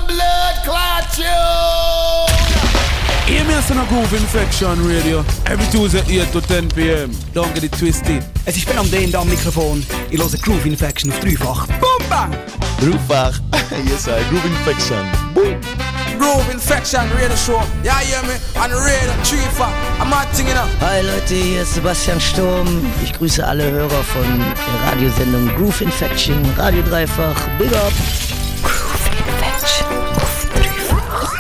blood clot tune. Hear me on a Groove Infection Radio. Every Tuesday 8 to 10 p.m. Don't get it twisted. Es ist Ben am D am Mikrofon. Ich höre Groove Infection auf dreifach. Boom, bang! Dreifach. Yes, Groove Infection. Boom. Groove Infection Radio Show. Ja, hear me? On Radio dreifach. I'm not singing up. Hi Leute, hier ist Sebastian Sturm. Ich grüße alle Hörer von der Radiosendung Groove Infection, Radio Dreifach. Big up! Groove Infection auf dreifach.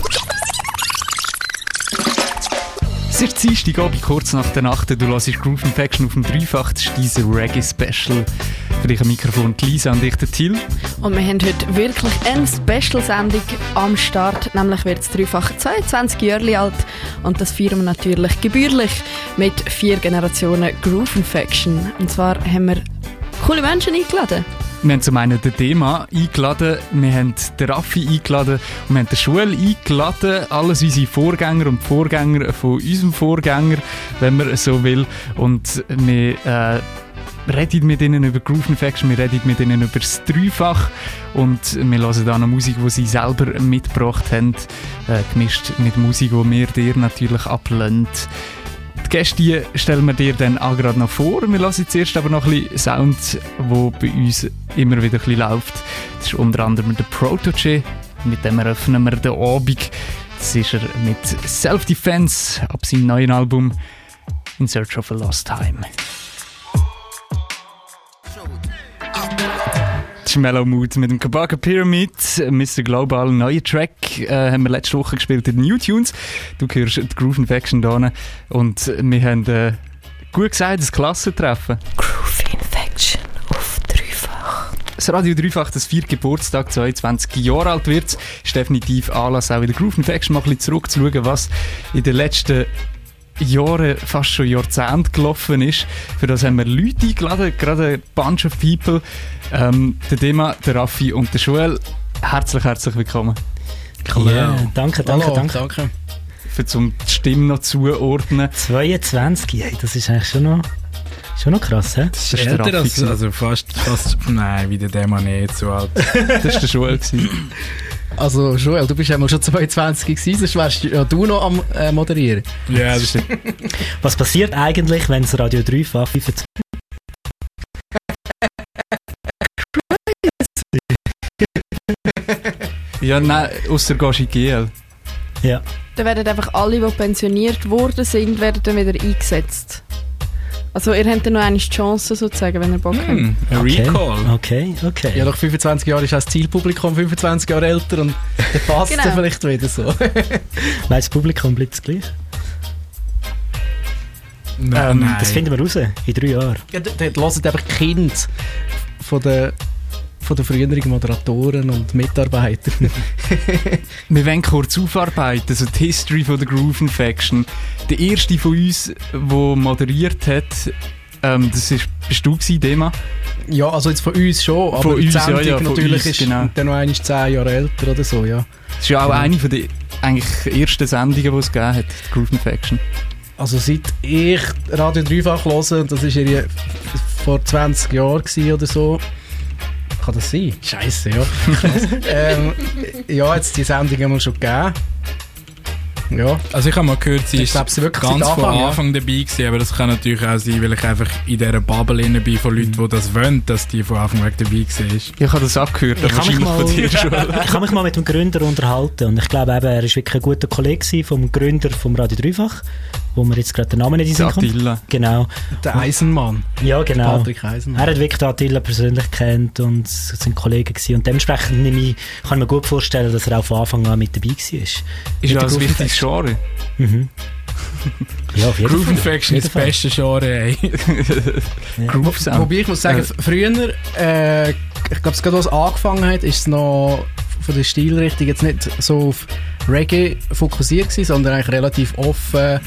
Es ist Dienstagabend, kurz nach der Nacht. Du hörst Groove Infection auf dem Dreifach. Das ist dieser Reggae-Special. Für dich am Mikrofon Lisa und ich, der Till. Und wir haben heute wirklich eine Special-Sendung am Start. Nämlich wird das Dreifach 22 Jahre alt. Und das feiern wir natürlich gebührlich mit 4 Generationen Groove Infection. Und zwar haben wir coole Menschen eingeladen. Wir haben zum einen den Thema eingeladen, wir haben den Raffi eingeladen und wir haben den Joel eingeladen. Alles unsere Vorgänger und Vorgänger von unserem Vorgänger, wenn man so will. Und wir reden mit ihnen über Groove Infection, wir reden mit ihnen über das Dreifach und wir hören dann noch Musik, die sie selber mitgebracht haben, gemischt mit Musik, die wir dir natürlich ablehnen. Die Gäste stellen wir dir dann auch gerade noch vor. Wir lassen zuerst aber noch ein bisschen Sound, der bei uns immer wieder ein bisschen läuft. Das ist unter anderem der Protoje. Mit dem eröffnen wir den Abend. Das ist er mit Self-Defense ab seinem neuen Album In Search of a Lost Time. Das ist Mellow Mood mit dem Kabaka Pyramid, Mr. Global, neuer Track, haben wir letzte Woche gespielt in den New Tunes. Du hörst die Groove Infection da und wir haben gut gesagt, das Klassentreffen. Groove Infection auf dreifach. Das Radio Dreifach, das 4. Geburtstag, 22 Jahre alt wird, ist definitiv Anlass, auch in der Groove Infection mal ein bisschen zurückzuschauen, was in den letzten Jahre, fast schon Jahrzehnte gelaufen ist. Für das haben wir Leute eingeladen, gerade ein Bunch of People. Der Dema, der Raffi und der Joel. Herzlich willkommen. Ja, danke. Für die Stimme noch zuordnen. 22, ey, das ist eigentlich schon noch krass, hä? Das ist älter als, also fast, nein, wie der Dema nicht so alt. Das war der Joel. Also Joel, du bist ja mal schon 22 gewesen, sonst wärst ja du noch am Moderieren. Ja, das stimmt. Was passiert eigentlich, wenn das Radio Dreifach 25... Ja, nein, ausser gehst in GL. Ja. Dann werden einfach alle, die pensioniert worden sind, werden dann wieder eingesetzt. Also ihr habt dann noch eine Chance sozusagen, wenn ihr Bock habt. Ein Recall. Okay. Ja, nach 25 Jahren ist auch das Zielpublikum 25 Jahre älter und dann passt es vielleicht wieder so. Weißt das Publikum bleibt das gleich? Nein. Das finden wir raus, in 3 Jahren. Ja, dort hören einfach die Kinder von den früheren Moderatoren und Mitarbeitern. Wir wollen kurz aufarbeiten, also die History von der Groove Infection. Der erste von uns, der moderiert hat, bist du gewesen, Dema? Ja, also jetzt von uns schon, aber von die uns, Sendung ja, natürlich uns, ist genau. dann noch einmal 10 Jahre älter oder so, ja. Das ist ja auch eine von den eigentlich ersten Sendungen, die es gegeben hat, die Groove Infection. Also seit ich Radio Dreifach höre, das war vor 20 Jahren oder so. Kann das sein? Scheisse, ja. Ja, jetzt die Sendung haben wir schon gegeben. Ja. Also ich habe mal gehört, sie ist ganz von Anfang dabei gewesen, aber das kann natürlich auch sein, weil ich einfach in dieser Bubble drin bin von Leuten, die das wollen, dass die von Anfang weg dabei war. Ich habe das auch gehört, aber wahrscheinlich von dir schon. Ich habe mich mal mit dem Gründer unterhalten und ich glaube eben, er war wirklich ein guter Kollege vom Gründer vom Radio Dreifach, wo mir jetzt gerade den Namen nicht in den Sinn kommt. Attila. Genau. Der Eisenmann. Ja, genau. Patrick Eisenmann. Er hat wirklich Attila persönlich kennt und sind Kollegen gewesen. Und dementsprechend kann ich mir gut vorstellen, dass er auch von Anfang an mit dabei war. Ist ja ein wichtiges Genre. Mhm. Ja, auf jeden Groove Fall. Infection ist das beste Genre, ey. Groove Sound. Wobei ich muss sagen, früher, ich glaube, gerade als es angefangen hat, ist es noch von der Stilrichtung jetzt nicht so auf Reggae fokussiert gewesen, sondern eigentlich relativ offen,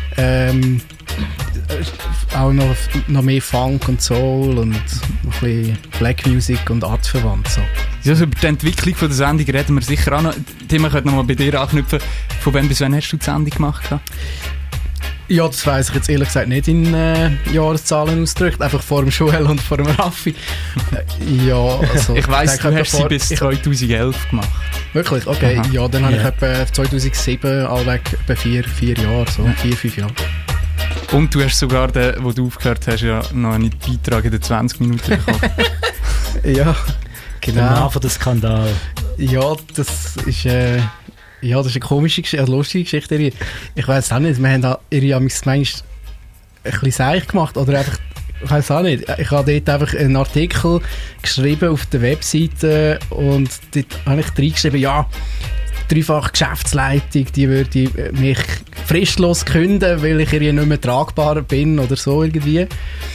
auch noch mehr Funk und Soul und noch ein bisschen Black Music und artverwandt. So. Ja, also über die Entwicklung von der Sendung reden wir sicher auch noch. Thema könnte noch mal bei dir anknüpfen. Von wann bis wann hast du die Sendung gemacht? Ja, das weiss ich jetzt ehrlich gesagt nicht in Jahreszahlen ausgedrückt. Einfach vor dem Joel und vor dem Raffi. Ja, also, ich weiss, du hast sie bis 2011 gemacht. Wirklich? Okay. Ja, dann habe ich etwa 2007 allweg etwa 4 Jahre, so 4-5 Jahre. Und du hast sogar, wo du aufgehört hast, ja noch einen Beitrag in den 20 Minuten bekommen. Ja, genau. Der Mann von der Skandal. Ja, das ist eine komische Geschichte, eine lustige Geschichte. Ich weiss auch nicht, wir haben da ihre manchmal ein bisschen seich gemacht oder einfach, ich weiss auch nicht. Ich habe dort einfach einen Artikel geschrieben auf der Webseite und dort habe ich reingeschrieben, ja, dreifach Geschäftsleitung, die würde mich fristlos künden, weil ich ihr nicht mehr tragbar bin oder so irgendwie.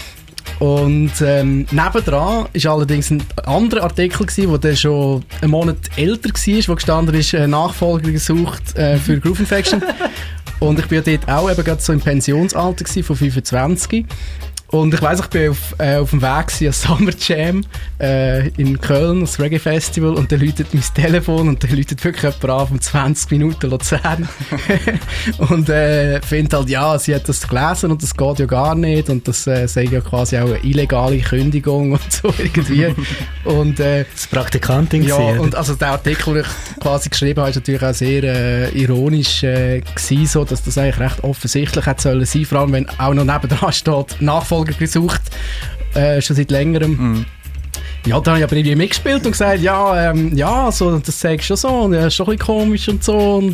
Und nebendran war allerdings ein anderer Artikel, der schon einen Monat älter war, wo gestanden ist, Nachfolger gesucht für Groove Infection. Und ich war dort auch eben gerade so im Pensionsalter von 25. Und ich weiss, ich bin auf dem Weg an Summer Jam in Köln, das Reggae Festival, und dann läutet mein Telefon und dann läutet wirklich jemand an um 20 Minuten Luzern. Und findet halt, ja, sie hat das gelesen und das geht ja gar nicht und das sei ja quasi auch eine illegale Kündigung und so irgendwie. Und, das Praktikantin ja, gewesen, und also der Artikel, den ich quasi geschrieben habe, ist natürlich auch sehr ironisch gewesen, so, dass das eigentlich recht offensichtlich hätte sollen sein, vor allem wenn auch noch nebendran steht, Nachfolger gesucht, schon seit längerem. Ja, da habe ich aber irgendwie mitgespielt und gesagt, ja, so, das sagst du schon so, und ist schon ein bisschen komisch und so, und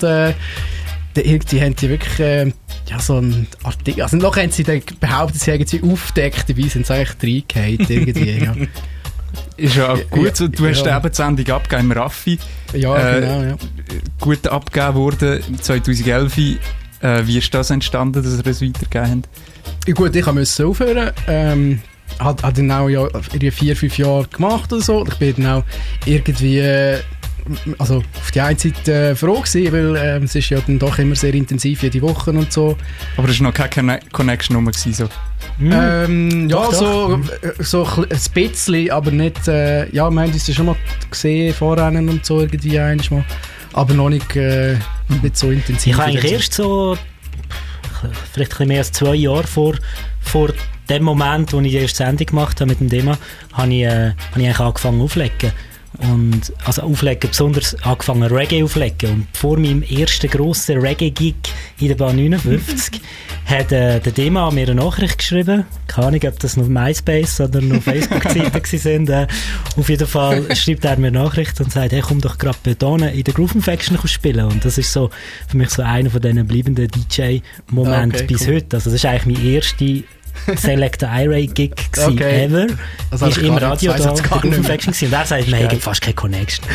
die haben die wirklich, so ein Artikel, also noch haben sie dann behauptet, sie haben sie aufgedeckt, dabei sind sie eigentlich reingehauen, irgendwie, ja. Ist ja auch gut, so, du hast die Sendung abgegeben im Raffi. Ja, genau, ja. Gut abgegeben worden 2011. Wie ist das entstanden, dass ihr es weitergegeben habt? Ja, gut, ich musste aufhören. Hat dann auch ja 4-5 Jahre gemacht oder so. Ich bin dann auch irgendwie also auf die einen Seite froh gewesen, weil es ist ja dann doch immer sehr intensiv jede Woche und so. Aber es war noch keine Connection rum so? Ja, doch. So ein bisschen, aber nicht, ja, wir haben uns schon mal gesehen, Vorrennen und so irgendwie einmal, aber noch nicht so intensiv. Ich habe eigentlich erst so vielleicht ein bisschen mehr als 2 Jahre vor dem Moment, wo ich die erste Sendung gemacht habe mit dem Thema, habe ich eigentlich angefangen aufzulegen. Und, also auflegen, besonders angefangen Reggae auflegen. Und vor meinem ersten grossen Reggae-Gig in der Bahn 59 hat der Dema mir eine Nachricht geschrieben. Keine Ahnung, ob das noch MySpace oder noch Facebook-Seiten waren. Auf jeden Fall schreibt er mir eine Nachricht und sagt, hey, komm doch gerade bei Dona in der Groove Infection spielen. Und das ist so für mich so einer von diesen bleibenden DJ-Momenten bis heute. Also das ist eigentlich mein erster Selector I-Ray-Gig ever. Also ist im Radio da, der Groove Infection gewesen. Und er sagt, wir haben fast keine Connection.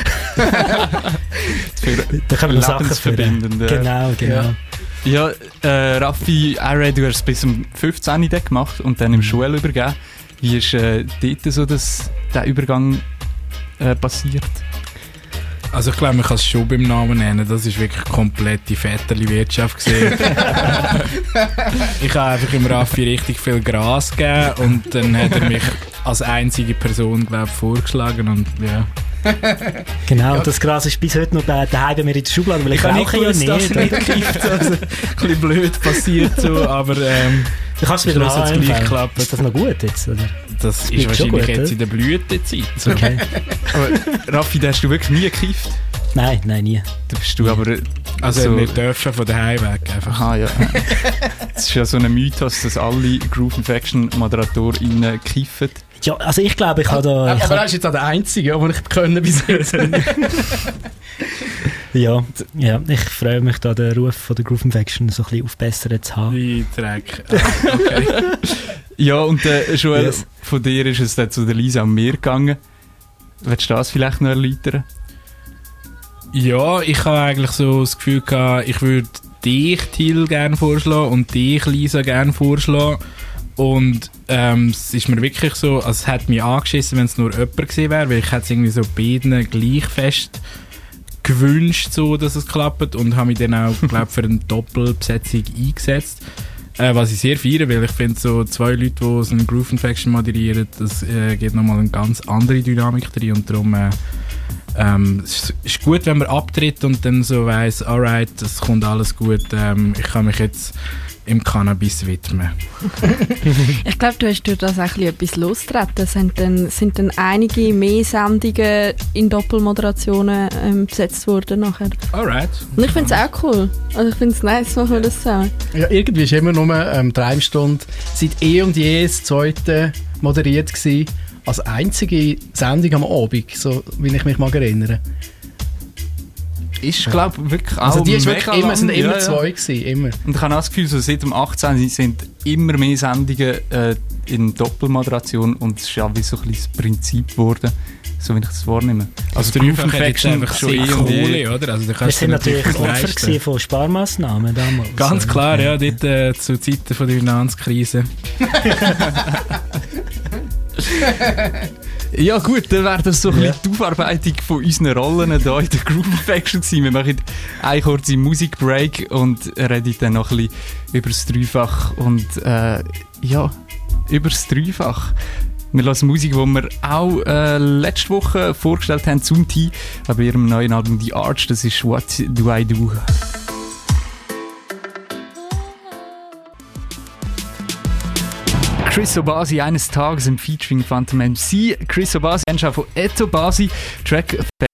Da können wir noch Sachen verbinden. Genau. Ja, Raffi, I-Ray, du hast es bis zum 15. gemacht und dann im Schule übergeben. Wie ist dort so der Übergang passiert? Also ich glaube, man kann es schon beim Namen nennen. Das war wirklich komplette Väterli-Wirtschaft gewesen. Ich habe einfach im Raffi richtig viel Gras gegeben und dann hat er mich als einzige Person, glaube ich, vorgeschlagen und ja. Genau, ja. Das Gras ist bis heute noch daheim bei mir in der Schublade, weil ich rauche ja nicht. Das nicht gekifft, also, ein bisschen blöd passiert so, aber du kannst es wieder gleich klappen. Ist das noch gut jetzt? Oder? Das ist wahrscheinlich gut, jetzt in der Blütezeit. So. Okay. Aber Raffi, hast du wirklich nie gekifft? Nein, nie. Da bist du aber... Also nicht dürfen von daheim weg einfach. Aha, ja. Es ist ja so ein Mythos, dass alle Groove Infection ModeratorInnen kiffen. Ja, also ich glaube, ich habe da... Aber er ist jetzt auch der Einzige, den ich können bis jetzt. Ja, ich freue mich, da den Ruf von der Groove Infection so ein bisschen aufbessern zu haben. Wie Dreck. Okay. Ja, und Joel, yes. Von dir ist es dann zu der Lisa und mir gegangen. Willst du das vielleicht noch erläutern? Ja, ich habe eigentlich so das Gefühl gehabt, ich würde dich, Till, gerne vorschlagen und dich, Lisa, gerne vorschlagen. Und es ist mir wirklich so, also es hat mich angeschissen, wenn es nur jemand gewesen wäre, weil ich hätte es irgendwie so beiden gleich fest gewünscht, so, dass es klappt, und habe mich dann auch, glaube ich, für eine Doppelbesetzung eingesetzt. Was ich sehr feiere, weil ich finde, so 2 Leute, die so eine Groove Infection moderieren, das gibt nochmal eine ganz andere Dynamik drin, und darum es ist gut, wenn man abtritt und dann so weiss, alright, das kommt alles gut, ich kann mich jetzt im Cannabis widmen. Ich glaube, du hast durch das auch etwas losgetreten. Sind dann einige mehr Sendungen in Doppelmoderationen besetzt worden nachher. Alright. Und ich finde es auch cool. Also ich finde es nice, machen wir das zusammen. Ja, irgendwie war immer nur die Reimstunde seit und je das zweite moderiert gewesen, als einzige Sendung am Abend, so wie ich mich mag erinnere. Ist, glaube ich, wirklich auch also die ist mega wirklich immer, sind immer ja. zwei gewesen, immer. Und ich habe auch das Gefühl, so seit dem 18. sind immer mehr Sendungen in Doppelmoderation und es ist ja wie so ein bisschen das Prinzip geworden, so wie ich das wahrnehme. Also Groove Infection einfach schon Kohle, oder? Also, wir sind natürlich Opfer von Sparmaßnahmen damals. Ganz klar, ja, dort zu Zeiten von der Finanzkrise. Ja gut, dann wäre das so ein bisschen die Aufarbeitung von unseren Rollen hier in der Groove Infection gewesen. Wir machen eine kurze Musikbreak und reden dann noch ein bisschen über das Dreifach und über das Dreifach. Wir hören Musik, die wir auch letzte Woche vorgestellt haben zum Tee, bei ihrem neuen Album The Arch, das ist What Do I Do? Chris Obasi eines Tages im Featuring Phantom MC. Chris Obasi, Mensch von Eto Basi, Track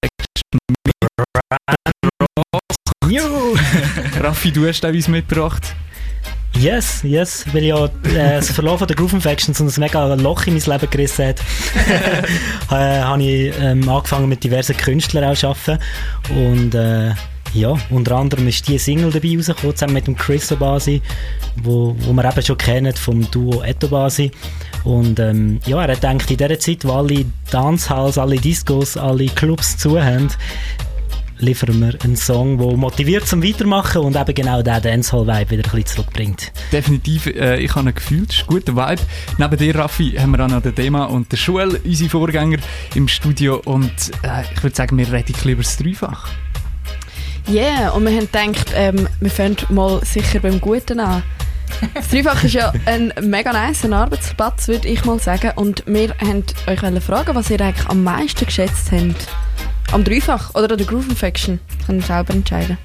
Raffi, du hast uns mitgebracht. Yes, weil ja das Verlauf der Groove Infection so ein mega Loch in mein Leben gerissen hat, habe ich angefangen mit diversen Künstlern auch zu arbeiten. Und ja, unter anderem ist die Single dabei rausgekommen, zusammen mit dem Chris Obasi, wo wir eben schon kennen vom Duo Eto Basi. Und ja, er hat gedacht, in dieser Zeit, wo alle Dancehalls, alle Discos, alle Clubs zu haben, liefern wir einen Song, der motiviert zum Weitermachen und eben genau den Dancehall-Vibe wieder ein bisschen zurückbringt. Definitiv, ich habe ein Gefühl, das ist ein guter Vibe. Neben dir, Raffi, haben wir auch noch den Thema und den Joel, unsere Vorgänger im Studio. Und ich würde sagen, wir reden ein bisschen über das Dreifach. Ja, yeah, und wir haben gedacht, wir fangen mal sicher beim Guten an. Das Dreifach ist ja ein mega nice Arbeitsplatz, würde ich mal sagen. Und wir wollten euch fragen, was ihr eigentlich am meisten geschätzt habt. Am Dreifach oder an der Groove Infection? Könnt ihr selber entscheiden.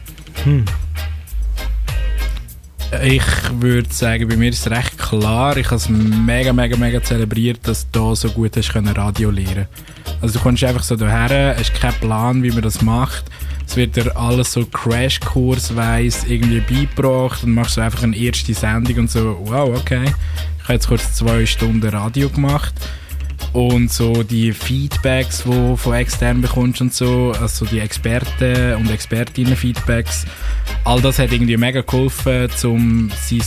Ich würde sagen, bei mir ist es recht klar. Ich habe es mega zelebriert, dass du da so gut hast können Radio lernen. Also du kommst einfach so daher, hast keinen Plan, wie man das macht. Es wird dir alles so Crashkursweise irgendwie beigebracht und machst so einfach eine erste Sendung und so, wow, okay. Ich habe jetzt kurz 2 Stunden Radio gemacht. Und so die Feedbacks, die du von extern bekommst und so, also die Experten und Expertinnen-Feedbacks, all das hat irgendwie mega geholfen, um sein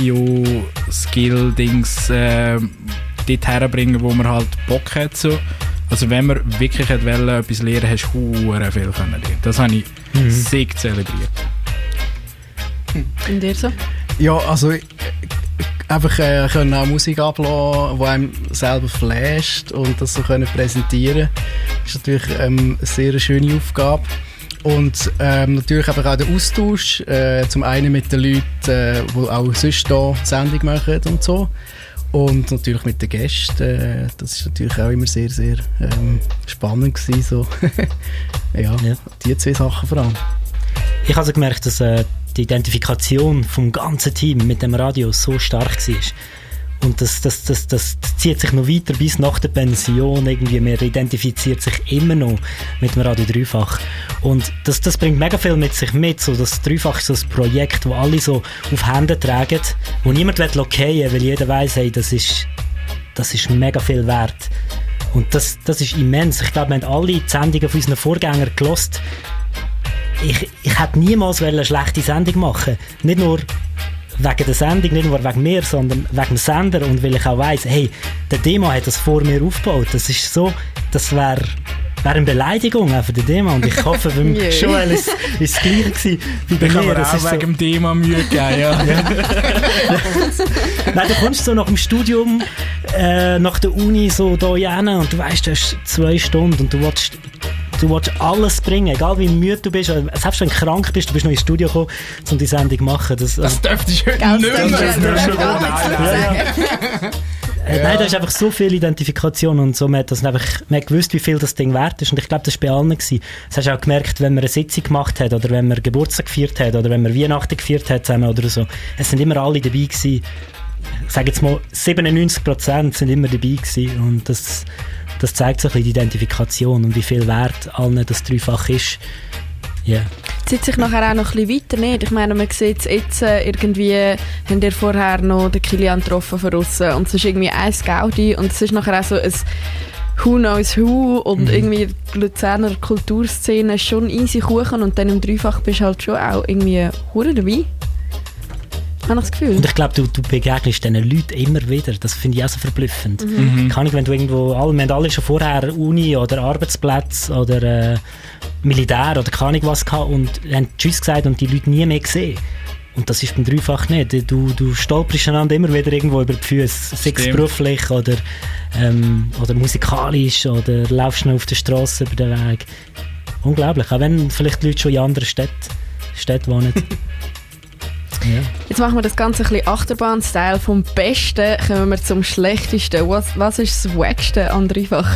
Radio-Skill-Dings dort herzubringen, wo man halt Bock hat. So. Also wenn man wirklich etwas lernen, hast du sehr viel lernen. Das habe ich sehr zelebriert. Und dir so? Ja, also einfach können auch Musik ablassen, die einem selber flasht und das so können präsentieren, ist natürlich eine sehr schöne Aufgabe. Und natürlich einfach auch der Austausch, zum einen mit den Leuten, die auch sonst hier Sendung machen und so. Und natürlich mit den Gästen, das ist natürlich auch immer sehr spannend gewesen, so. ja, die 2 Sachen vor allem. Ich habe also gemerkt, dass die Identifikation vom ganzen Team mit dem Radio so stark war. Und das zieht sich noch weiter bis nach der Pension. Irgendwie, man identifiziert sich immer noch mit dem Radio Dreifach. Und das bringt mega viel mit sich mit. So, das Dreifach ist so ein Projekt, das alle so auf Hände tragen, wo niemand fallen will, weil jeder weiss, hey, das ist mega viel wert. Und das ist immens. Ich glaube, wir haben alle die Sendungen von unseren Vorgängern gehört. Ich hätte niemals eine schlechte Sendung machen. Nicht nur wegen der Sendung, nicht nur wegen mir, sondern wegen dem Sender und weil ich auch weiss, hey, der Demo hat das vor mir aufgebaut. Das ist so, das wäre eine Beleidigung auch für den Demo und ich hoffe, beim Joel ist es das Gleiche gewesen wie bei mir. Das ist wegen dem Demo Mühe gegeben, ja. Nein, du kommst so nach dem Studium, nach der Uni so hier hin und du weißt, du hast 2 Stunden und du willst alles bringen, egal wie müde du bist, selbst wenn du krank bist, du bist noch ins Studio gekommen, um die Sendung zu machen. Das dürfte ich heute nicht mehr. Nein, da ist einfach so viel Identifikation und so, man hat gewusst, wie viel das Ding wert ist und ich glaube, das war bei allen gewesen. Das hast du auch gemerkt, wenn man eine Sitzung gemacht hat oder wenn man Geburtstag gefeiert hat oder wenn man Weihnachten gefeiert hat zusammen oder so. Es sind immer alle dabei gewesen. Ich sage jetzt mal, 97% sind immer dabei gewesen und das zeigt so ein bisschen die Identifikation und wie viel Wert allen das dreifach ist. Yeah. Zieht sich nachher auch noch ein bisschen weiter, nicht? Ich meine, man sieht es jetzt, irgendwie haben ihr vorher noch den Kilian getroffen von aussen und es ist irgendwie ein Gaudi und es ist nachher auch so ein Who knows who und irgendwie die Luzerner Kulturszene ist schon easy Kuchen und dann im Dreifach bist du halt schon auch irgendwie hure dabei. Habe ich das Gefühl. Und ich glaube, du begegnest diesen Leuten immer wieder. Das finde ich auch so verblüffend. Kann ich, wenn du irgendwo, wir haben alle schon vorher Uni oder Arbeitsplatz oder Militär oder keine Ahnung was gehabt und haben Tschüss gesagt und die Leute nie mehr gesehen. Und das ist beim Dreifach nicht. Du stolperst einander immer wieder irgendwo über die Füße, sei es beruflich oder musikalisch oder laufst noch auf der Straße über den Weg. Unglaublich, auch wenn vielleicht die Leute schon in anderen Städten wohnen. Ja. Jetzt machen wir das Ganze ein bisschen Achterbahn-Style. Vom Besten kommen wir zum Schlechtesten. Was ist das Wackste an Dreifach?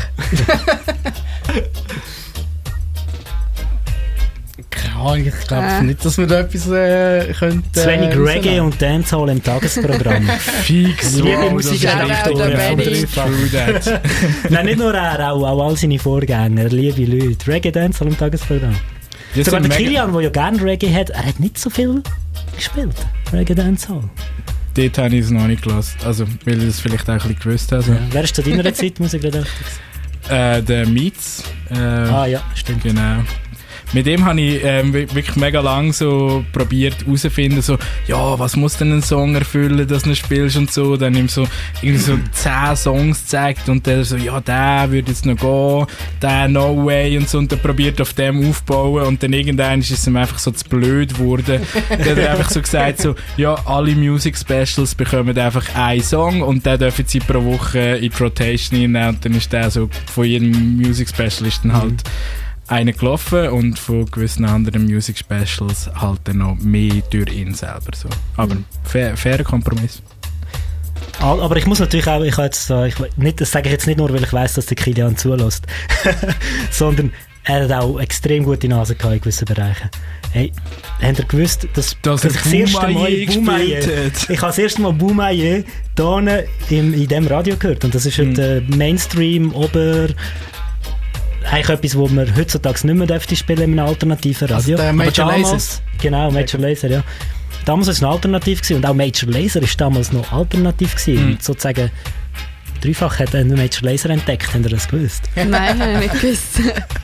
Ich glaube nicht, dass wir da etwas könnten. Zu wenig Reggae und Dancehall im Tagesprogramm. Fix. Liebe Musikredaktoren von Dreifach. Nein, nicht nur er, auch all seine Vorgänger, liebe Leute. Reggae, Dancehall im Tagesprogramm. Sogar der Kilian, der ja gerne Reggae hat, er hat nicht so viel gespielt. Reggae, Dancehall. Dort habe ich es noch nicht gelassen. Also, weil ich das vielleicht auch ein bisschen gewusst habe. Ja. Wer ist zu deiner Zeit Musikredakteur? Der Mietz. Ja, stimmt. Genau. Mit dem habe ich wirklich mega lang so probiert herauszufinden, so, ja, was muss denn ein Song erfüllen, dass du ihn spielst und so. Dann ihm so irgendwie so 10 Songs gezeigt und der so, ja, der würde jetzt noch gehen, der No Way und so. Und dann probiert auf dem aufbauen und dann irgendwann ist es ihm einfach so zu blöd geworden. Dann hat er einfach so gesagt, so, ja, alle Music Specials bekommen einfach einen Song und den dürfen sie pro Woche in die Rotation nehmen und dann ist der so, von jedem Music Special ist dann halt einen gelaufen und von gewissen anderen Music Specials halt dann noch mehr durch ihn selber. So. Aber fairer Kompromiss. Aber ich muss natürlich auch, das sage ich jetzt nicht nur, weil ich weiss, dass der Kilian zulässt, sondern er hat auch extrem gute Nase gehabt in gewissen Bereichen. Hey, habt ihr gewusst, dass ich das erste Mal Boumaier, ich habe das erste Mal Boumaier hier in diesem Radio gehört und das ist der Mainstream, eigentlich etwas, was man heutzutage nicht mehr dürfte spielen in einem alternativen Radio. Also Major Lazer. Genau, Major Lazer, ja. Damals war es eine Alternative gewesen, und auch Major Lazer war damals noch alternativ gewesen. Und sozusagen Dreifach hat einen Major Lazer entdeckt, habt ihr das gewusst? Nein, habe ich nicht gewusst.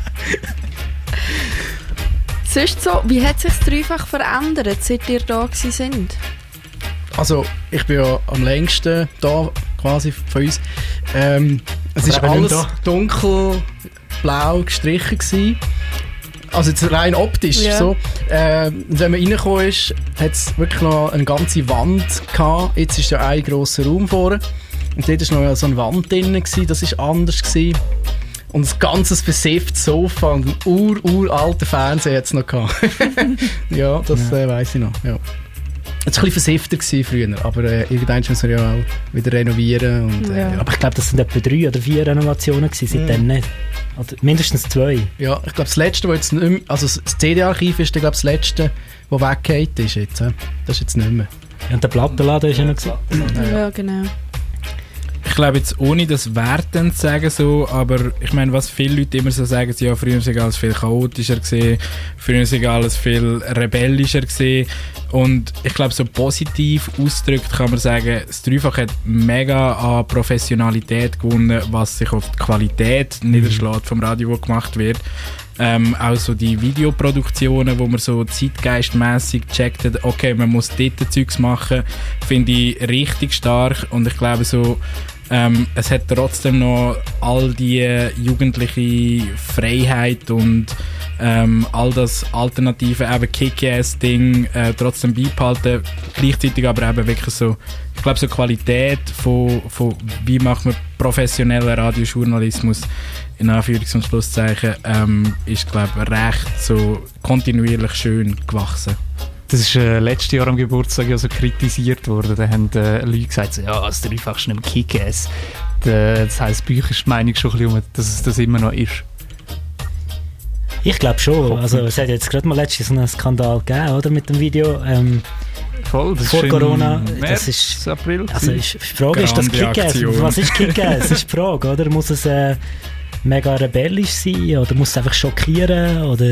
Sonst so, wie hat sich das Dreifach verändert, seit ihr da gewesen sind? Also, ich bin ja am längsten da quasi von uns. Es ist alles dunkelblau gestrichen gewesen. Also jetzt rein optisch. Ja. So. Wenn man reingekommen ist, hat es wirklich noch eine ganze Wand gehabt. Jetzt ist ja ein grosser Raum vorne. Und dort war noch so eine Wand drin gewesen. Das war anders gewesen. Und ein ganzes versifftes Sofa und einen uralten Fernseher hat es noch gehabt. Ja, das weiss ich noch. Ja. Es war ein bisschen versiffter früher, aber irgendwann müssen wir ja auch wieder renovieren. Und, aber ich glaube, das sind etwa 3 oder 4 Renovationen gewesen, seitdem nicht. Oder mindestens 2. Ja, ich glaube, das letzte, das jetzt nicht mehr, also das CD-Archiv ist, glaube das letzte, das weggeht ist jetzt. Das ist jetzt nicht mehr. Ja, und der Plattenladen ist ja noch gewesen. Ja, genau. Ich glaube jetzt, ohne das wertend zu sagen, so, aber ich meine, was viele Leute immer so sagen, ja, früher war alles viel chaotischer gewesen, früher war alles viel rebellischer gewesen. Und ich glaube, so positiv ausgedrückt kann man sagen, das Dreifach hat mega an Professionalität gewonnen, was sich auf die Qualität niederschlägt vom Radio, das gemacht wird. Auch so die Videoproduktionen, wo man so zeitgeistmässig gecheckt hat, okay, man muss dort Zeugs machen, finde ich richtig stark. Und ich glaube so, es hat trotzdem noch all die jugendliche Freiheit und all das alternative eben Kick-Ass-Ding trotzdem beibehalten, gleichzeitig aber eben wirklich so, ich glaube so Qualität von wie macht man professionellen Radiojournalismus in Anführungs- und Schlusszeichen ist glaube ich recht so kontinuierlich schön gewachsen. Das ist letztes Jahr am Geburtstag ja so kritisiert worden. Da haben Leute gesagt, so, ja, das Dreifach ist nicht mehr Kick-Ass. Das heisst, bei euch ist die Meinung schon ein bisschen, dass es das immer noch ist. Ich glaube schon. Also, es hat jetzt gerade mal letztens so einen Skandal gegeben, oder? Mit dem Video. Voll, das vor ist Corona. März, das ist, April. Also die Frage ist das Kick-Ass. Was ist Kick-Ass? Das ist die Frage, oder? Muss es mega rebellisch sein oder muss es einfach schockieren? Oder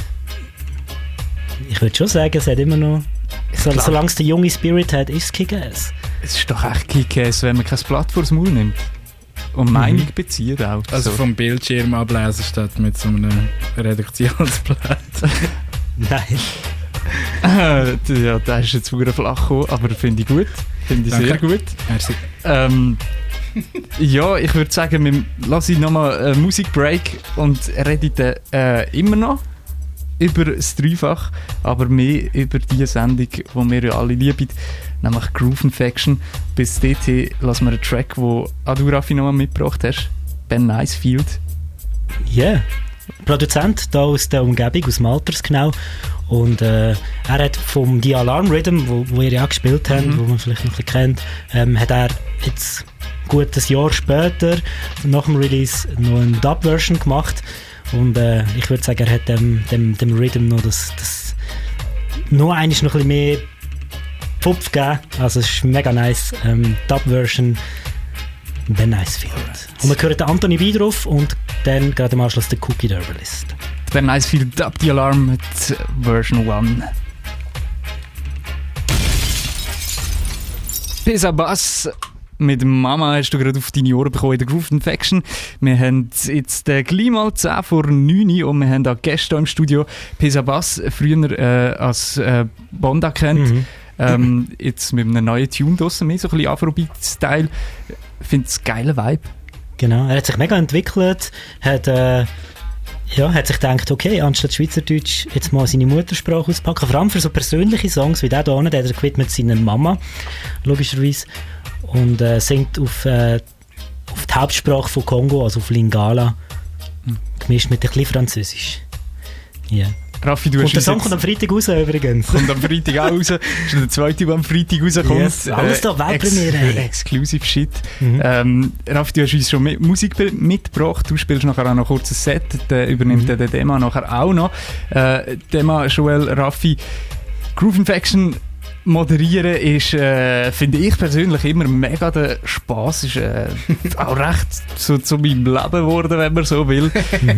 ich würde schon sagen, es hat immer noch... Solange es der junge Spirit hat, ist es Kick-Ass. Es ist doch echt Kick-Ass, wenn man kein Blatt vors Maul nimmt. Und Meinung bezieht auch. Also vom Bildschirm ablesen statt mit so einem Redaktionsblatt. Nein. Ja, da ist jetzt wieder flach gekommen, aber finde ich gut. Finde ich sehr gut. Merci. Ja, ich würde sagen, wir lassen nochmal einen Musikbreak und reden immer noch über das Dreifach, aber mehr über die Sendung, die wir ja alle lieben, nämlich Groove Infection. Bis dorthin lassen wir einen Track, den du, Raffi, nochmal mitgebracht hast. Ben Nicefield. Ja, yeah. Produzent hier aus der Umgebung, aus Malters genau. Und er hat vom The Alarm Rhythm, wo ihr ja auch gespielt habt, wo man vielleicht noch ein bisschen kennt, hat er jetzt gut ein Jahr später, nach dem Release, noch eine Dub-Version gemacht. Und ich würde sagen, er hat dem Rhythm noch das noch ein bisschen mehr Pfupf gegeben. Also es ist mega nice. Dub-Version, Ben Nicefield. Und wir hören den Anthony B drauf und dann gerade im Anschluss der Cookie Herbalist. Ben Nicefield, Dub the Alarm mit Version 1. Pisa Bass mit Mama hast du gerade auf deine Ohren bekommen in der Groove Infection. Wir haben jetzt gleich mal 10 vor 9 und wir haben auch Gäste im Studio. Pisa Bass, früher als Bonda kennt. Jetzt mit einem neuen Tune draussen, mehr so ein bisschen Afrobeat-Style. Ich finde es einen geilen Vibe. Genau, er hat sich mega entwickelt, hat sich gedacht, okay, anstatt Schweizerdeutsch jetzt mal seine Muttersprache auspacken. Vor allem für so persönliche Songs wie der hier, der hat er gewidmet seiner Mama, logischerweise. Und singt auf die Hauptsprache von Kongo, also auf Lingala, gemischt mit ein bisschen Französisch. Yeah. Raffi, du und hast der Song kommt am Freitag raus übrigens. Kommt am Freitag auch raus. Das ist der zweite, der am Freitag rauskommt. Yes, alles da, Weltpremiere. Exclusive Shit. Raffi, du hast uns schon Musik mitgebracht. Du spielst nachher auch noch kurz ein Set. Der übernimmt der Dema nachher auch noch. Dema, Joel, Raffi. Groove Infection moderieren ist, finde ich persönlich, immer mega der Spass. Ist auch recht so zu meinem Leben geworden, wenn man so will.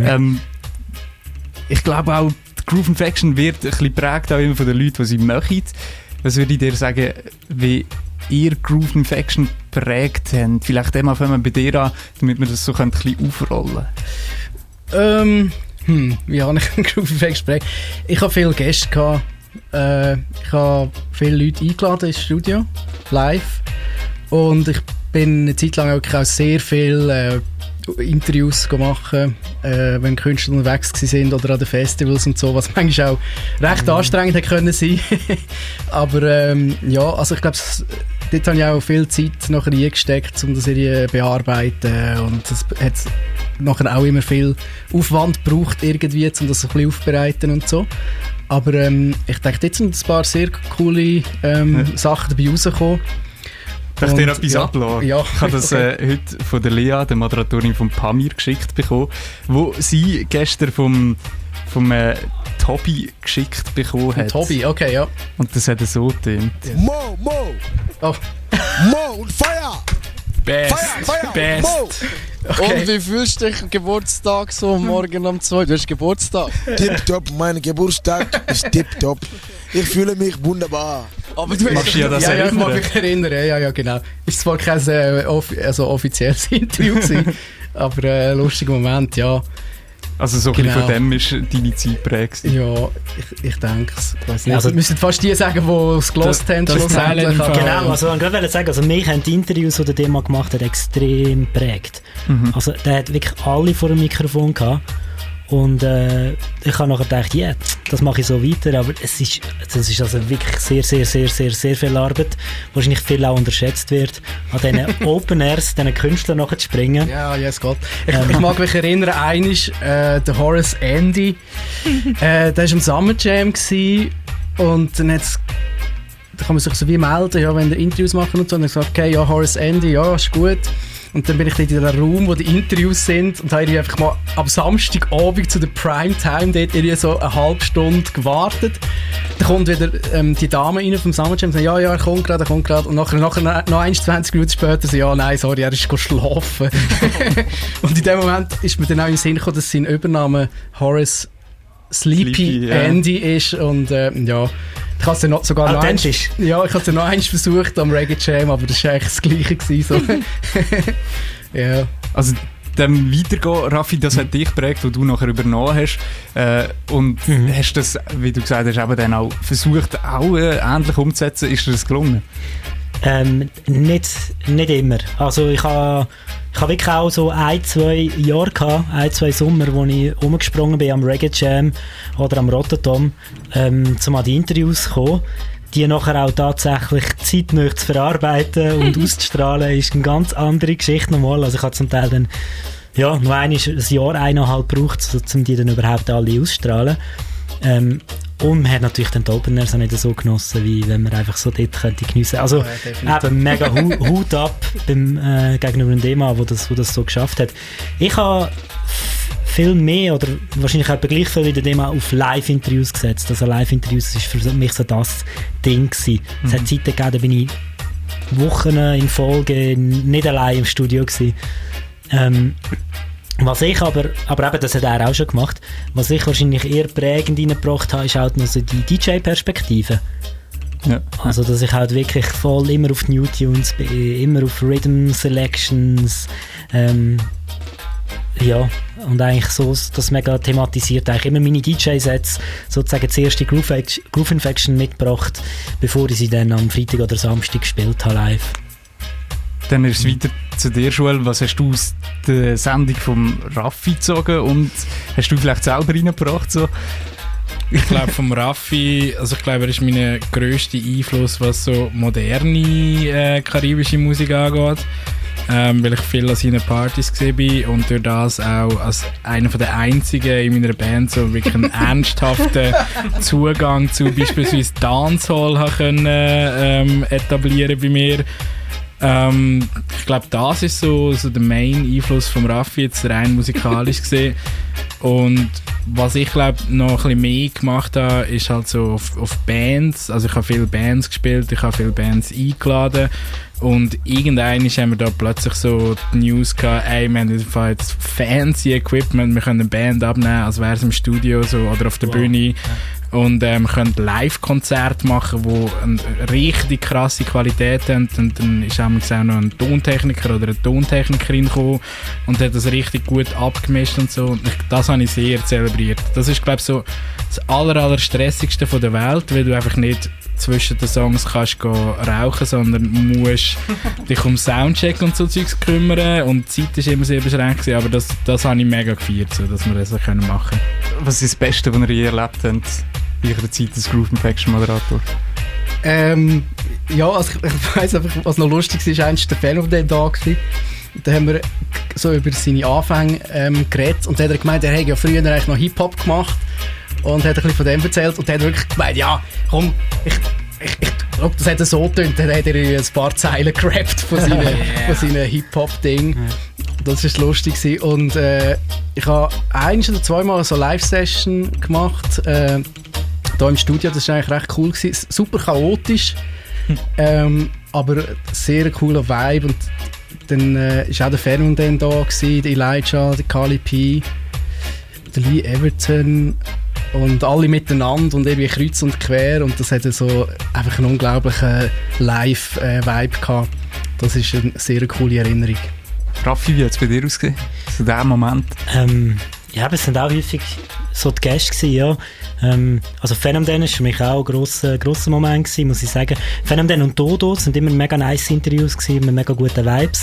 Ich glaube auch, Groove Infection wird ein bisschen geprägt auch immer von den Leuten, die sie möchten. Was würde ich dir sagen, wie ihr Groove Infection geprägt habt? Vielleicht einmal fangen wir bei dir an, damit wir das so ein bisschen aufrollen können. Wie habe ich Groove Infection geprägt? Ich habe viele Gäste gehabt. Ich habe viele Leute eingeladen ins Studio, live. Und ich bin eine Zeit lang auch sehr viel Interviews machen, wenn Künstler unterwegs sind oder an den Festivals und so, was manchmal auch recht anstrengend hätte können sein. Aber ja, also ich glaube, dort habe ich auch viel Zeit nachher reingesteckt, um das irgendwie zu bearbeiten, und es hat nachher auch immer viel Aufwand gebraucht, irgendwie, um das ein bisschen aufzubereiten und so. Aber ich denke, jetzt sind ein paar sehr coole Sachen dabei rausgekommen. Darf ich dir etwas ablassen? Ja. Ich habe das heute von der Lea, der Moderatorin von Pamir, geschickt bekommen, wo sie gestern vom Tobi geschickt bekommen hat. Tobi, okay, ja. Und das hat so getönt. Mo! Oh. Mo und Feuer! Best! Feuer! Best! Mo! Okay. Und wie fühlst du dich Geburtstag so morgen um 2? Du hast Geburtstag. Tipptopp, mein Geburtstag ist tipptopp. Ich fühle mich wunderbar. Aber du machst ja das ich mag mich erinnern. Ja, genau. Ist zwar kein offizielles Interview gewesen, aber ein lustiger Moment, ja. Also so ein bisschen von dem ist deine Zeit prägt. Ja, ich denke es. Also, wir müssen fast die sagen, die es gelost haben. Genau, also ich wollte sagen, also mich haben die Interviews, die der Dema gemacht hat, extrem geprägt. Also der hat wirklich alle vor dem Mikrofon gehabt. Und ich habe nachher gedacht, ja, das mache ich so weiter, aber das ist also wirklich sehr, sehr, sehr, sehr, sehr viel Arbeit, wahrscheinlich viel auch unterschätzt wird, an diesen Open Airs, diesen Künstlern nachher zu springen. Ja, yes, Gott. Ich mag mich erinnern, einmal der Horace Andy, der war im Summer Jam gewesen, Und dann da kann man sich so wie melden, ja, wenn die Interviews machen und so. Und dann gesagt, okay, ja, Horace Andy, ja, ist gut. Und dann bin ich dort in einem Raum, wo die Interviews sind und habe einfach mal am Samstagabend zu der Primetime dort irgendwie so eine halbe Stunde gewartet. Dann kommt wieder die Dame rein vom Summer Jam und sagt, ja, er kommt gerade. Und nachher noch 20 Minuten später so, ja, nein, sorry, er ist schlafen. Und in dem Moment ist mir dann auch in den Sinn gekommen, dass sein Übername Horace Sleepy Andy ist. Und ja, ich habe es dann sogar noch eins versucht am Reggae Jam, aber das war eigentlich das Gleiche gewesen, so. Ja. Also dem Weitergehen, Raffi, das hat dich geprägt, wo du nachher übernommen hast. Und hast das, wie du gesagt hast, eben dann auch versucht, auch ähnlich umzusetzen. Ist dir das gelungen? Nicht immer. Also ich habe wirklich auch so 1-2 Jahre gehabt, 1-2 Sommer, wo ich rumgesprungen bin am Reggae Jam oder am Rototom, um an die Interviews zu kommen. Die nachher auch tatsächlich zeitnah zu verarbeiten und auszustrahlen, ist eine ganz andere Geschichte nochmal. Also ich habe zum Teil dann noch ein Jahr, 1,5 gebraucht, um die dann überhaupt alle auszustrahlen. Und man hat natürlich den Openers auch nicht so genossen, wie wenn man einfach so dort könnte geniessen. Also eben mega Hut ab gegenüber dem Thema, wo das so geschafft hat. Ich habe viel mehr oder wahrscheinlich etwa gleich viel wie der Thema auf Live-Interviews gesetzt. Also Live-Interviews war für mich so das Ding gewesen. Es hat Zeiten gegeben, da bin ich Wochen in Folge nicht allein im Studio gewesen. Was ich aber eben, das hat er auch schon gemacht, was ich wahrscheinlich eher prägend reingebracht habe, ist halt noch so die DJ-Perspektive. Ja. Also, dass ich halt wirklich voll immer auf New Tunes bin, immer auf Rhythm Selections, ja, und eigentlich so das mega thematisiert, eigentlich immer meine DJ-Sets sozusagen das erste Groove Infection mitgebracht, bevor ich sie dann am Freitag oder Samstag gespielt habe live. Dann ist es weiter zu dir, Joel. Was hast du aus der Sendung vom Raffi gezogen und hast du vielleicht selber reingebracht? So? Ich glaube vom Raffi, also ich glaube, er ist mein grösster Einfluss, was so moderne karibische Musik angeht. Weil ich viel an seinen Partys gesehen bin und durch das auch als einer der einzigen in meiner Band so wirklich einen ernsthaften Zugang zu beispielsweise Dancehall können etablieren bei mir. Ich glaube, das ist so der Main-Einfluss vom Raffi, jetzt rein musikalisch gesehen. Und was ich glaube noch ein bisschen mehr gemacht habe, ist halt so auf Bands. Also ich habe viele Bands gespielt, ich habe viele Bands eingeladen. Und irgendwann haben wir da plötzlich so die News gehabt, ey, wir haben jetzt fancy Equipment, wir können eine Band abnehmen, als wäre es im Studio so, oder auf der Bühne. Und wir können Live-Konzerte machen, die eine richtig krasse Qualität haben. Und dann ist auch noch ein Tontechniker oder eine Tontechnikerin gekommen und hat das richtig gut abgemischt und so. Und das habe ich sehr zelebriert. Das ist, glaube ich, so das allerstressigste von der Welt, weil du einfach nicht zwischen den Songs kannst rauchen, sondern musst dich um Soundcheck und so Zeugs kümmern und die Zeit war immer sehr beschränkt, aber das habe ich mega gefeiert, so, dass wir das machen können. Was ist das Beste, was ihr je erlebt habt in eurer Zeit als Groove Infection Moderator? Ja, also ich weiss einfach, was noch lustig war, war der Fan of the da gewesen. Da haben wir so über seine Anfänge geredet und dann hat er gemeint, er hätte ja früher eigentlich noch Hip-Hop gemacht und hat ein bisschen von dem erzählt und dann hat er wirklich gemeint, ja, komm, ich glaube, das hat er so getönt, dann hat er ein paar Zeilen gerappt von seinem Hip-Hop-Ding. Das war lustig. Und ich habe 1 oder 2 Mal so eine Live-Session gemacht, hier im Studio, das war eigentlich recht cool gewesen. Super chaotisch, aber sehr cooler Vibe. Und dann war auch der Fernand dann da gewesen, der Elijah, der Kali P, der Lee Everton und alle miteinander und irgendwie kreuz und quer und das hatte so einfach einen unglaublichen Live-Vibe gehabt. Das ist eine sehr coole Erinnerung. Raffi, wie hat es bei dir ausgesehen? Zu diesem Moment? Ja, es sind auch häufig so die Gäste gewesen, ja. Also Phänomen war für mich auch ein grosser Moment gewesen, muss ich sagen. Phänomen und Dodo sind immer mega nice Interviews gewesen, mit mega guten Vibes.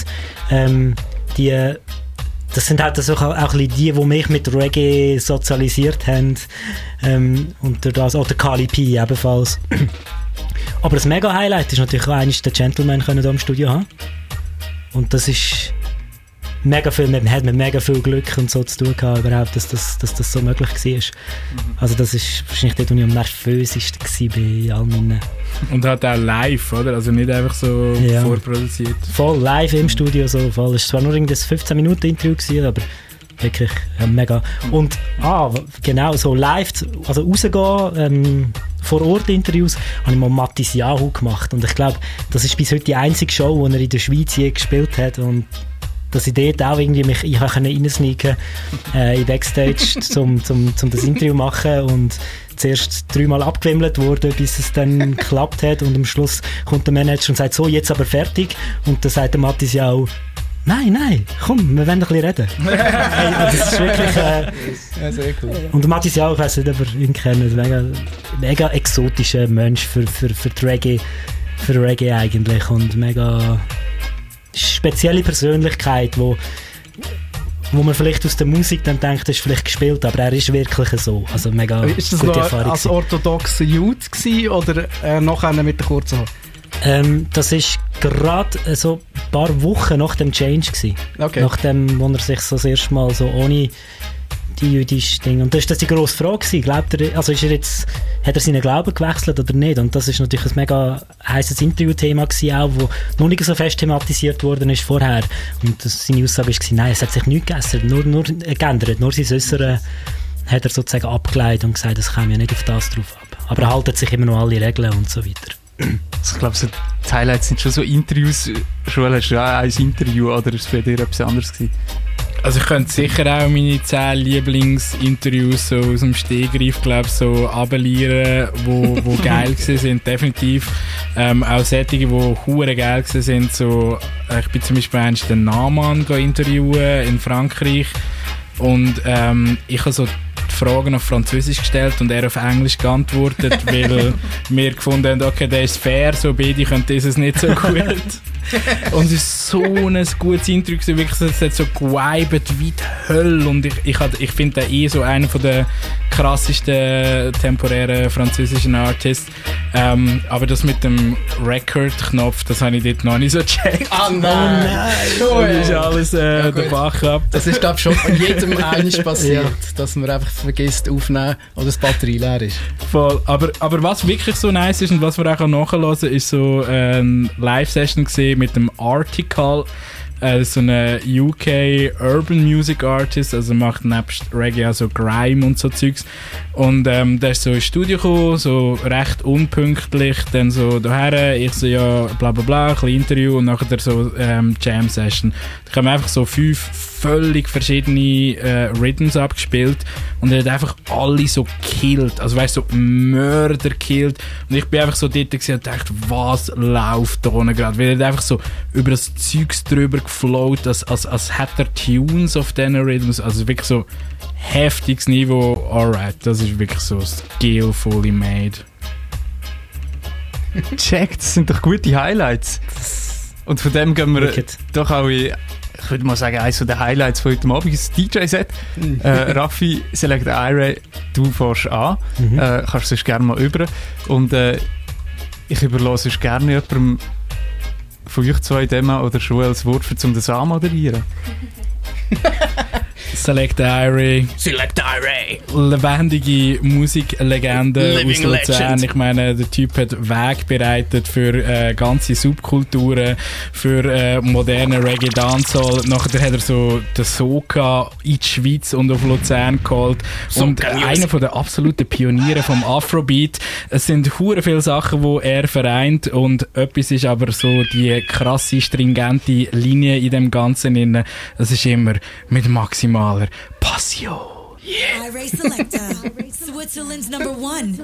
Das sind halt also auch die mich mit Reggae sozialisiert haben. Und durch das auch der Kali P ebenfalls. Aber das mega Highlight ist natürlich auch eines der Gentlemen können hier im Studio haben. Und das ist mega viel, man hat mit mega viel Glück und so zu tun gehabt, überhaupt, dass das so möglich war. Also das ist wahrscheinlich dort, wo ich am nervösesten war bei all meinen... Und halt auch live, oder? Also nicht einfach so vorproduziert. Voll live im Studio, so voll. Es war zwar nur ein 15-Minuten-Interview gewesen, aber wirklich mega. Und genau, so live, also rausgehen, vor Ort Interviews, habe ich mal Mathis Yahoo gemacht. Und ich glaube, das ist bis heute die einzige Show, die er in der Schweiz je gespielt hat. Und dass ich dort auch irgendwie mich reinsneaken in Backstage, um das Interview zu machen. Und zuerst 3-mal abgewimmelt wurde, bis es dann geklappt hat. Und am Schluss kommt der Manager und sagt, so, jetzt aber fertig. Und dann sagt der Mathis Yahoo, Nein, komm, wir wollen ein bisschen reden. Hey, das ist wirklich... ja, sehr cool. Und Mathis ja auch, ich weiss nicht, ob ihr ihn kennt, mega exotischer Mensch für Reggae eigentlich und mega spezielle Persönlichkeit, wo man vielleicht aus der Musik dann denkt, das ist vielleicht gespielt, aber er ist wirklich so. Also mega ist das gute noch Erfahrung als orthodoxer Jude gewesen, oder nachher mit der kurzen Haare? Das war gerade so ein paar Wochen nach dem Change gewesen. Okay. Nachdem, wo er sich so das erste Mal so ohne die jüdische Dinge... Und das war die grosse Frage gewesen. Glaubt er, also hat er seinen Glauben gewechselt oder nicht? Und das war natürlich ein mega heisses Interviewthema gewesen, auch, wo noch nicht so fest thematisiert worden ist vorher. Und seine Aussage war, nein, es hat sich nichts geändert, nur sein Äußeren hat er sozusagen abgeleitet und gesagt, es käme ja nicht auf das drauf ab. Aber er haltet sich immer noch alle Regeln und so weiter. Also ich glaube, so die Highlights sind schon so Interviews. Schon hast du auch ein Interview oder ist es bei dir etwas anderes gewesen? Also ich könnte sicher auch meine 10 Lieblingsinterviews so aus dem Stegreif, glaube so abelieren, wo geil sind, definitiv. Auch solche, die hure geil sind. So, ich bin zum Beispiel einst den Naman interviewen in Frankreich und ich habe so Fragen auf Französisch gestellt und er auf Englisch geantwortet, weil wir gefunden haben, okay, der ist fair, so beide können dieses nicht so gut. Und es ist so ein gutes Eindruck, wirklich, es hat so geweibt wie die Hölle und ich finde den so einer der krassesten temporären französischen Artists. Aber das mit dem Record-Knopf, das habe ich dort noch nicht so gecheckt. Ah nein! Das ist alles der Bach ab. Das ist, glaube ich, schon jedem eines passiert, dass man einfach vergisst aufnehmen oder das Batterie leer ist. Voll. Aber was wirklich so nice ist und was wir auch nachhören können, ist so eine Live-Session gesehen mit dem Article, so eine UK Urban Music Artist, also macht nebst Reggae auch so Grime und so Zeugs. Und der ist so ins Studio gekommen, so recht unpünktlich, dann so daher, ich so ja bla bla bla, ein bisschen Interview und nachher so Jam Session. Da haben wir einfach so 5 völlig verschiedene Rhythms abgespielt und er hat einfach alle so gekillt, also weißt du, so Mörder gekillt und ich bin einfach so dort und dachte, was läuft da unten gerade, weil er hat einfach so über das Zeugs drüber geflowt, als hätte er Tunes auf diesen Rhythms, also wirklich so heftiges Niveau, alright, das ist wirklich so skillfully made. Check, das sind doch gute Highlights. Und von dem gehen wir doch auch in, ich würde mal sagen, eines der Highlights von heute Abend ist das DJ-Set. Raffi, Select Ira, du fährst an. Kannst sonst gerne mal über. Und ich überlasse sonst gerne jemandem von euch zwei Demo oder Joel das Wort um den Sam moderieren. Select Ira. Lebendige Musiklegende aus Luzern. Ich meine, der Typ hat Weg bereitet für ganze Subkulturen, für moderne Reggae Dancehall. Nachher hat er so den Soca in die Schweiz und auf Luzern geholt. Und einer von den absoluten Pioniere vom Afrobeat. Es sind hure viele Sachen, die er vereint und etwas ist aber so die krasse, stringente Linie in dem Ganzen. Das ist immer mit maximaler Passion. Yeah. Ira Selector, Switzerland's #1.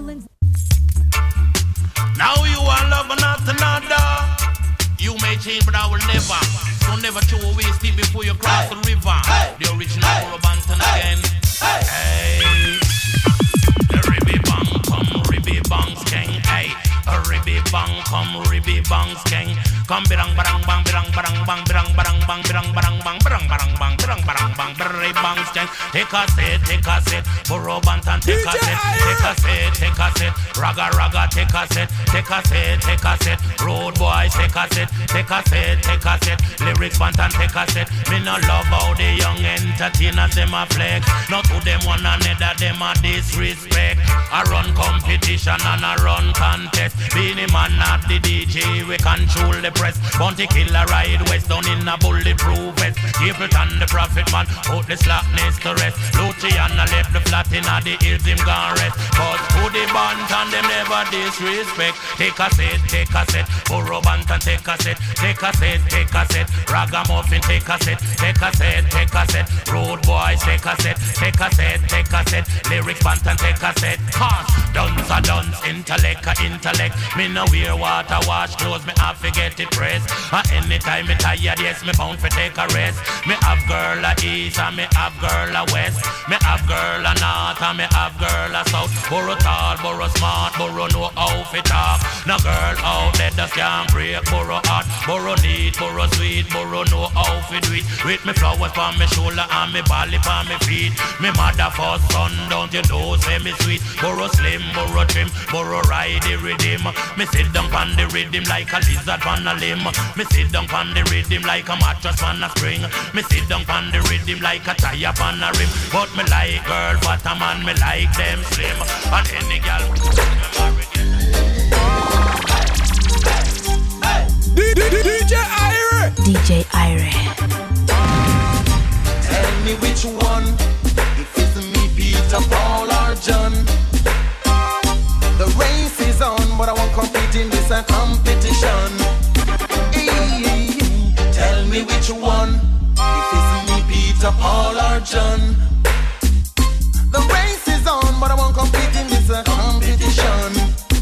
Now you are love not another. You may change, but I will never. So never throw away steam before you cross the river. The original Banton again. Hey. Ribby bang, come ribby bang, skeng. Hey. Ribby bang, come ribby bang, skeng. Come birang barang bang birang barang bang birang barang bang birang barang bang birang barang bang birang barang bang ribby bang, skeng. Take a set, Burro Banton, take a set, take a set. Raga raga take a set. Take a set, take a set. Road boys take a set. Take a set, take a set. Lyrics Bantan take a set. Me no love how the young entertainers them a flex. Not to them one another them a disrespect. I run competition and I run contest. Being a man not the DJ, we control the press. Bounty killer ride west down in a bulletproof vest. Capleton the prophet man, put the slackness to rest. Luciana left the flat in the hills him gone rest. Cause to the Bantan them never disrespect. Take a set, take a set. Burro Bantan take a set. Take a set, take a set. Ragamuffin take a set. Take a set, take a set. Road boys take a set. Take a set, take a set. Lyrics Bantan take a set. Cause dunce a dunce, intellect a intellect. Me no wear water wash clothes, me have to get it pressed. Anytime me tired, yes, me bound for take a rest. Me have girl a east and me have girl a west. Me have girl a north and me have girl a south. Burro tall, burro smart, burro know how to talk. No girl out there that can't break burro hot. Burro neat, burro sweet, burro know how to do it. With me flowers on me shoulder and me bally on me feet. Me mother first son, don't you know, say me sweet. Burro slim, burro trim, burro ride the rhythm. Me sit down on the rhythm like a lizard on a limb. Me sit down on the rhythm like a mattress on a string. Me sit down on the rhythm like a tire on a rim. But me like girl, but a man, me like them slim. And any girl DJ Ira. DJ Ira. Tell me which one, if it's me, Peter, Paul or John. The race is on, but I won't compete in this competition. Hey, tell me which one, if it's me, Peter, Paul or John. The race is on, but I won't compete in this competition.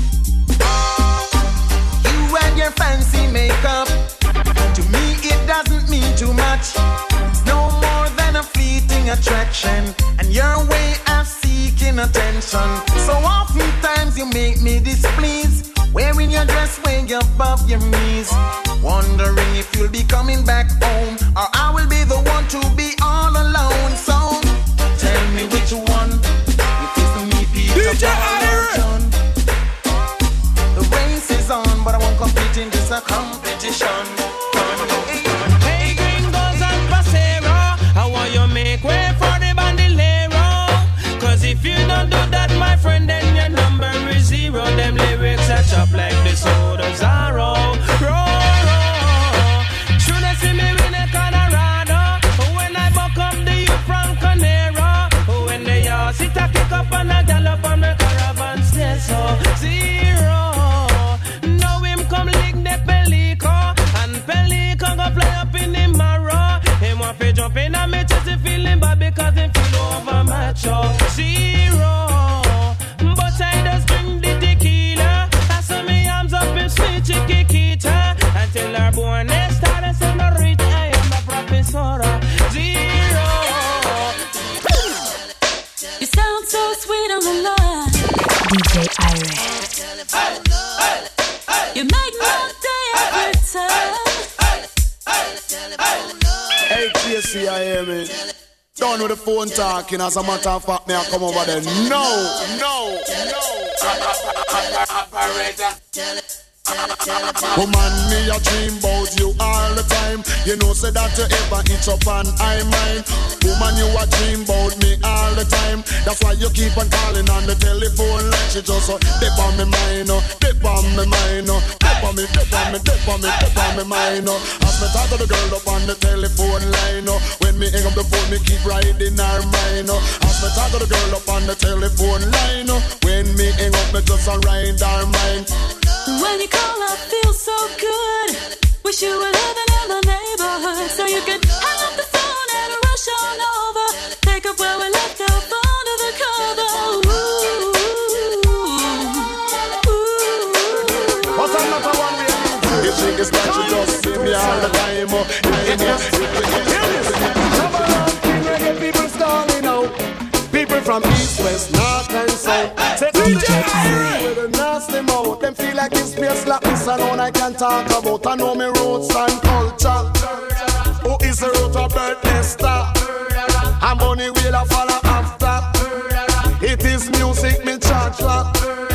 You and your fancy makeup, to me it doesn't mean too much. It's no more than a fleeting attraction, and your way of seeking attention. So oftentimes you make me displeased, wearing your dress way above your knees. Wondering if you'll be coming back home, or I will be the one to be all alone. So tell me which one, if it's me, Peter, Paul or John. The race is on, but I won't compete in this competition. Hey gringos and pasero, how want you make way for the bandolero? Cause if you don't do that, my friend, then your number is zero. Them lyrics are chopped like the sword of Zorro. Should I see me in a Colorado? When I buck up the youth from Conero. When they all sit a kick up and a gallop on the caravan stairs. So zero. Now him come lick the Pelico, and Pelico go fly up in the marrow. Him want to jump in and me chest, he feeling bad because him feel over macho. Zero. But I just drink the tequila. I saw me arms up in sweet chiquita. Until our born they start and say no rich, I am a professor. Zero. You sound so sweet on the line, DJ Ira. you make my day every time. Hey, TSC, I hear me. Don't know the phone talking, as a matter of fact, me I come over there. No. Woman, me a dream about you all the time. You know, say that you ever itch up and I mine. Woman, you a dream about me all the time. That's why you keep on calling on the telephone like she just dip on me mind, dip on me mind, dip on me mind. As me talk to the girl up on the telephone line, when me hang up the phone, me keep riding her mind. As me talk to the girl up on the telephone line, when me hang up, me just ride her mind. When you call, I feel so good. Wish you were living in my neighborhood, so you could hang up the phone and rush on over. Pick up where we left off under the cover. But I'm not the one we are. You think it's that you just see me all the time. People stalling out. People from east, west, north and south. DJ Ira with a nasty mouth. Them feel like this place like this alone I can talk about. I know me roots and culture. Who is the root of birth Esther? And money will I follow after. It is music me charge for.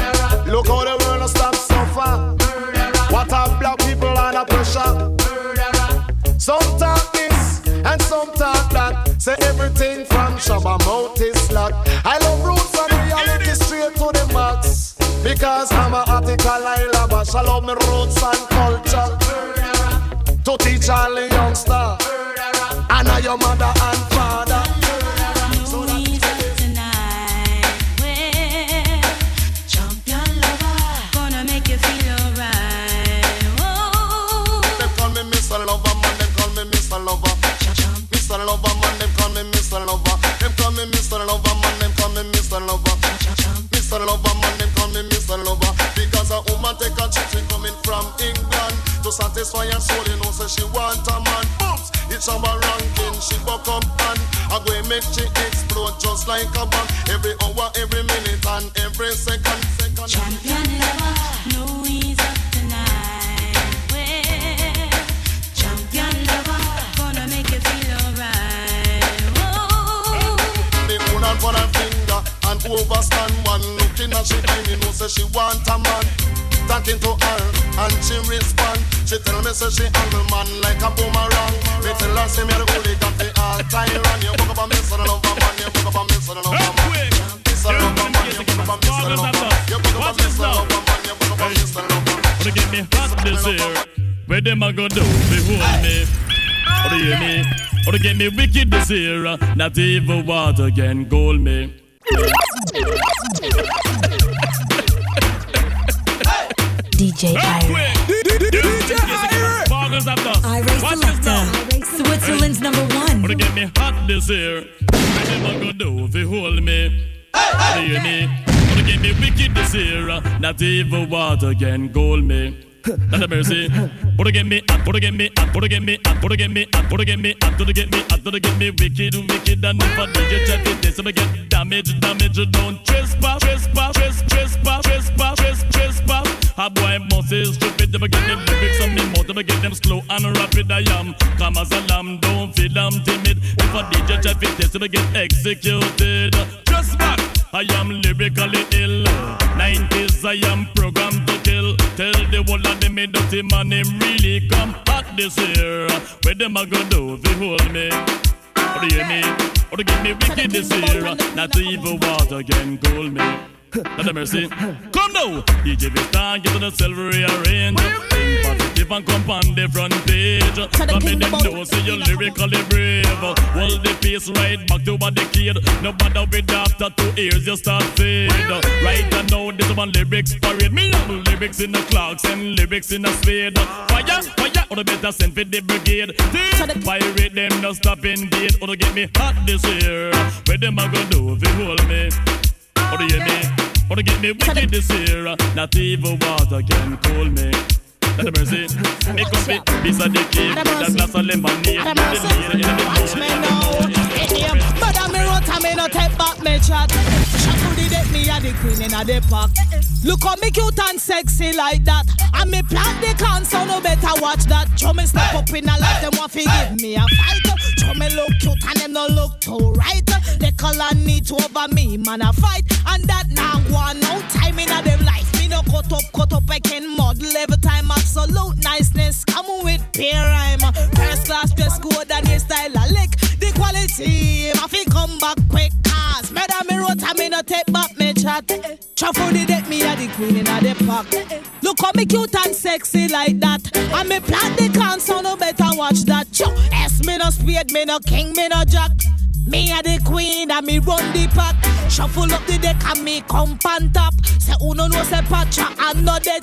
Look how the world stop suffer. What a black people under pressure. Some talk this and some talk that. Say everything from Shabba mouth is locked. I love roots and reality straight to the max. Because I'm a article I love. I love my roots and culture. To teach all the youngster. And I your mother and father. So that tonight, well, champion lover, gonna make you feel alright. Oh, they call me Mr. Lover, man. They call me Mr. Lover. Mr. Lover, man. They call me Mr. Lover. They call me Mr. Lover, man. They call me Mr. Lover. Mr. Lover, man. They call me Mr. Lover. Because a woman take a chick coming from England to satisfy her soul. You know, so she want a man. Oops. It's our ranking, she buck up and I go make she explode just like a bomb. Every hour, every minute and every second. Champion lover, no ease up tonight. Well, champion lover, gonna make you feel alright. Whoa. The woman for her finger and overstand one. Looking at she time, you know, say she want a man. Talking to her and she respond. She tell me say she handle man like a boomerang. Me tell her say me the hooligan fi all tyrant. You walk up a Mr. Lover man, you walk up a Mr. Lover man. Mr. Lover man, you walk up a Mr. Lover man. You walk up a Mr. Lover man, you walk up a Mr. Lover man. Wanna get me hot this year? Where them a go do? Behold me. Wanna hear me? Wanna get me wicked this year? Not even water can cool me. DJ Ira. I raise selector. Switzerland's #1. Wanna get me hot this year? What am I gonna do if you hold me? Wanna hear me? Wanna get me wicked this year? Not even water can cool me. Not a mercy. Wanna get me hot, wanna get me hot, wanna get me hot, wanna get me hot, wanna get me hot, wanna get me hot, wanna get me wicked, wicked, and if I DJ chat it, this I get damage, don't trespass, trespass. A boy must is stupid, never get them lyrics on me mouth, never get them slow and rapid. I am calm as a lamb, don't feel I'm timid. If a DJ chat it, this I get executed. Just back, I am lyrically ill. 90s, I am programmed to kill. Tell the whole of them dirty man, him really come hot this year. Where them a go do if you hold me? Or do you hear me? Or to get me wicked this year? Not even water can cool me. Not a mercy. Come now, DJ Vistan, get to the silver rearrange. Think positive and come on the front page. Come in them know, say you're lyrically brave. Hold the pace right back to what the kid. No matter with after 2 years, you start fade. Right now, this one lyrics parade. Me have lyrics in the clocks and lyrics in the spade. Fire, or the better send for the brigade. Pirate them, no stop in gate. Or to get me hot this year. Where them a gonna do if you hold me? Or do you hear me? Or to get me wicked this year? Not even water can cool me. That's a mercy. Make up it, piece of the cake, with a glass of lemonade. Watch me now. But I'm a rot, I'm no take back me chat. Shaku the deck, me a the queen in a the park. Look how me cute and sexy like that. And me plant the can, so no better watch that. Show me step up in a life, them want to give me a fight. Show me look cute and them no look too right. They color need to over me, man a fight. And that now one no time in a them life. Me no cut up, I can model every time. Absolute niceness, come with peer rhyme. First class dress code and your style a lick. The quality, I feel come back quick. Cause madam me wrote, I me no take back me chat. Truffle the deck, me a the queen in a the park. Look how me cute and sexy like that. And me plant the can, so no better watch that. S me no spade, me no king, me no jack. Me a the queen and me run the pack. Shuffle up the deck and me come on top. Say uno no say patcha and no dead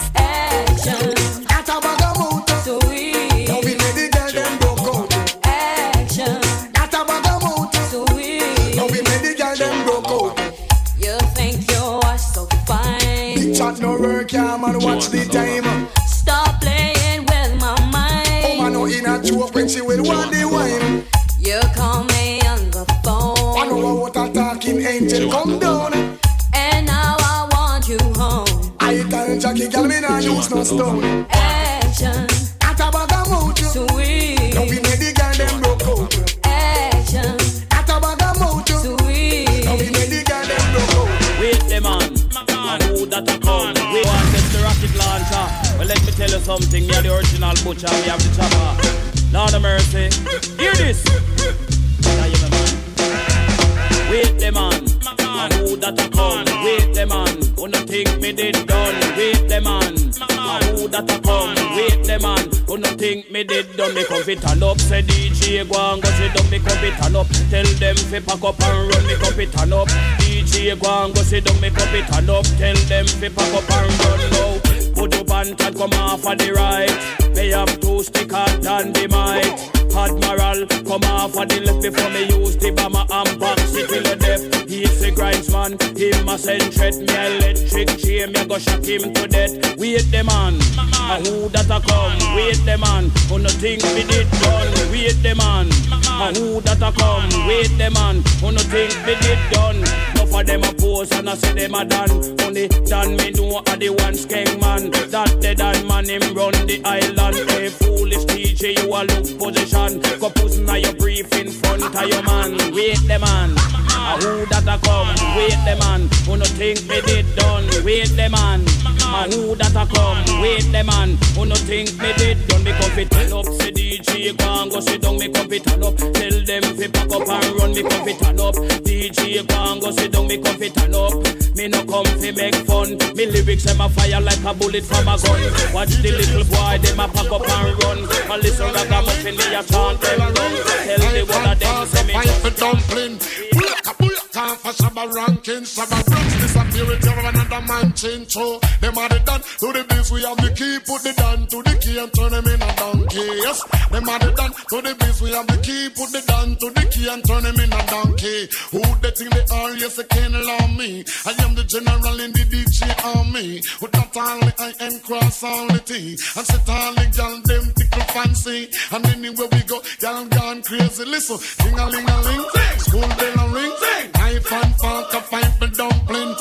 action. At a bag of motor, sweet. Don't be lady girl them broke out. Action. At a bag of motor, sweet. Don't be lady girl them broke out. You think you are so fine. Big chat no work, yeah man, watch the time. Stop playing with my mind. Oh man, no in a joke when she will want the wine. You call me on the phone. I know what a talking angel come down. And now I want you home. I tell Jackie girl me nah use no stone. Action. At a bag of motor, sweet. Don't be lady girl them broke out. Action. At a bag of motor, sweet. Don't be lady girl them broke out. Wait them on. Who that that a come? We want this the rocket launcher. Well, let me tell you something. Me are the original butcher. We have the chopper. Lord of mercy. Hear this. Now you man. Wait the man. And who that a come? Wait the man. Who no think me did done? Wait the man. And who that a come? Wait the man. Who no think me did done? Me come fit and up. Say DJ go and go sit down. Me come fit and up. Tell them fi pack up and run. Me come fit and up. DJ go and go sit down. Me come fit and up. Tell them fi pack up and run now. Put up and cat come off of the right. Me have 2 sticker than the might. Admiral come off of the left before me use the bomber and box it till the death. He's the grindsman, him a send threat. Me electric chain, me go shock him to death. Wait the man, and who that a come? Wait the man, who no think me did done? Wait the man, and who that a come? Wait the man, who no think me did done? No for them a pose and I say them a done. Only done me know a the one skeng man. That the done man him run the island. Hey foolish DJ, you a look position. Go pussing a your brief in front of your man. Wait the man, who that a come? Wait the man, who no think me did done? Wait the man, who that a come? Wait the man, who no think me did done? Me come fit turn up, say DJ go and go sit down. Me come fit turn up, tell them fi pack up and run. Me come fit turn up, DJ go and go sit down. Me come fit turn up, me no come fi make fun. Me lyrics them a fire like a bullet from a gun. Watch the little boy them a pack up and run. And listen ragamuffin me a chant them down. Tell the one of them say me fight for dumpling. Time for Shabba ranking, Shabba ranks disappear with another man change. So them are the done to the biz, we have the key, put the down to the key and turn them in a donkey. Yes, them are the done to the biz, we have the key, put the down to the key and turn them in a donkey. Who they think they are? Yes, they can't allow me. I am the general in the DJ army. With that only I am cross only T. And sit all the gal them tickle fancy. And anywhere we go, gal gone crazy. Listen, ding-a-ling-a-ling, school bell a ring. Knife and fork, a fight for dumpling.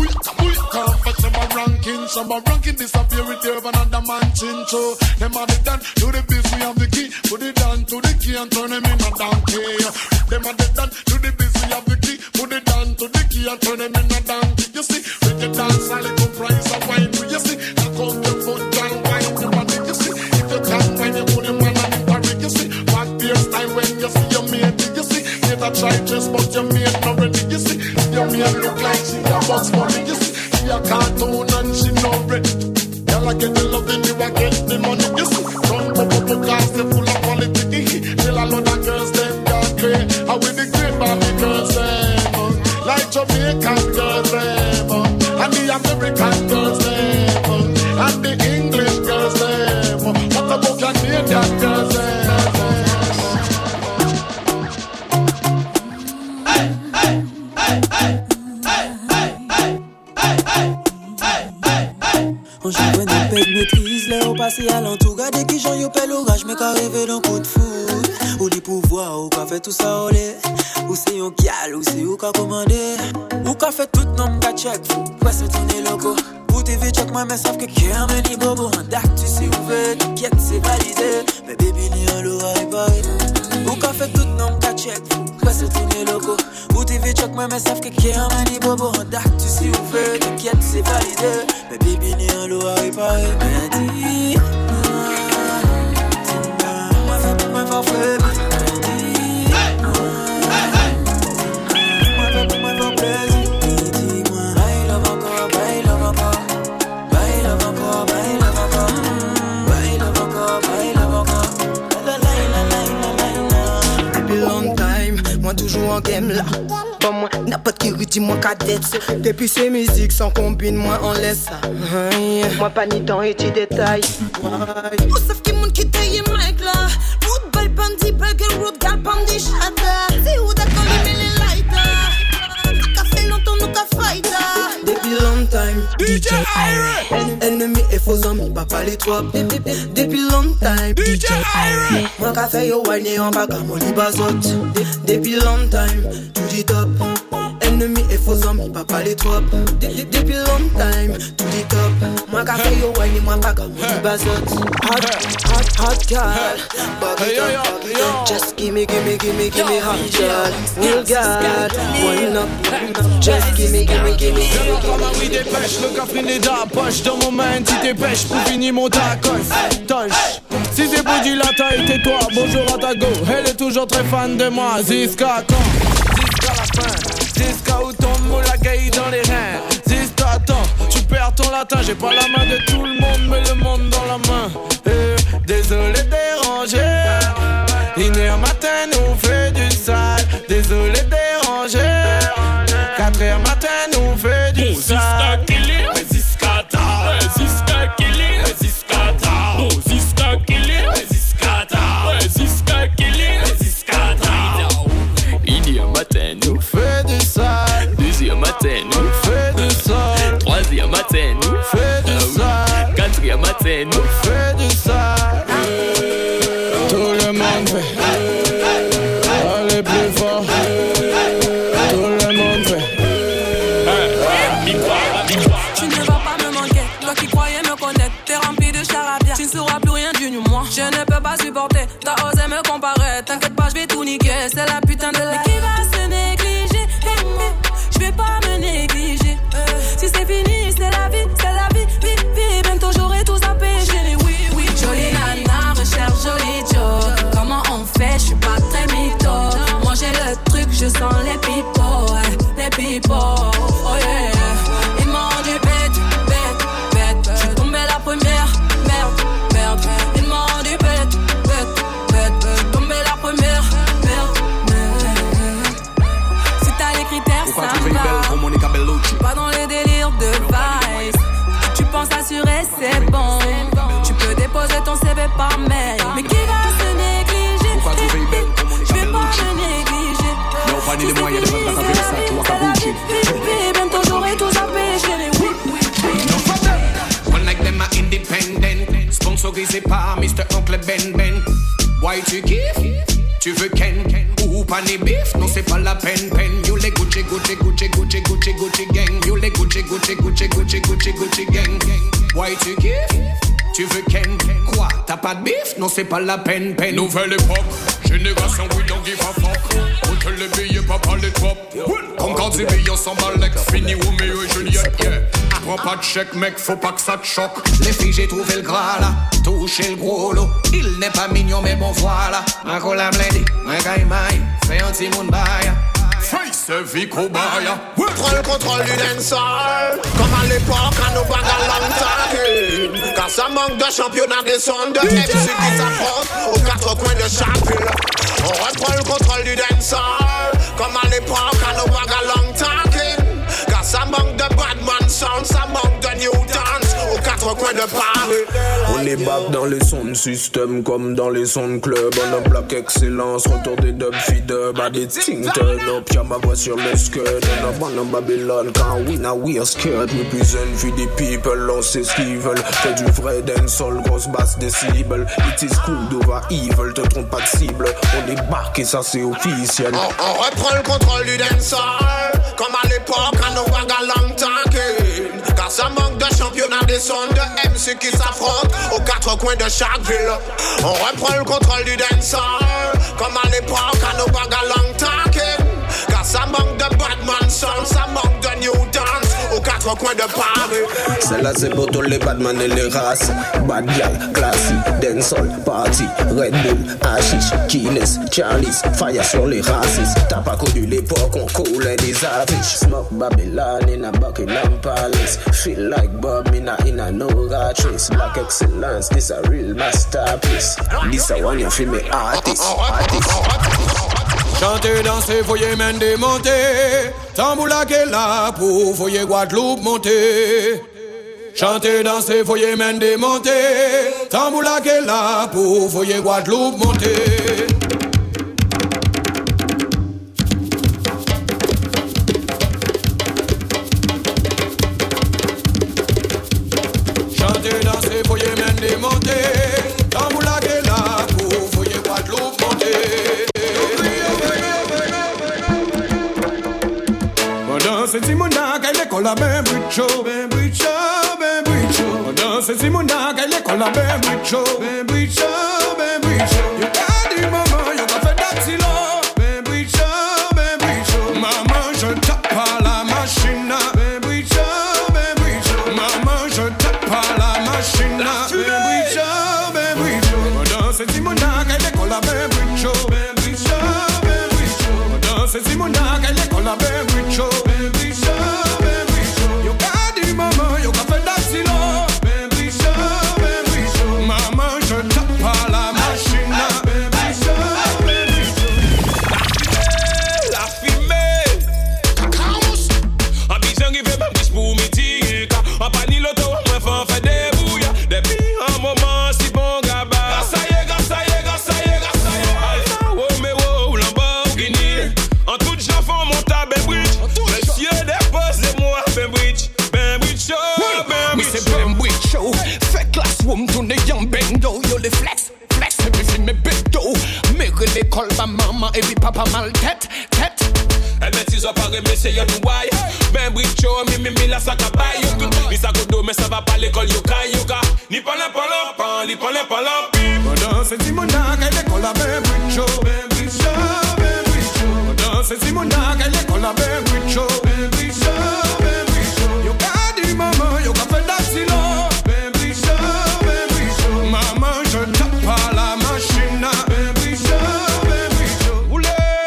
Come for Shabba ranking disappear with you another man chin. So them are the done to the biz, we have the key. Put it down to the key and turn them in a donkey. Them are the done to the biz, we have the key. Put it down to the key and turn them in a donkey. You see, reggae dance, a little price of wine. You see, knock out your foot, girl, wine your body. You see, if you can't wine, you put him on a party. You see, back beer style when you see your mate. You see, get a try just but your mate not ready. You see, your mate look like she a box money. You see, she a cartoon and she not ready. Girl, I get the loving, you a get the money. You see, run bubble cars, they full of quality. Till a lot of girls, them got great. I with the great Barbie girls, them like Jamaican girls, them and the American girls, them and the English girls, them. What about Canadian girls, them? On joue une paix de maîtrise, là on passe à l'entour. Gardez qui j'en y'opelle l'orage, mais qu'arrive d'un coup de foudre. Ou les pouvoirs, ou qu'a fait tout ça au lait. Ou c'est yon kial, ou c'est yon qu'a commandé. Ou qu'a fait tout nom qu'a check, ouais c'est tourné loco. Ou TV check moi, mais savent que qu'un meni bobo. En dac tu sais ouvert, t'inquiète c'est validé. Mais baby ni en l'aura réparé. Ou qu'a fait tout nom qu'a check, ouais c'est tourné loco. Ou TV check moi, mais savent que qu'un meni bobo. En dac tu sais ouvert, t'inquiète c'est validé. Mais baby ni en l'aura réparé. Mais dis, moi fais pour moi faire frère. Toujours en game là. Pas moi, n'importe qui dit moi cadette. Depuis ces musiques sans combine, moi on laisse ça. Moi pas ni temps et ti détails. Ou sauf qui moun qui taille mec là. Football bandit, burger road, gal bandit, chata. C'est où d'accord les mêlés lighter. Ça fait longtemps nous qu'a fighter. Depuis long time, DJ Ira. Ennemi et faux amis, papa les trois. Depuis long time, DJ Ira. Moi qu'a fait yo wine en bas comme Oli Bazot. Depuis long time, tout dit top. ennemis et faux amis, papa les trop. Depuis long time, tout dit top. Moi qu'a fait yo wine, moi pas comme du bazot. Hot girl, back it up. Just gimme hot girl. Real girl, one up. Just gimme. Comme un oui dépêche, le café n'est dans la poche. Dans mon main, si t'es pêche pour finir mon tacos. Touch. Si c'est pour du latin, tais-toi, bonjour à ta go. Elle est toujours très fan de moi, Ziska quand? Ziska la fin, Ziska où tombe la gaille dans les reins. Ziska attends, tu perds ton latin, j'ai pas la main de tout le monde, mais le monde dans la main. Désolé de déranger, il est un matin, nous fait du sale. Désolé de déranger, 4h matin, nous fait du sale. Ziska killing, Ziska ta, Ziska killing, Ziska ta, Ziska killing, Ziska ta, Ziska killing, Ziska ta. Il y a un matin, nous fait du sale. Deuxième matin, nous fait du sale. Troisième matin, nous fait du sale. Quatrième matin, nous fait du sale. Tout le monde fait. Allez plus fort. Tout le monde fait. Tu ne vas pas me manquer, toi qui croyais me connaître. T'es rempli de charabia, tu ne sauras plus rien du moi. Je ne peux pas supporter, t'as osé me comparer. T'inquiète pas, je vais tout niquer, c'est la putain de la. Mais qui va se négliger? Je vais pas me négliger. Si c'est fini, c'est la vie, vie. Bientôt j'aurai tout à pécher. Oui. Jolie nana, recherche joli Joe. Comment on fait? Je suis pas très mytho. Moi j'ai le truc, je sens les pipeaux. Les pipeaux, oh yeah. Ils m'ont dit bête. Je suis tombé la première, merde. Ils m'ont dit bête. Je suis tombé la première, merde. Si t'as les critères, ça va. Pas dans les délires de vice. Tu penses assurer, c'est bon. Tu peux déposer ton CV par mail. Mais qui va se négliger? Je vais pas me négliger. Si c'est fini, c'est la vie. Bientôt j'aurai tout à pécher. One like them are independent. Sponsorisé par Mr. Oncle Ben. Why tu kiffes? Tu veux Ken? Ou pas ni bif? Non c'est pas la peine. You les Gucci gang. You les Gucci gang. Why tu kiffes? Tu veux Ken? Quoi? T'as pas de bif? Non c'est pas la peine. Nouvelle époque, génération we don't give a fuck. On te les billets, papa les trop. Comme quand tu billes, on s'emballe, fini Romeo et Juliette, yeah. Prends pas de chèque, mec, faut pas que ça te choque. Les filles, j'ai trouvé le gras là, touché le gros lot. Il n'est pas mignon, mais bon voilà. Un cola blendé, un gaïmaï, fais un petit monde baille. Face vie cobaya. Prends le contrôle du dancehall, comme à l'époque à nos bagues à l'entendre. Car ça manque de championnat des sons de MC qui s'affrontent aux quatre coins de chaque ville. On reprend le contrôle du dancehall, comme à l'époque à nos bagues à l'entendre. Car ça manque de Badman sound, ça manque de new dance aux quatre coins de Paris. On est back dans les sons système comme dans les sons club. On a black excellence, retour des dub feed-up. À des ting turn up, y'a ma voix sur le skirt. On a ban en Babylone, quand we are scared. We present for the people, on sait ce qu'ils veulent. Fais du vrai dancehall, grosse basse décibel. It is cool d'over evil, te trompe pas de cible. On est back et ça c'est officiel. On reprend le contrôle du dancehall, comme à l'époque à nos bagues à l'entendre. Car ça manque de championnat des sons de MC qui s'affrontent aux quatre coins de chaque ville. On reprend le contrôle du dancehall, comme à l'époque à nos bagues à l'entendre. Car ça manque de Badman sound, ça manque de new dance aux quatre coins de Paris. Celle-là c'est pour tous les badman et les races. Bad gal, classique, dancehall, party, Red Bull, hashish, Guinness, Charlie's, fire sur les racistes. T'as pas connu l'époque, on coulait des affiches. Smoke Babylon in a Buckingham Palace. Feel like Bob in a no ratrice. Black excellence, this a real masterpiece. This a one you feel me artist. Chanter, danser, voyez main démonter. Tamboula qu'est là pour voyez Guadeloupe monter. Chanter, danser, voyez main démonter. Tamboula qu'est là pour voyez Guadeloupe monter. Chanter, danser, voyez main démonter. Tamboula qu'est là pour voyez Guadeloupe monter. la ben bricho, ben bricho, ben bricho. On danse si mon dag à l'école la ben bricho, ben bricho, ben bricho. You got it, maman, you got fait d'axilo, ben bricho, ben bricho. Maman, je tape à la machine, ben bricho, ben bricho. Maman, je tape à la machine, ben bricho, ben bricho. On danse si mon dag à l'école la ben bricho, ben bricho, ben bricho. On danse si mon dag à l'école la ben bricho, ben bricho, ben bricho. You got it, maman, you got fait d'axilo, ben bricho, ben bricho. Maman, je tape à la machine, ben bricho, ben bricho. La fumée, cacaos. A besoin de faire ma bouche pour me tirer. A pas ni l'auto, moi faut faire des bouilles. Depuis un moment, si bon gaba. Gassaye, gassaye, gassaye, gassaye. Alpha Romeo, Lamborghini. En tout genre font mon tas, Ben Bridge. Monsieur déposez-moi, Ben Bridge. Ben Bridge show, Ben Bridge show. Ben Bridge show. Fait classroom, tourne young bendo. Yo les flex, flex, me filme mes bendo. Mère l'école, ma maman et puis papa mal tête, tête. Elle met 6 heures par mais c'est y'a tout why. Ben Bridge show, mi la sac à bail. Mi sac au dos, mais ça va pas l'école, yoka, yoka. Ni pas l'impan, ni pas l'impan, Pendant ce Simona, qu'elle est collée à Ben Bridge show, Ben Bridge show, Ben Bridge show. Pendant ce Simona, qu'elle est collée à Ben Bridge show, Ben Bridge show, Ben Bridge show. Yo got it, maman, yo got fait d'axilo, Ben Bridge show, Ben Bridge show. Maman, je tape à la machine, Ben Bridge show, Ben Bridge show. Oulé,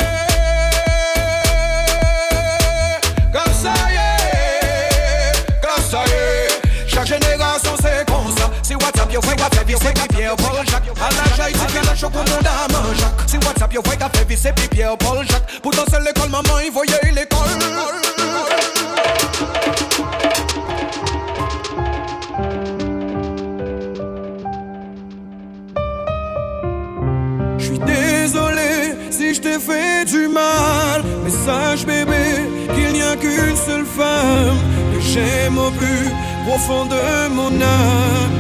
gassaye. Chaque génération c'est comme ça. Si WhatsApp yo fait café, c'est Pierre Paul Jacques. À la jaille, c'est qu'elle a chocolat dans mon Jacques. Si WhatsApp yo fait café, c'est Pierre Paul Jacques. Pour danser l'école, maman, il voyait l'école. J'suis désolé si je t'ai fait du mal. Mais sache bébé qu'il n'y a qu'une seule femme que j'aime au plus profond de mon âme.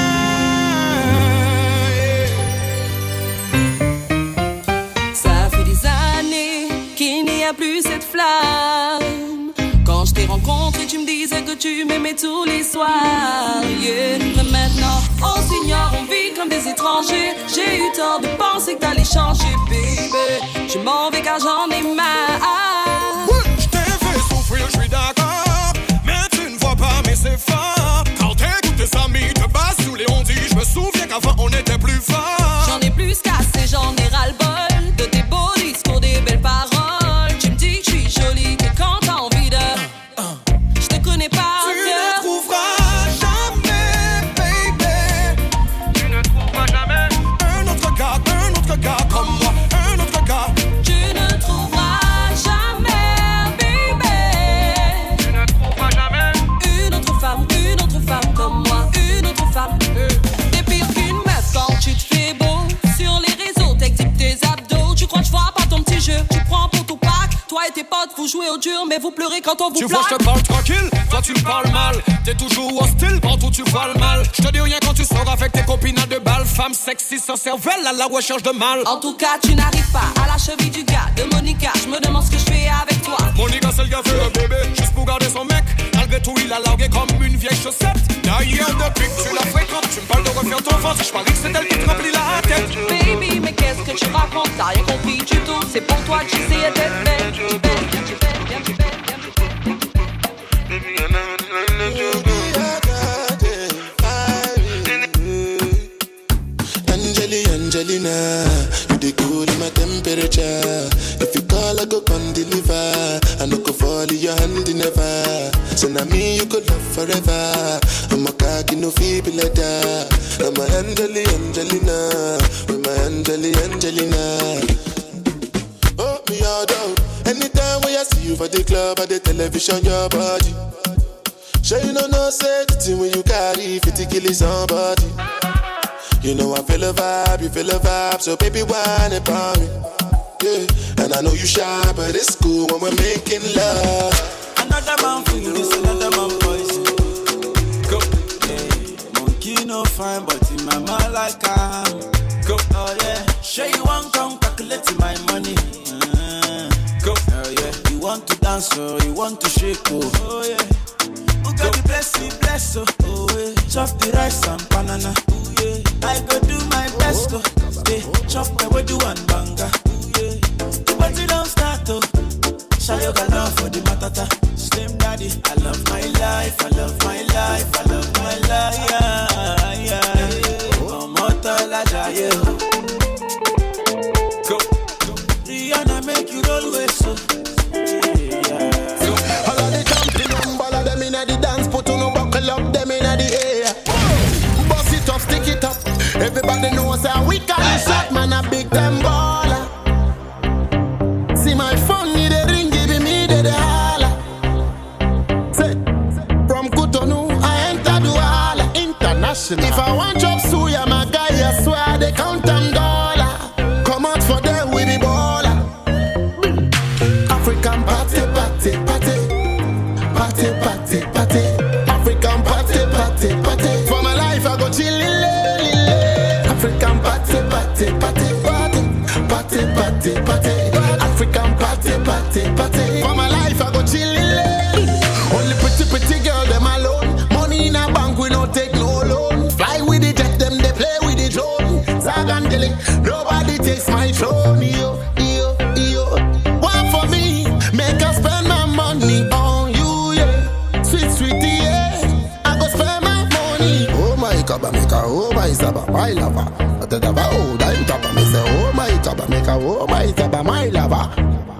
Ça fait des années qu'il n'y a plus cette flamme. Quand je t'ai rencontré, tu me disais que tu m'aimais tous les soirs. Yeah. Mais maintenant, on s'ignore, on vit comme des étrangers. J'ai eu tort de penser que t'allais changer, baby. Je m'en vais car j'en ai marre. Je t'ai fait souffrir, je suis d'accord. Mais tu ne vois pas, mais c'est fort. Quand t'écoutes tes amis te basent sous les ondits. Je me souviens qu'avant on était plus fort. J'en ai plus cassé, j'en ai ras-le-bol de tes beaux discours, des belles paroles. Tu me dis que je suis jolie, que quand t'as envie de... Je te connais pas. Tu ne trouveras jamais, baby. Tu ne trouveras jamais un autre gars comme moi, un autre gars. Tu ne trouveras jamais, baby. Tu ne trouveras jamais une autre femme comme moi, une autre femme. T'es pire qu'une meuf quand tu te fais beau. Sur les réseaux, t'exhibes tes abdos. Tu crois que je vois pas ton petit jeu, tu prends pour ton pack. Toi et tes potes, vous jouez au dur, mais vous pleurez quand on vous tu plaque. vois, je te parle tranquille, toi tu me parles mal. T'es toujours hostile, partout tu vois le mal. Je te dis rien quand tu sors avec tes copines à deux balles. Femme sexy sans cervelle à la recherche de mal. En tout cas, tu n'arrives pas à la cheville du gars de Monica. Je me demande ce que je fais avec toi. Monica, c'est le gars fait le bébé, juste pour garder son mec. Malgré tout, il a largué comme une vieille chaussette. D'ailleurs, depuis que tu la fréquentes, tu me parles de refaire ton ventre. Je parie que c'est elle qui te remplit la tête. Baby, mais qu'est-ce que tu racontes? T'as rien compris du tout. C'est pour toi que j'essayais d'être belle. Tu belle, tu belle, tu belle, Angelina, you the cool in my temperature. If you call, I go come deliver. I no go fall in your hand never. So now me you could love forever. I'm a cocky no feeble like that. I'm a Angelina, with my Angelina. Oh me all down. Anytime when I see you for the club or the television, your body. Sure you know say the thing when you carry 50 kill somebody. You know I feel a vibe, you feel a vibe, so baby whine about me. Yeah, and I know you shy, but it's cool when we're making love. Another man for you, this another man poison. Go, yeah. Monkey no fine, but in my mind like I'm. Go, oh yeah. Sure you want come calculate my money. Go, oh yeah. You want to dance or you want to shake, oh yeah. got the bless, oh, yeah. Chop the rice and banana, yeah. I go do my best, oh, yeah. Chop the wedu and banga, yeah. The party don't start, oh. Shayo got love for the matata. Slim daddy, I love my life, I love my life, I love my life, yeah. Omotola jaye, go. Rihanna make you roll with so. The dance, put on a buckle up, them in the air. Bust it up, stick it up. Everybody knows how we call it shot, man, a big time baller. See my phone, need a ring, give me the holla. Say, from Cotonou, I enter Douala International. If I want job suya, my guy, I swear they count them dollar. Come out for them with the baller. African party, party, party. Party, party, party, African party, party, party. For my life I go chillin', African party, party, party, party, party, party, party, African party, party, party. For my life I go chillin'. Only pretty girl them alone. Money in a bank we no take no loan. Fly with the jet them they play with the drone. Zagandeli, nobody takes my throne. Yo, yo, yo. One for me, make us spend my money on you. Sweetie, yeah, I go spend my money. Oh my kaba maker, oh my saba, my lover. At the daba, oh, I'm taba, me say, oh my kaba maker, oh my saba, my lover.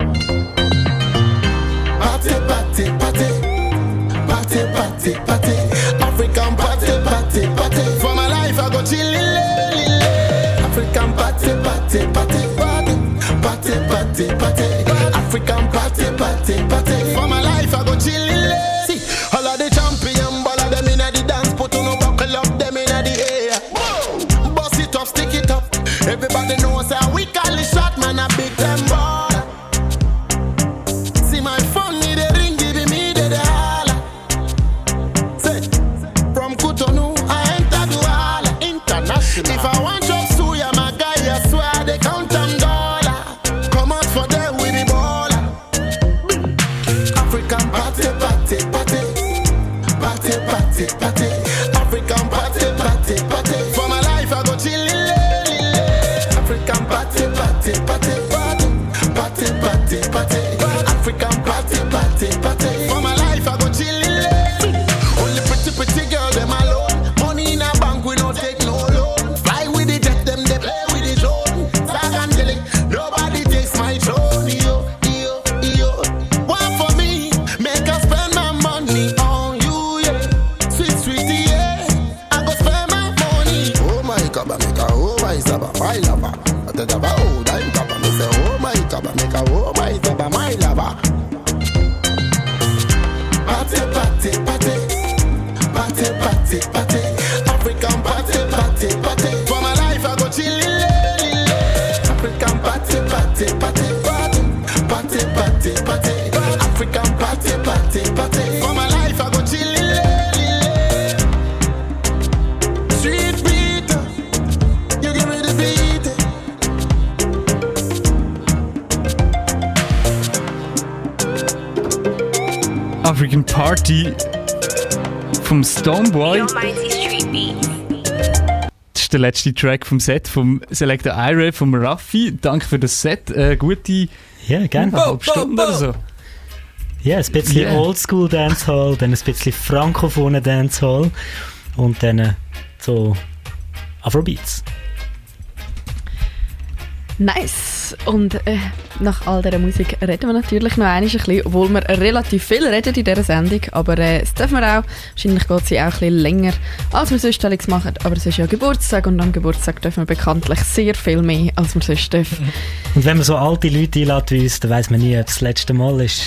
Party, party, party, party, party, party, African party, party, party. For my life I go chillin', African party, party, party, party, party, party, party, African party, party, party. For my life I go chillin'. All of the champion, all of them in the dance, put on a buckle up, them in the air. Bust it up, stick it up. Everybody knows how we call it shot, man, a big time baller. See my phone, need a ring, give me the holla. Say, from Cotonou, I enter Douala International. If I want job suya, my guy, I swear they count them dollar. Come out for them with the baller. African party, party, party. Party, party, party, African party, party, party. For my life I go chillin', African party, party, party, party, party, party, African party, party, party. For my life I go chillin'. Only pretty girl them alone. Money in a bank we no take no loan. Fly with the jet them they play with the drone. Zagandeli, nobody takes my throne. Yo, yo, yo. One for me, make us spend my money on you. Sweetie, yeah, I go spend my money. Oh my kaba maker, oh my saba, my lover. At the daba, oh, I'm kaba, me say, oh my kaba maker, oh my saba, my lover. Party, party, party, party, party, party, African party, party, party. For my life I go chillin', African party, party, party, party, party, party, party, African party, party, party. For my life I go chillin'. African Party vom Stoneboy. Das ist der letzte Track vom Set vom Selector Ira vom Raffi. Danke für das Set. Gute gerne. Halbe Stunde oder so. Ja, ein bisschen Oldschool Dancehall, dann ein bisschen frankophone Dancehall und dann so Afrobeats. Nice. Und nach all dieser Musik reden wir natürlich noch ein bisschen, obwohl wir relativ viel reden in dieser Sendung, aber das dürfen wir auch. Wahrscheinlich geht sie auch ein bisschen länger, als wir sonst alles machen, aber es ist ja Geburtstag und am Geburtstag dürfen wir bekanntlich sehr viel mehr, als wir sonst dürfen. Und wenn man so alte Leute einlädt wie uns, dann weiss man nie, ob es das letzte Mal ist.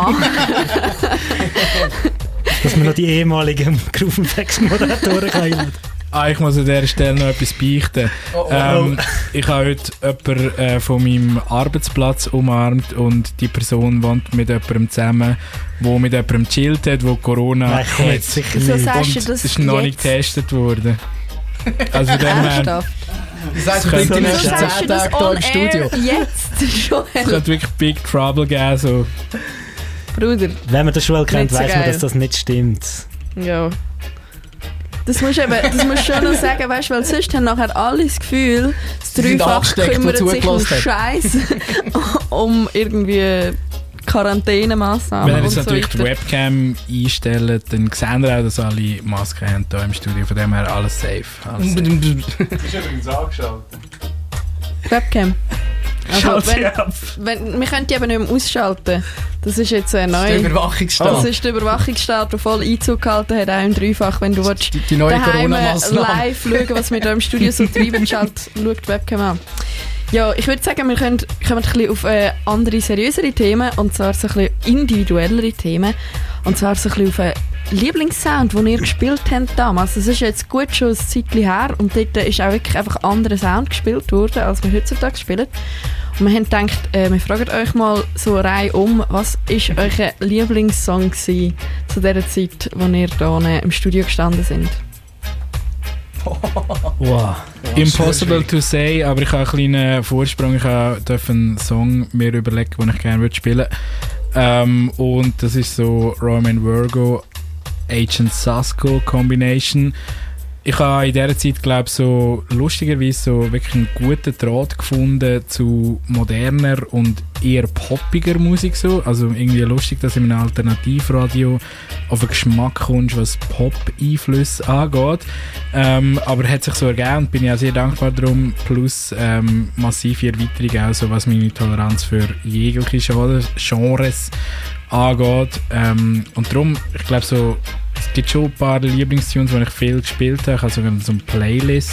Dass man noch die ehemaligen Groove & Moderatoren einladen. Ich muss an dieser Stelle noch etwas beichten. Ich habe heute jemanden von meinem Arbeitsplatz umarmt und die Person wohnt mit jemandem zusammen, der mit jemandem chillt hat, der Corona hat. Wieso sagst du das ist noch nicht getestet worden. Also Ernsthaft? Das heisst, du bist die nächsten 10 Tage hier im Studio. Jetzt schon. Es könnte wirklich Big Trouble geben. So. Bruder. Wenn man den Schule kennt, weiss man, dass das nicht stimmt. Ja. Das musst du schon noch sagen, weißt, weil sonst haben nachher alle das Gefühl, das Dreifach kümmert sich um Scheiß, um irgendwie Quarantänemaßnahmen. Wenn ihr jetzt und so natürlich die weiter. Webcam einstellt, dann sehen wir auch, dass alle Masken haben hier im Studio. Von dem her alles safe. Alles safe. Das ist übrigens angeschaltet. Webcam. Schalt sie ab. Wir können die eben nicht mehr ausschalten. Das ist jetzt neu. Das ist der Überwachungsstaat. Das ist der Überwachungsstaat, der voll Einzug gehalten hat, auch im Dreifach. Wenn du die neue daheim Corona-Massnahme live schauen, was wir hier im Studio so treiben, schau die Webcam an. Ja, ich würde sagen, wir kommen ein bisschen auf andere, seriösere Themen, und zwar so ein bisschen individuellere Themen. Und zwar so ein bisschen auf einen Lieblingssound, den ihr gespielt habt damals. Das ist jetzt gut schon ein Zeitchen her, und dort ist auch wirklich einfach anderer Sound gespielt worden, als wir heutzutage spielen. Und wir haben gedacht, wir fragen euch mal so reihum, was war euer Lieblingssong gewesen zu der Zeit, als ihr hier im Studio gestanden sind? Wow. Impossible to say, aber ich habe einen kleinen Vorsprung. Ich durfte einen Song mir überlegen, den ich gerne spielen würde. Und das ist so Roman Virgo, Agent Sasko Combination. Ich habe in dieser Zeit, glaube ich, so lustigerweise so wirklich einen guten Draht gefunden zu moderner und eher poppiger Musik. So. Also irgendwie lustig, dass in einem Alternativradio auf den Geschmack kommst, was Pop-Einflüsse angeht. Aber hat sich so ergeben und bin ich auch sehr dankbar darum. Plus massive Erweiterung auch, so was meine Toleranz für jegliche Genres angeht. Und darum, ich glaube so, es gibt schon ein paar Lieblingstunes, die ich viel gespielt habe. Ich habe sogar so eine Playlist,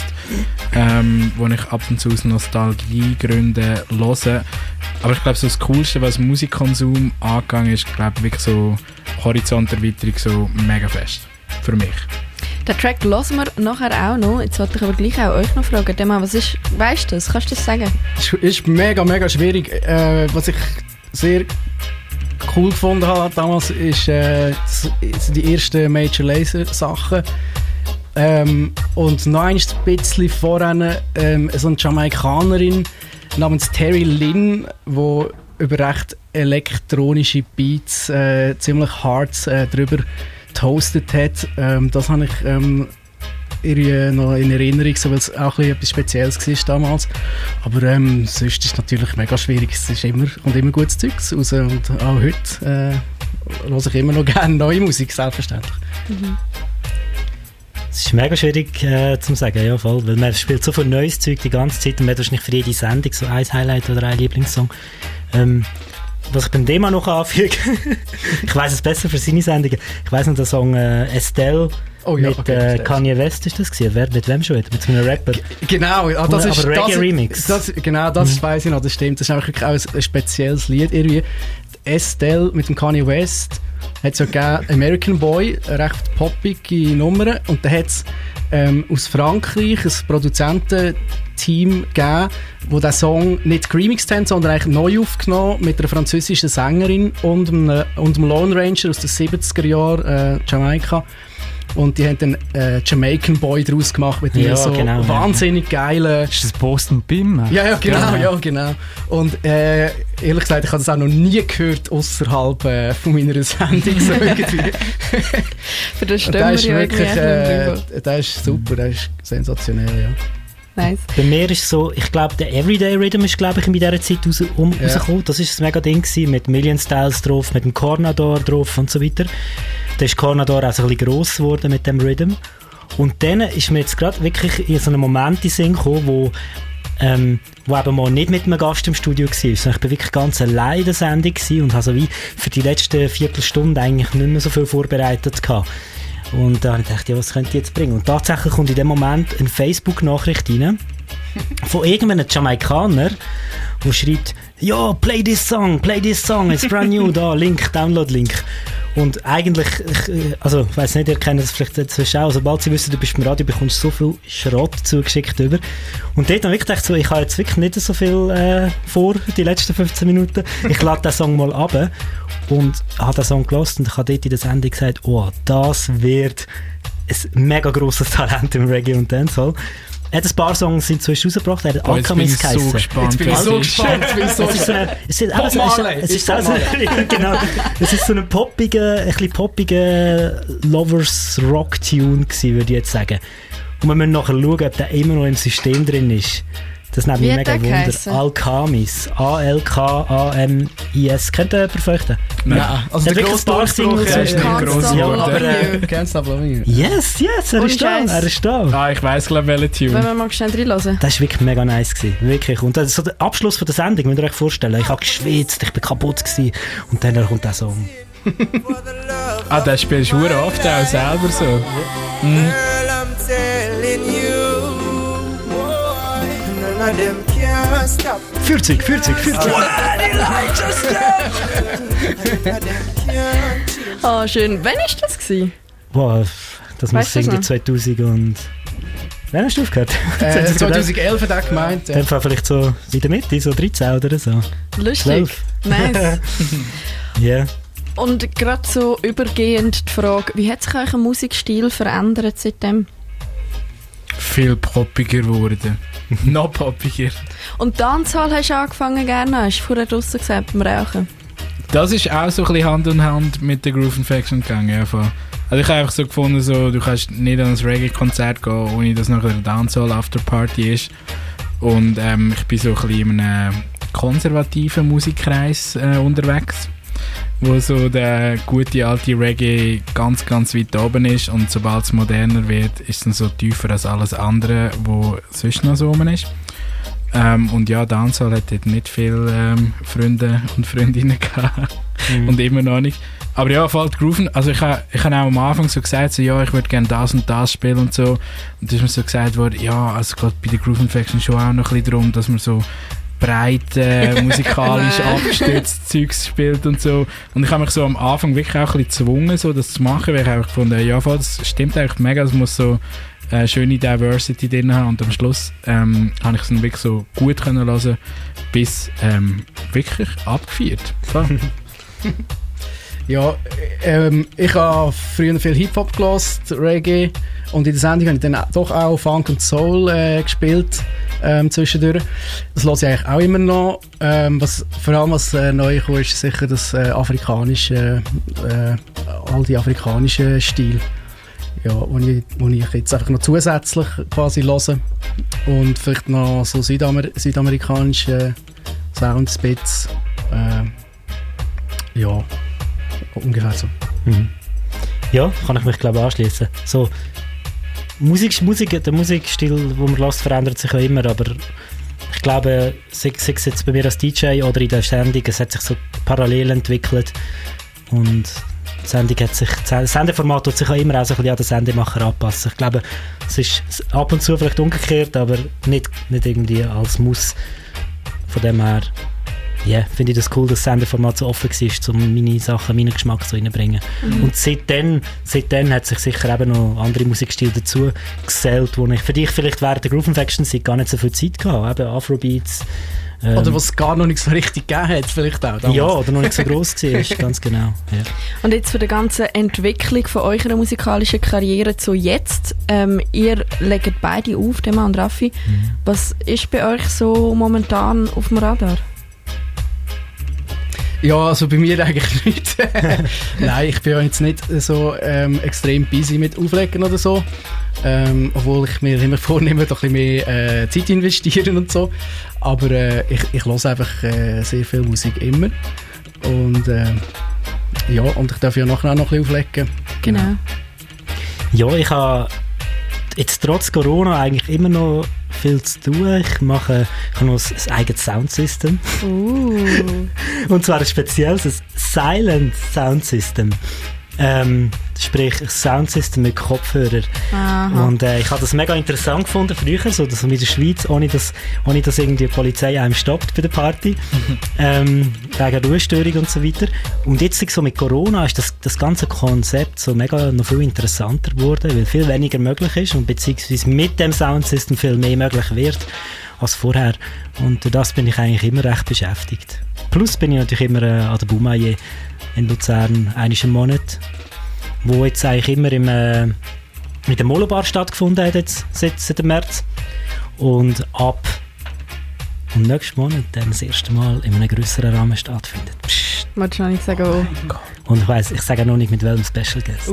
wo ich ab und zu aus Nostalgiegründen höre. Aber ich glaube, so das Coolste, was Musikkonsum angegangen ist, glaube ich, wirklich so Horizonterweiterung, so mega fest. Für mich. Den Track hören wir nachher auch noch. Jetzt wollte ich aber gleich auch euch noch fragen. Dema, was ist, weißt du das? Kannst du das sagen? Es ist mega, mega schwierig. Was ich sehr cool gefunden habe damals, ist die ersten Major Lazer Sachen. Und noch ein bisschen voran so eine Jamaikanerin namens Terry Lynn, die über recht elektronische Beats ziemlich hart drüber toastet hat. Das habe ich irgendwie noch in Erinnerung, weil es auch etwas Spezielles war damals. Aber sonst ist es natürlich mega schwierig. Es ist kommt immer gutes Zeugs raus, und auch heute höre ich immer noch gerne neue Musik, selbstverständlich. Mhm. Es ist mega schwierig zu sagen, ja, voll, weil man spielt so viel neues Zeug die ganze Zeit, und man hat wahrscheinlich für jede Sendung so ein Highlight oder ein Lieblingssong. Was ich beim Thema noch anfüge, ich weiss es besser für seine Sendungen, ich weiss noch den Song Estelle mit Kanye West ist das gewesen. Mit wem schon? Mit so einem Rapper? Genau, das ist aber Reggae-Remix. Das weiss ich noch, das stimmt. Das ist wirklich auch ein spezielles Lied irgendwie. Estelle mit dem Kanye West hat es ja gegeben, American Boy, eine recht poppige Nummer, und da hat es aus Frankreich ein Produzententeam gegeben, wo der Song nicht geremixed haben, sondern eigentlich neu aufgenommen mit einer französischen Sängerin und einem Lone Ranger aus den 70er Jahren, Jamaika. Und die haben dann Jamaican Boy daraus gemacht mit einem wahnsinnig geilen... Ist das Boston Bim? Ja, genau. Und ehrlich gesagt, ich habe das auch noch nie gehört außerhalb von meiner Sendung. So irgendwie. Für das stimmen wir ja wirklich, der ist super, der ist sensationell, ja. Nice. Bei mir ist so, ich glaube, der Everyday Rhythm ist, glaube ich, in dieser Zeit rausgekommen. Das war ein mega Ding gewesen, mit Million Styles drauf, mit dem Cornador drauf und so weiter. Da ist Cornador auch so ein bisschen gross geworden mit dem Rhythm. Und dann ist mir jetzt gerade wirklich in so einem Moment in den Sinn gekommen, wo eben mal nicht mit einem Gast im Studio war, sondern ich war wirklich ganz allein in der Sendung und habe so wie für die letzten Viertelstunde eigentlich nicht mehr so viel vorbereitet gehabt. Und da habe ich gedacht, ja, was könnte ich jetzt bringen? Und tatsächlich kommt in dem Moment eine Facebook-Nachricht rein von irgendeinem Jamaikaner, der schreibt, ja, play this song, it's brand new, da, Link, Download-Link. Und eigentlich, also ich weiss nicht, ihr kennt das vielleicht inzwischen auch, sobald sie wissen, du bist im Radio, bekommst du so viel Schrott zugeschickt über. Und dort habe ich gedacht, so, ich habe jetzt wirklich nicht so viel vor, die letzten 15 Minuten. Ich lade den Song mal runter und habe den Song gehört und ich habe dort in der Sendung gesagt, oh, das wird ein mega grosses Talent im Reggae und Dancehall. Er hat ein paar Songs inzwischen rausgebracht, er hat Oh, jetzt bin Alchemist ich so geheissen. gespannt, Jetzt bin ich so gespannt. Es ist so ein poppiger Lovers-Rock-Tune gewesen, würde ich jetzt sagen. Und wir müssen nachher schauen, ob der immer noch im System drin ist. Das nimmt mich Wie mega hat der Wunder. geheissen? Alchemist. A-L-K-A-M-I-S. Kennt ihr jemand von euch den? Nein, also der grosse Durchbruch ist ist nicht gross geworden. aber Can't Stop Loving You. Yes, er Ohne ist da. Scheiß. Er ist da. Ah, ich weiss, glaube ich, welche Wenn Tune. wir mal schnell reinhören. Das war wirklich mega nice gewesen. Wirklich. Und das ist so der Abschluss von der Sendung, müsst ihr euch vorstellen. Ich habe geschwitzt, ich bin kaputt gewesen. Und dann kommt der Song. Ah, das spielst du verdammt oft auch selber so. Mhm. Girl, I'm telling you, none of them can stop. 40. Ah, schön. Wann war das gewesen? Wow, das muss Weißt du irgendwie noch? 2000 und... Wann hast du aufgehört? 2011 hat er gemeint. Dann vielleicht so in der Mitte, so 13 oder so. Lustig. 12. Nice. Ja. Und gerade so übergehend die Frage, wie hat sich euer Musikstil verändert seitdem? Viel poppiger geworden. Noch poppiger. Und Dancehall hast du angefangen gerne? Hast du vorher draussen gesagt beim Rauchen? Das ist auch so ein bisschen Hand in Hand mit der Groove Infection gegangen. Ja, voll. Also ich habe einfach so gefunden, so, du kannst nicht an ein Reggae-Konzert gehen, ohne dass nachher eine Dancehall-Afterparty ist. Und ich bin so ein bisschen in einem konservativen Musikkreis unterwegs, wo so der gute alte Reggae ganz, ganz weit oben ist, und sobald es moderner wird, ist es dann so tiefer als alles andere, wo sonst noch so oben ist. Und ja, Dancehall hat dort nicht viele Freunde und Freundinnen gehabt. Und immer noch nicht. Aber ja, fällt Grooven. Also ich habe auch am Anfang so gesagt, so, ja, ich würde gerne das und das spielen und so. Und dann ist mir so gesagt worden, ja, also es geht bei der Groove Infection schon auch noch ein bisschen darum, dass man so breit musikalisch abgestützt Zeugs spielt und so. Und ich habe mich so am Anfang wirklich auch ein bisschen gezwungen, so das zu machen, weil ich einfach gefunden, ja, voll, das stimmt eigentlich mega, es muss so schöne Diversity drin haben, und am Schluss habe ich es dann wirklich so gut können hören, bis wirklich abgefeiert. Voll. Ja, ich habe früher viel Hip-Hop gehört, Reggae, und in der Sendung habe ich dann doch auch Funk und Soul gespielt zwischendurch. Das höre ich eigentlich auch immer noch. Vor allem was neu kam, ist sicher das afrikanische, all die afrikanischen Stile, ja, wo ich jetzt einfach noch zusätzlich quasi höre. Und vielleicht noch so südamerikanische Soundspits. Ja, ungefähr so. Mhm. Ja, kann ich mich glaube anschließen. So, der Musikstil, den man hört, verändert sich ja immer, aber ich glaube, sei es jetzt bei mir als DJ oder in der Sendung, es hat sich so parallel entwickelt, und das Sendeformat wird sich auch immer auch so ein bisschen an den Sendemacher anpassen. Ich glaube, es ist ab und zu vielleicht umgekehrt, aber nicht irgendwie als Muss. Von dem her, yeah, finde ich das cool, dass das Sendeformat so offen war, um meine Sachen, meinen Geschmack so reinzubringen. Mhm. Und seitdem hat sich sicher eben noch andere Musikstile dazu gesellt, für die ich vielleicht während der Groove Infection Zeit gar nicht so viel Zeit hatte. Eben Afrobeats. Oder was es gar noch nicht so richtig gegeben hat, vielleicht auch damals. Ja, oder noch nicht so gross war, ganz genau. Ja. Und jetzt für die ganze Entwicklung von eurer musikalischen Karriere zu jetzt, ihr legt beide auf, Thema und Raffi. Was ist bei euch so momentan auf dem Radar? Ja, also bei mir eigentlich nicht. Nein, ich bin ja jetzt nicht so extrem busy mit Auflegen oder so. Obwohl ich mir immer vornehme, doch ein bisschen mehr Zeit investieren und so. Aber ich höre einfach sehr viel Musik immer. Und ja, und ich darf ja nachher auch noch ein bisschen auflegen. Genau. Ja, ich habe jetzt trotz Corona eigentlich immer noch viel zu tun. Ich habe noch ein eigenes Soundsystem. Und zwar ein spezielles, ein Silent Soundsystem. Sprich, ein Soundsystem mit Kopfhörer. Aha. Und ich habe das mega interessant gefunden früher, so dass man in der Schweiz, ohne dass irgendwie die Polizei einem stoppt bei der Party, wegen Ruhestörung und so weiter. Und jetzt so mit Corona ist das ganze Konzept so mega noch viel interessanter geworden, weil viel weniger möglich ist und beziehungsweise mit dem Soundsystem viel mehr möglich wird als vorher. Und durch das bin ich eigentlich immer recht beschäftigt. Plus bin ich natürlich immer an der Baumaille in Luzern einmal im Monat, wo jetzt eigentlich immer mit dem Molobar stattgefunden hat jetzt seit dem März. Und ab nächsten Monat dann das erste Mal in einem grösseren Rahmen stattfindet. Psst. Wolltest du noch nicht sagen, wo? Und ich sage noch nicht, mit welchem Special Guest.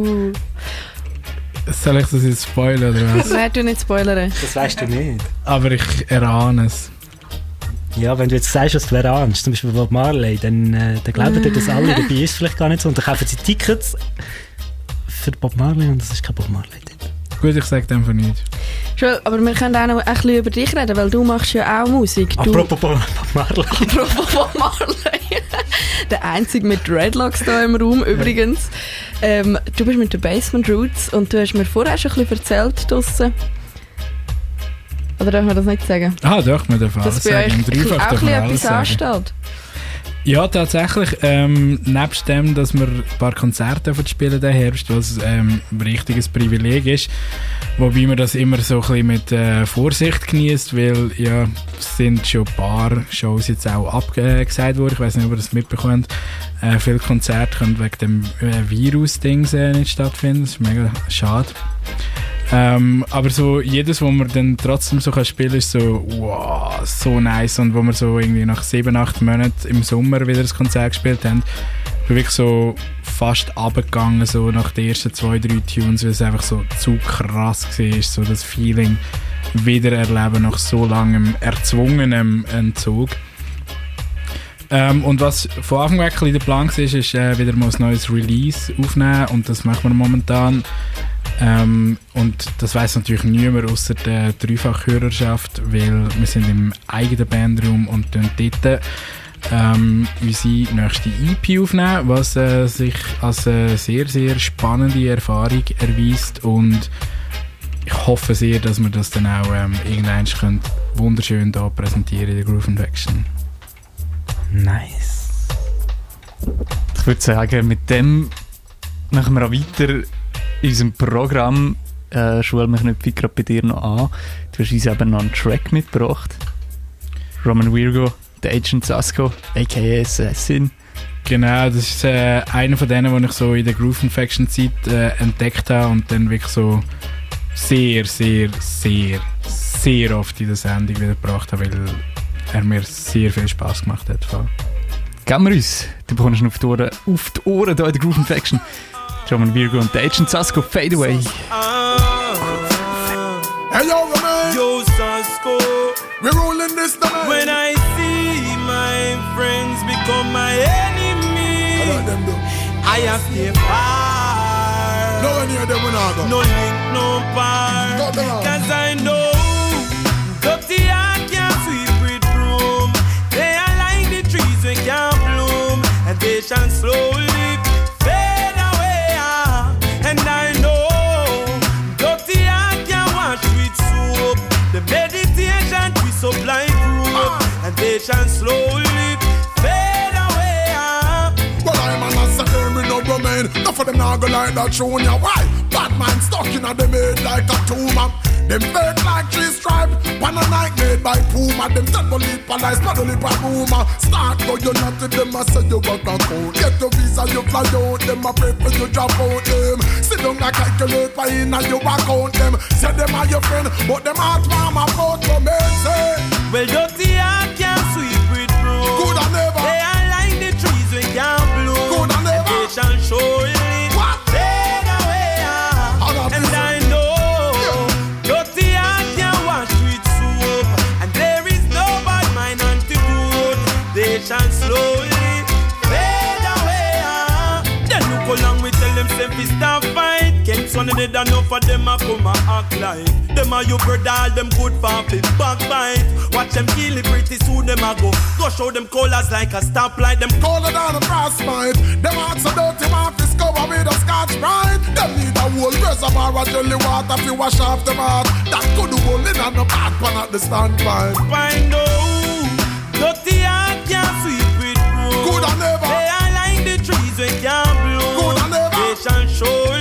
Soll ich das jetzt spoilern oder was? Nein, du nicht spoilern. Das weißt du nicht. Aber ich erahne es. Ja, wenn du jetzt sagst, was du erahnst, zum Beispiel Bob Marley, dann glauben dir, dass alle dabei ist, vielleicht gar nicht so. Und dann kaufen sie Tickets für Bob Marley und das ist kein Bob Marley dort. Gut, ich sage einfach nichts. Joel, aber wir können auch noch ein bisschen über dich reden, weil du machst ja auch Musik. Apropos Bob Marley. Apropos Bob Marley. Der Einzige mit Dreadlocks hier im Raum übrigens. Du bist mit den Basement Roots und du hast mir vorher schon ein bisschen erzählt draussen. Oder darf man das nicht sagen? Doch, man darf alles sagen. Dreifach darf man alles sagen. Ansteht. Ja, tatsächlich. Nebst dem, dass wir ein paar Konzerte spielen den Herbst, was ein richtiges Privileg ist, wobei man das immer so ein bisschen mit Vorsicht genießt, weil ja, es sind schon ein paar Shows jetzt auch abgesagt worden. Ich weiß nicht, ob ihr das mitbekommt. Viele Konzerte können wegen dem Virus-Ding nicht stattfinden. Das ist mega schade. Aber so jedes, wo man dann trotzdem so spielen kann, ist so, wow, so nice. Und wo wir so irgendwie nach 7-8 Monaten im Sommer wieder das Konzert gespielt haben, bin wirklich so fast runtergegangen, so nach den ersten 2-3 Tunes, weil es einfach so zu krass war, so das Feeling wieder erleben nach so langem erzwungenem Entzug. Und was von Anfang an der Plan war, ist wieder mal ein neues Release aufnehmen und das machen wir momentan. Und das weiss natürlich niemand außer der Dreifachhörerschaft, weil wir sind im eigenen Bandraum und dort unsere nächste EP aufnehmen, was sich als eine sehr, sehr spannende Erfahrung erweist und ich hoffe sehr, dass wir das dann auch irgendwann wunderschön hier präsentieren in der Groove Infection. Nice. Ich würde sagen, mit dem machen wir auch weiter in unserem Programm. Joel, wir knüpfen gerade bei dir noch an. Du hast uns eben noch einen Track mitgebracht. Roman Virgo, The Agent Sasko, a.k.a. Assassin. Genau, das ist einer von denen, den ich so in der Groove Infection Zeit entdeckt habe und dann wirklich so sehr, sehr, sehr, sehr oft in der Sendung wieder gebracht habe, weil er mir sehr viel Spass gemacht hat. Geben wir uns. Du bekommst ihn auf die Ohren hier in der Groove Infection. Roman Virgo und The Agent Sasko, Fade Away. Hey yo, man. Yo, Sasko. We're rolling this down. When I see my friends become my enemy, I have to far. No one near them when I go. No link, no part. Cause I know dirty heart can't sweep with broom. They are like the trees we can't bloom, and they shall slowly fade away. And I know dirty heart can't wash with soap. The meditation we supply group, and they shall slowly fade away. Well, I'm an assassin, me no remain. Enough of them now go like that tune, yeah. Why? Bad man stuck in a them head like a tumor. Them fake like tree stripe, pan a night made by Puma. Them dead bullet police, paddle it by rumor. Start go you not to them, I say you got a code. Get your visa, you fly out, them a pray for you drop out them. Sit down like calculate by in and you account them. Say them are your friend, but them heart mama vote for me, say. Well, dirty heart can't sweep with broom. Good and never. They are like the trees we can't bloom. Good and never. They shall surely fade away. And I know dirty heart can't wash with soap, and there is no bad mind antidote. They shall slowly fade away. Then look along we tell them say we stop fight. Can't son of it enough for them a come a act like them a you brother, all them good for flip backbite. Watch them kill it pretty soon them a go show them colors like a stoplight. Them color down a frostbite. Them hearts so dirty, man, fi cover with a Scotch Brite. Them need a whole reservoir of jelly water fi wash off them heart. That could hold in on the back pan at the standpipe. Find out dirty heart can't sweep with broom. Good and never. They are like the trees we can't bloom. Good and never. They shall surely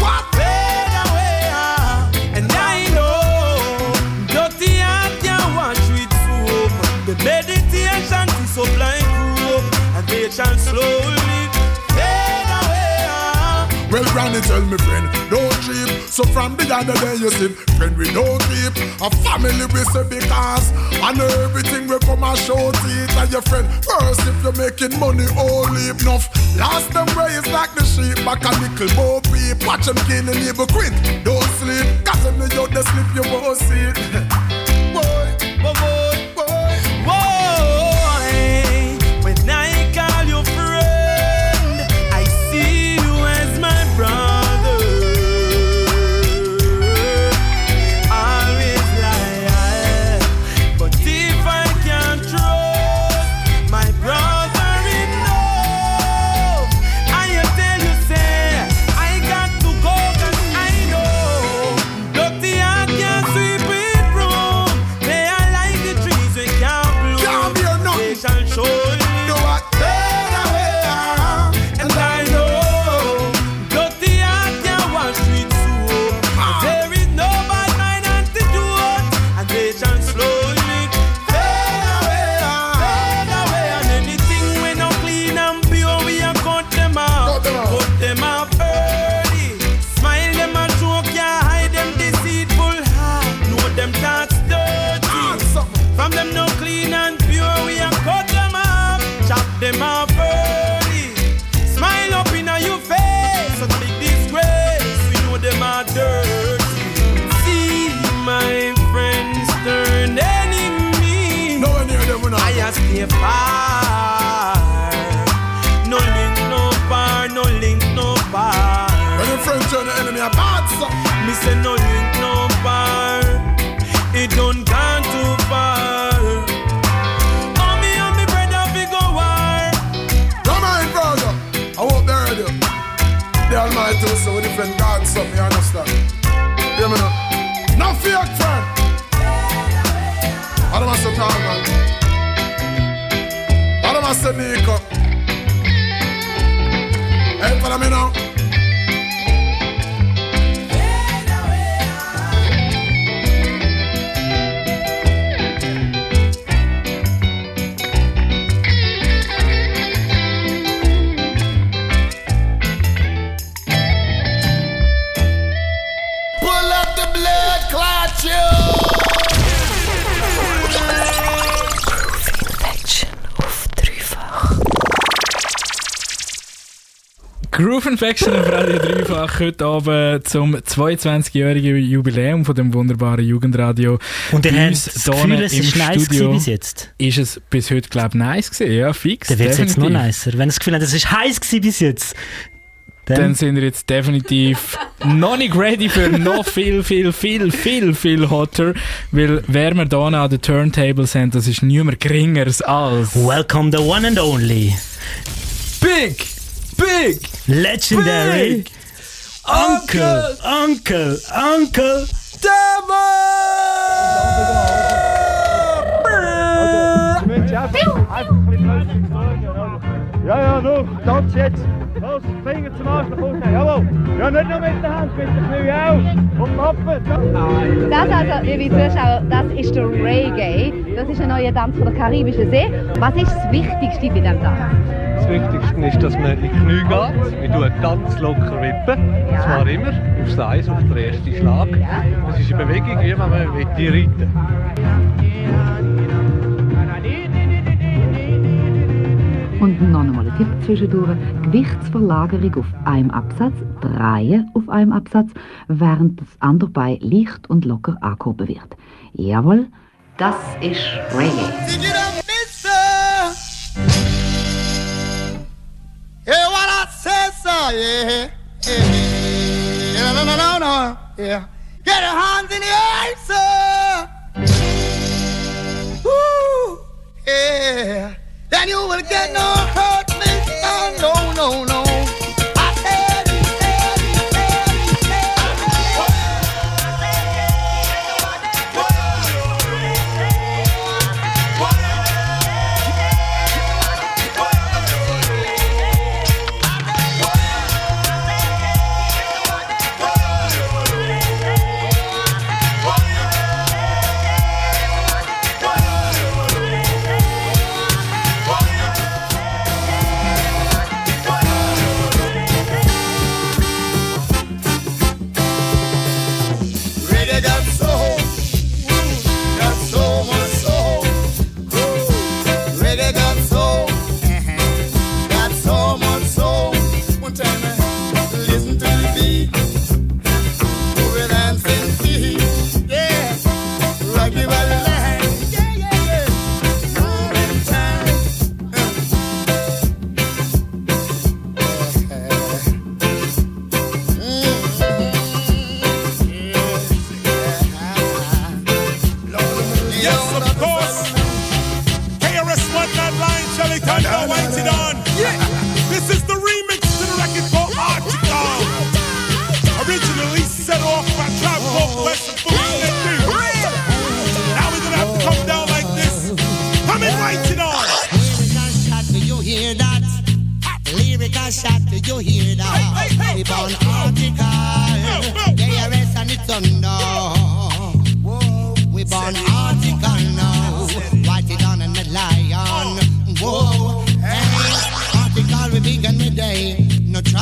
fade away. And I know dirty heart can't wash with soap. The meditation to supply group, and they shall slowly fade away. Well, granny tell me friend, don't trip. So from the other day you see, friend we don't keep. A family we say because and everything we come and show it and your friend. First if you're making money, all leave enough. Last them way is like the sheep, back a nickel more peep. Watch them kill the neighbor quick, don't sleep. Cause them you out the sleep you won't see it. Boy, boy, boy, boy, boy. When I call you friend, I see you as my brother. Always lie, but if I can't trust my brother enough, I tell you say I got to go 'cause I know dirty heart can't sweep it from. They are like the trees we can't bloom. They shall surely fade away, and I know dirty heart can't wash with soap. There is no bad mind antidote, and they shall slowly fade away, and anything we no clean and pure, we a cut them out, early. Smile them and joke, can't hide them deceitful heart. Know them thoughts dirty. From them no clean and pure, we a cut them off, chop them off early. Smile up in your face, so big disgrace, we know them are dirty. See my friends turn enemy. No one near them, I just stay far. No link, no bar, no link, no bar. when your friend turn the enemy a bad son. Me say no link, no bar. It don't gone too far. Oh, me and me brother we go war. Come on, brother. I won't bury you. The Almighty will say with different gods, something, you understand? Hear me now. No fake friend. I don't want to talk, man. I don't want to Nico. Hey, follow me now. Pull up the blood clot, you. Groove Infection auf Radio Dreifach heute Abend zum 22-jährigen Jubiläum von dem wunderbaren Jugendradio. Und ihr Bei habt uns das Gefühl, es ist nice gewesen bis jetzt? Ist es bis heute, glaube ich, nice gewesen, ja, fix. Dann wird es jetzt noch nicer. Wenn ihr das Gefühl habt, es ist heiß gewesen bis jetzt, dann sind wir jetzt definitiv noch nicht ready für noch viel hotter, weil wer wir hier an den Turntables haben, das ist niemand geringeres als Welcome the one and only Big Legendary Big Uncle Ja, noch, tanz jetzt. Los, Finger zum Arschloch rausnehmen, jawohl. Ja, nicht nur mit der Hand, mit den Knie auch. Und Mappen. Das also, liebe Zuschauer, das ist der Reggae. Das ist ein neuer Tanz von der Karibischen See. Was ist das Wichtigste bei diesem Tanz? Das Wichtigste ist, dass man in die Knie geht. Wir tun ganz locker wippen. Und zwar immer aufs Eis, auf den ersten Schlag. Das ist eine Bewegung, wie man reiten. Und noch einmal ein Tipp zwischendurch. Gewichtsverlagerung auf einem Absatz, Drehen auf einem Absatz, während das andere Bein leicht und locker angehoben wird. Jawohl, das ist Reggae. Yeah, what I said, so, yeah, yeah, no, yeah. Get your hands in the air, sir. Woo, yeah. Then you will get no hurt, mister. No. I said it.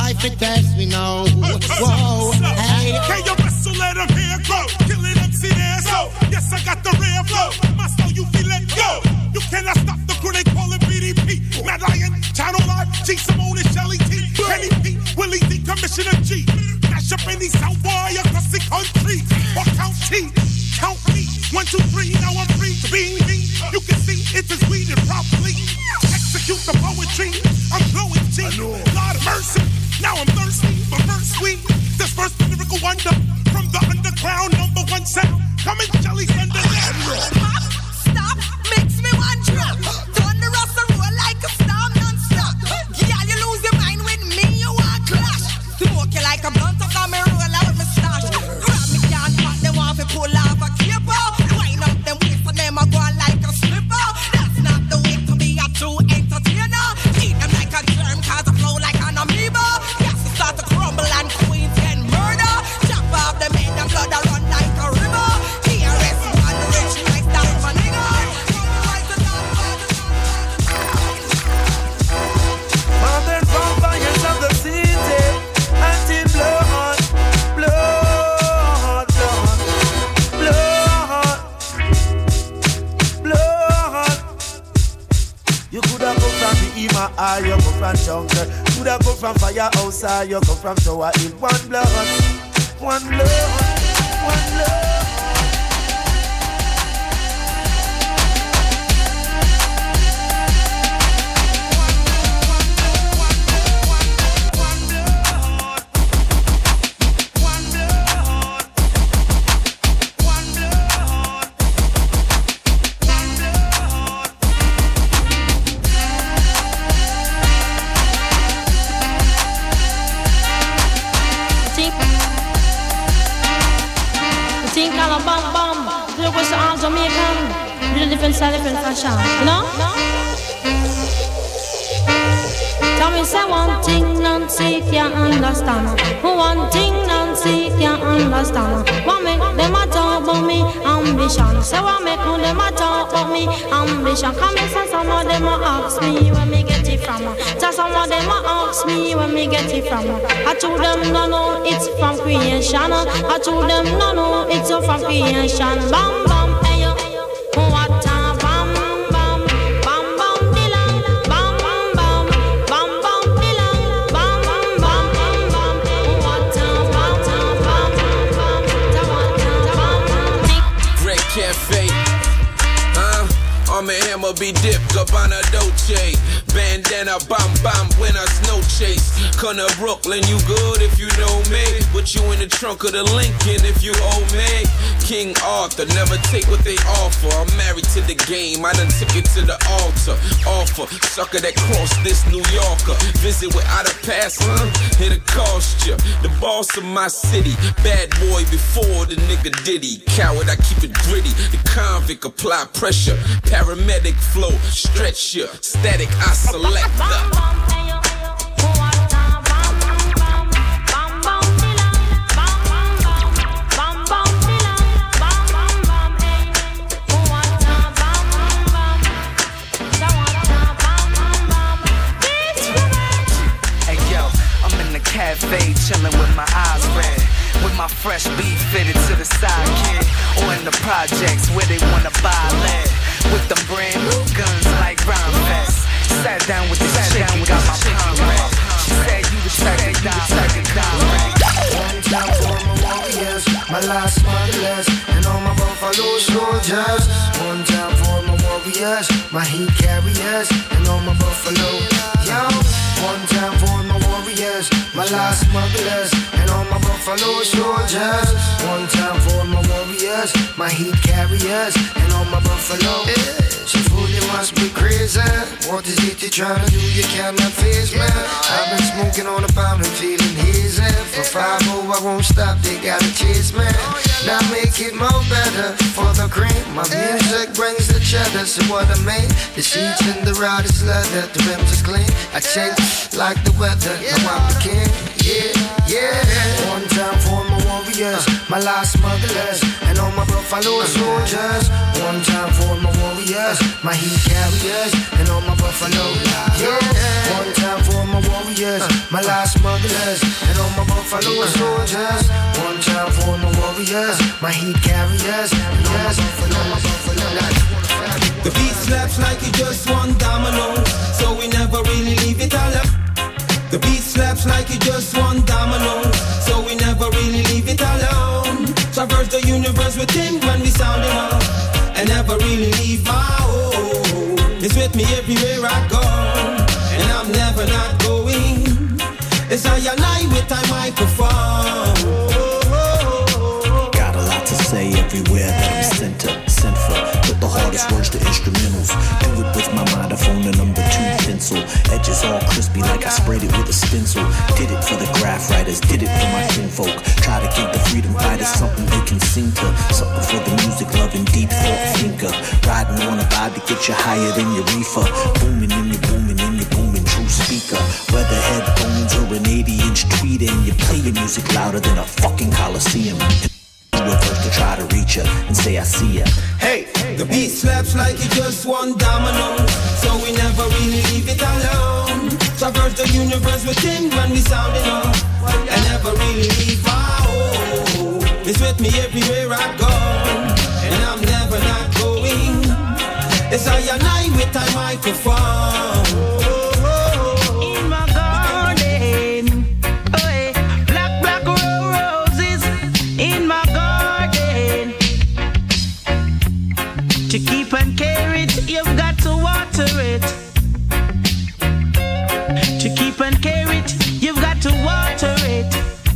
life it tests me now. Whoa, hey. Can you wrestle, let them hair grow? Kill it MC there, so yes, I got the rare flow. My soul, you feel it go. You cannot stop the crew, they call it BDP. Mad Lion, Channel Live, G Simone and Shelly T. Kenny P, Willie D, Commissioner G. Mash up any South boy across the country. Or count T, count me. 1, 2, 3, now I'm free. Being me, you can see it is weeded properly. Execute the poetry, I'm blowing G. Lord of mercy, now I'm thirsty for verse sweet. This first lyrical wonder from the underground #1 sound. Coming jelly thunder. Stop, makes me one drop. Turn the roster roll like a storm non-stop. Girl, you lose your mind with me, you want clash. Smoke you like a blunt up on me roll out my stash. Grab me can't pack them off and pull off a caper. Wind up them waist and them a go on like a slipper. That's not the way to be a true entertainer. Eat them like a germ cause I flow like an amoeba. Yes, to start to crumble and queens get murder. Chop off them head and blood a run like a river. KRS One rich nice down my nigga. Modern vampires of the city, until blood, blood, blood, blood. You coulda come from the Ima, or you come from jungle. Coulda come from firehouse, or you come from Tower Hill. One blood, one blood, one blood. Different style, different fashion, you know? Tell me, say one thing, Nancy can't understand. One thing, Nancy can't understand. What make them a talk about me ambition? Say what make them a talk about me ambition? Come and say some of them a ask me where me get it from. Say some of them a ask me where me get it from. I told them no, no, it's from creation. I told them no, no, it's from creation. Bam, bam, hey yo. What a bam bam bam bam dilang bam bam bam bam bam dilang bam bam bam bam what a bam bam bam bam. Great Cafe, Arm & Hammer be dipped, Gabbana Dolce. Bandana, bam bam, when I snow chase. Come to Brooklyn, you good if you know me. Put you in the trunk of the Lincoln if you owe me. King Arthur, never take what they offer. I'm married to the game, I done took it to the altar. Offer, sucker that crossed this New Yorker. Visit without a pass, it'll cost ya. The boss of my city, bad boy before the nigga Diddy. Coward, I keep it gritty. The convict apply pressure. Paramedic flow, stretch ya. Static, I select the. Cafe, chillin' with my eyes red, with my fresh beat fitted to the side, kid. Or in the projects where they wanna buy lead, with them brand new guns like Rhyme Fest. Sat down with this chick and got my palm red. She said you the type to die. One time for my warriors, my last smugglers, and all my buffalo soldiers. One time for my warriors, my heat carriers, and all my buffalo. Yo, one time for my warriors, my last smugglers, and all my buffalo soldiers. One time for my warriors, my heat carriers, and all my buffalo. She fool, you must be crazy. What is it you're trying to do? You cannot face me. I've been smoking on a pound and feeling hazy. For 5-0, I won't stop, they gotta chase me. Now make it more better for the cream. My music brings the cheddar, so what I mean. The sheets and the rod is leather, the rims are clean. I change like the weather, now I'm the king. Yeah, yeah. One time for my warriors. warriors, my last smugglers, and all my buffalo soldiers. One time for my warriors, my heat carriers, and all my buffalo. Yeah. One time for my warriors, my last smugglers, and all my buffalo soldiers. One time for my warriors, my heat carriers, and all my buffalo. The beat slaps like it just one domino, so we never really leave it alone. The beat slaps like it just one domino, so we never really leave it alone. Traverse the universe with him when we sound it up, and never really leave my home. It's with me everywhere I go, and I'm never not going. It's I and I with my microphone. Got a lot to say everywhere that I'm sent for. Put the hardest words to instrumentals. Do it with my microphone and number 2 pencil. Edges all crispy like I sprayed it with a stencil. Did it for the graph writers, did it for my kinfolk. Try to give the freedom fighters something they can sing to. Something for the music loving deep thought thinker. Riding on a vibe to get you higher than your reefer. Booming in your booming in your booming true speaker. Whether headphones or an 80-inch tweeter, and you play your music louder than a fucking Coliseum. Reverse to try to reach ya and say I see ya. Hey, the beat slaps like it just one domino, so we never really leave it alone. Traverse the universe with him when we sound it up, and never really leave our home. It's with me everywhere I go, and I'm never not going. It's I and I with my microphone. To keep and care it, you've got to water it. To keep and care it, you've got to water it.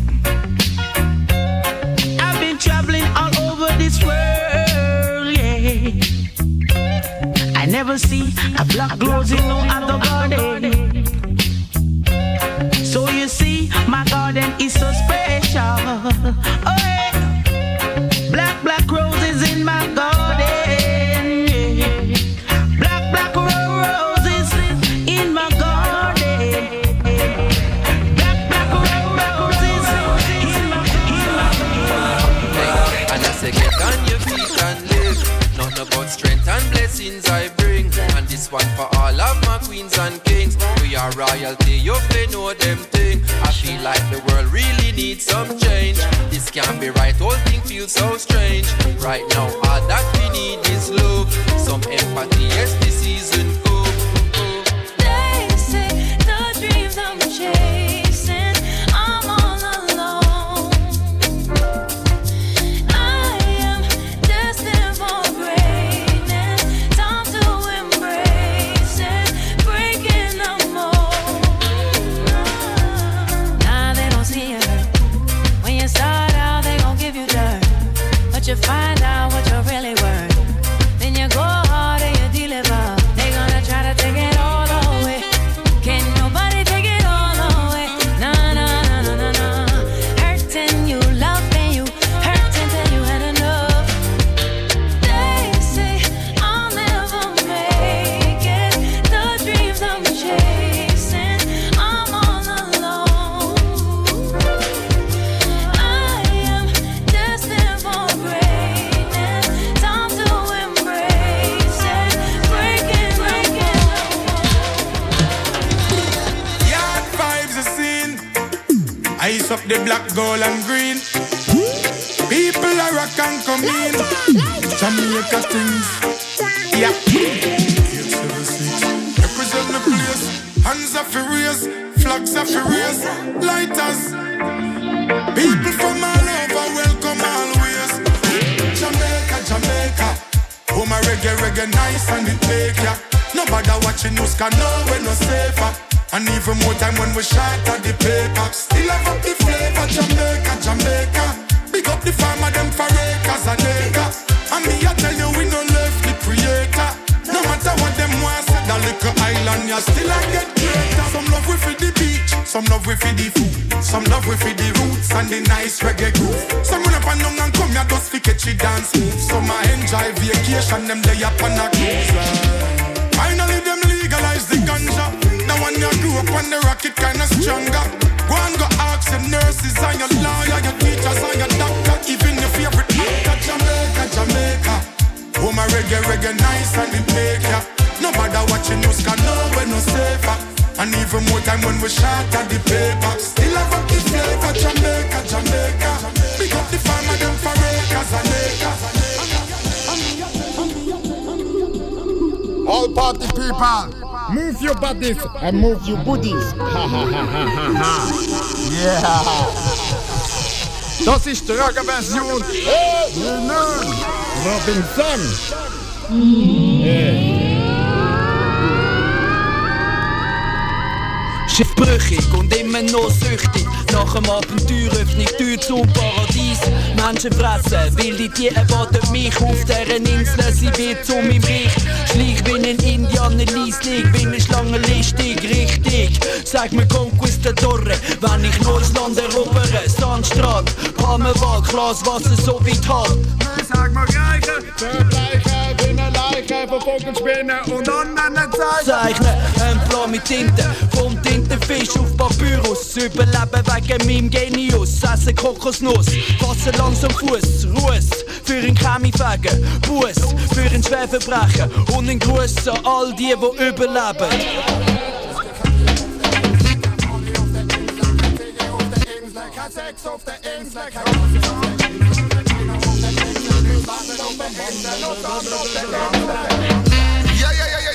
I've been traveling all over this world, yeah. I never see a black rose in no other garden. So you see, my garden is so special. Oh, yeah. Black roses in my garden. Strength and blessings I bring, and this one for all of my queens and kings. We are royalty, you may know them thing. I feel like the world really needs some change. This can't be right, whole thing feels so strange. Right now all that we need is love, some empathy, yes this season go. They say the dreams I'm chasing, I'm all alone. I am destined for greatness, time to embrace it, breaking the mold. Nah, they don't see it. When you start out, they gon' give you dirt, but you find out what you're really worth. Then you go hard and you deliver. They gonna try to take it all away. Can't nobody take it all away. Nah, nah, nah, nah, nah, nah. Hurting you, loving you, hurting till you had enough. They say I'll never make it. The dreams I'm chasing, I'm all alone. I am destined for greatness, time to embrace it, breaking. Yard vibes are seen. Ice up the black, gold and green. People are rock and come in. Jamaica things. Yeah. 876. Represent the place. Hands are furious. Flags are furious. Lighters. People from all over welcome always. Jamaica. Oh my reggae nice and it make ya. Nobody watching us can know we're no safer. And even more time when we shot at the paper. Still have up the flavor, Jamaica. Big up the farmer, them for acres and acres. And me I tell you we no left the creator. No matter what them want, say that little island, you still I get greater. Some love we for the beach, some love we for the food, some love we for the roots and the nice reggae groove. Some run up and down and come here just for catchy dance moves. Some I enjoy vacation, them lay up on a cruise. Finally them legalize the ganja. Now when you Dope on the rocket kinda stronger. Go and go ask your nurses and your lawyer, your teachers and your doctor, even your favorite actor. Jamaica, Jamaica. Oh my reggae nice and it make ya. No matter what you know, can know we're no safer. And even more time when we shot at the paper. Still have a kid flavor, Jamaica, Jamaica. Pick up the farmer, them for acres and acres. All party people, move your bodies and move your booties. Ha ha ha ha ha ha. Yeah. Das ist die Rocker-Version. Robinson. Schiffbrüchig und immer noch süchtig. Nach dem Abenteuer öffne ich die Tür zum Paradies. Menschen fressen, wilde Tiere erwarten mich auf deren Insel. Sie wird zu meinem Reich. Schleich wie ein Indianer lieslig, wie eine Schlange listig, richtig. Sag mir Conquistadore, wenn ich neues Land erobere. Sandstrand, Palmenwald, Glaswasser so weit halt. Sag mal Gleiche, vergleiche, wie eine Leiche von Vogelspinnen und anderen Zeichnen, ein Plan mit Tinte, vom Tintenfisch auf Papyrus. Überleben wegen meinem Genius, essen Kokosnuss, Wasser langsam Fuß, Ruß, für ein Chemiefegen, Buß, für ein Schwerverbrechen und ein Gruß an all die überleben. Ja.